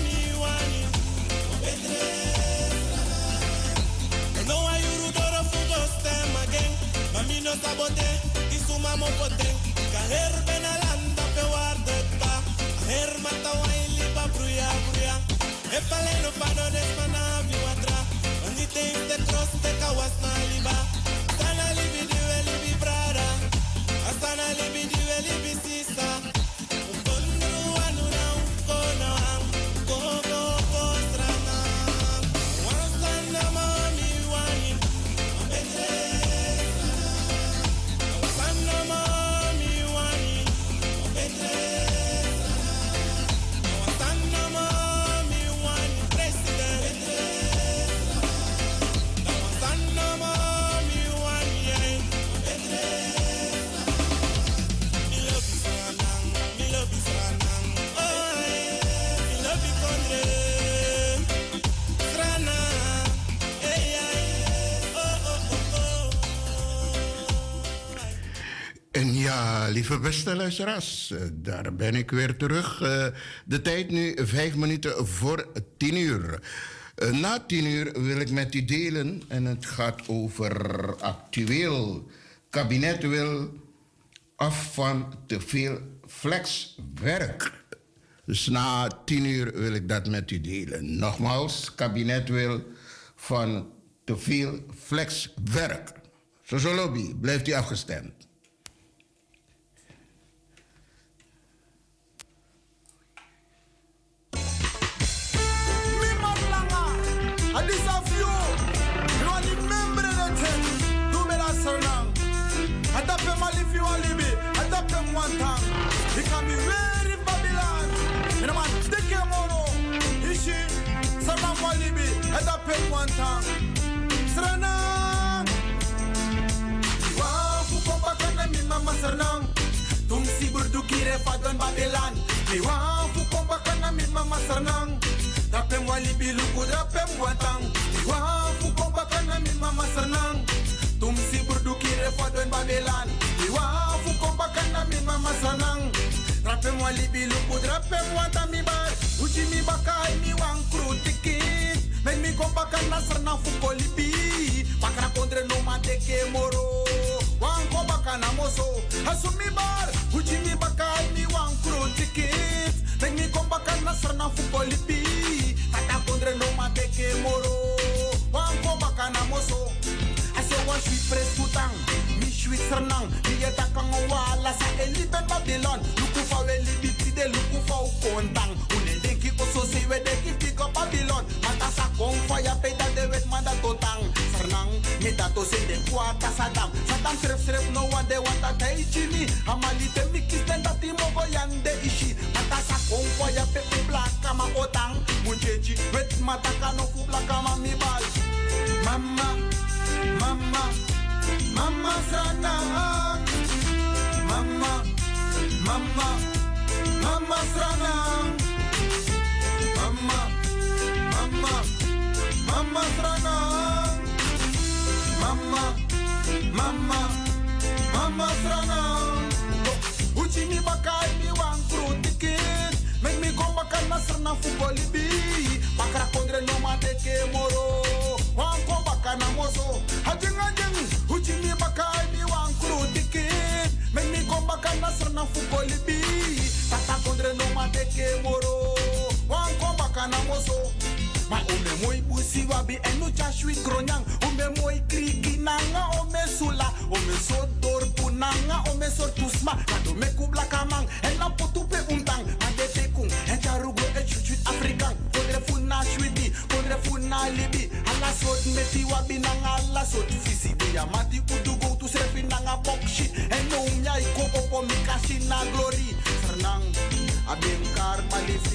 No sabote, isuma mo pote. Kaher benalanda pe warde pa. Her mata waili pa bruya bruya. E paleno pano desmana viwatra. Andite te cross te kawas na liba. Sana libi diwe libi brada. Asana libi diwe libi sisa. Ukondo anu na ukono am. Koko ko strana. Wansana mami wani. Amete. En ja, lieve beste luisteraars, daar ben ik weer terug. Uh, de tijd nu vijf minuten voor tien uur. Uh, na tien uur wil ik met u delen en het gaat over actueel. Kabinet wil af van te veel flexwerk. Dus na tien uur wil ik dat met u delen. Nogmaals, kabinet wil van te veel flexwerk. Zo lobby, blijft u afgestemd. One time, become very Babylon. You know, man, stick your mono. Ishi, Salam Walibi, head up in one time. Sranang, wow, Fukomba kana mi mama Sranang. Tung si burdu kire fadon Babylon. Wow, Fukomba kana mi mama Sranang. Dapem Walibi luku dapem one time. Wow, Fukomba kana mi mama Sranang. Tum si burdu kire fadon Babylon. Wow, Fukomba kana mi mama Sranang. Drape mo libi luku, drape mo mi bar. Uji mi bakai mi wang kru tikit. Men mi komba kana Sranang fuko libi. Pakra kondre no mateke moro. Wang komba kana moso. Asu mi bar. Uji mi bakai mi wang kru tikit. Men mi komba kana Sranang fuko libi. Kata kondre no mateke moro. Wang komba kana moso. Asu wan sweet press putang. Sweet Sranang, die takang wala sa eliben Babylon. Luku fa we libiti de luku fa ukontang. Une denki oso si we deki pick up Babylon. Mata sa kong fire peda de wet manda totang. Sranang, me dato se de kwata sadam. Sadam sref sref no one de wanta tai chini. Amali de mikis den dati mogo yande ishi. Mata sa kong fire pepe black kama otang. Munjeji wet mata kano fu black kama mi bal. Mama, mama. Mama Sranang, Mama, Mama, Mama Sranang, Mama, Mama, Mama Sranang, Mama, Mama, Mama Sranang. Uji mi bakai mi wang kru tikit, make me go bakan na Sranang fukoli bi. Pakra kondre no mateke moro, wang ko bakana moso. Hajing hajing. Uji mi bakai mi wang kru tikit. Men mi kom bakan na Sranang fukoli bi. Tata kondre no mateke moro. Wang kom bakana moso. Ma ome moi busi wabi enu chashwi gronyang. Ome moi kriki nanga ome sula. Ome so dorpu nanga ome so tusma. Kado me kubla kamang. En la potu pe untang. Ade tekung. En charugo e chuchut Afrikan. Kondre funa shwiti. Kondre funa libi. Ala sot meti wabi nanga ala sot fisi. Ya mati kudu go to sefi nanga bokshi. En no umya iko opo mikashi na glory. Sranang abenkar malifi.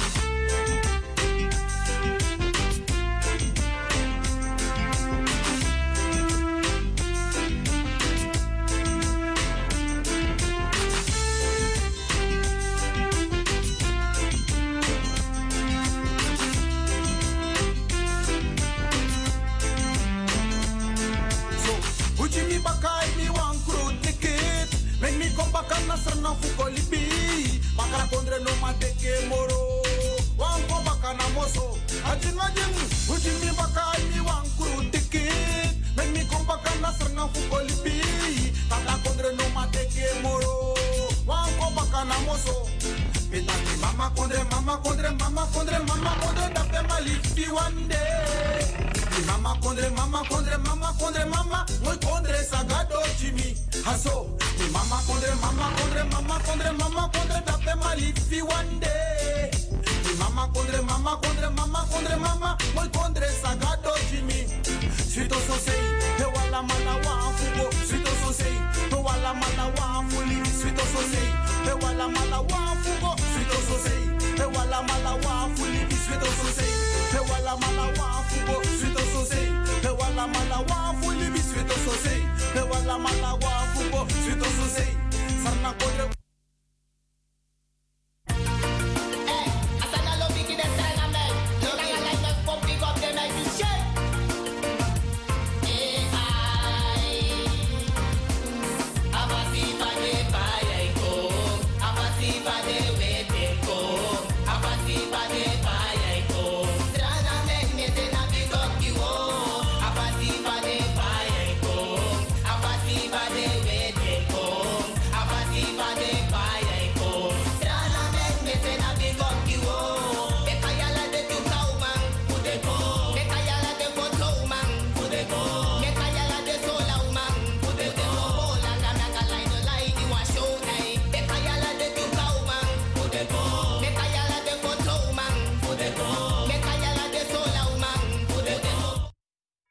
Bakai mi wang kru tikit. Make me come back and Sranang fukoli bi. Bakara kondre no mateke moro. Wang ko bakana moso. Ajin ajin. Uji mi bakai mi wang kru tikit. Make me come back and Sranang fukoli bi. Bakara kondre no mateke moro. Wang ko bakana moso. Pitaki mama kondre mama kondre mama kondre mama kondre dape malifi one day. Mama kondre mama kondre mama kondre mama moi kondre sagado Jimmy haso. Mi mama kondre mama kondre mama kondre mama kondre dape malifi one day. Mi mama kondre mama kondre mama kondre mama moi kondre sagado Jimmy. Sweeto so say he wala mala wa fugo. Sweeto so say he wala mala wa fuli. Sweeto so say he wala mala wa fugo. Sweeto so say he wala mala wa fuli. Sweeto so say he wala mala wa fugo. Sweeto so say he wala mala wa fuli. Sweeto so say he wala mala wa fugo. Sweeto so say sarna kodre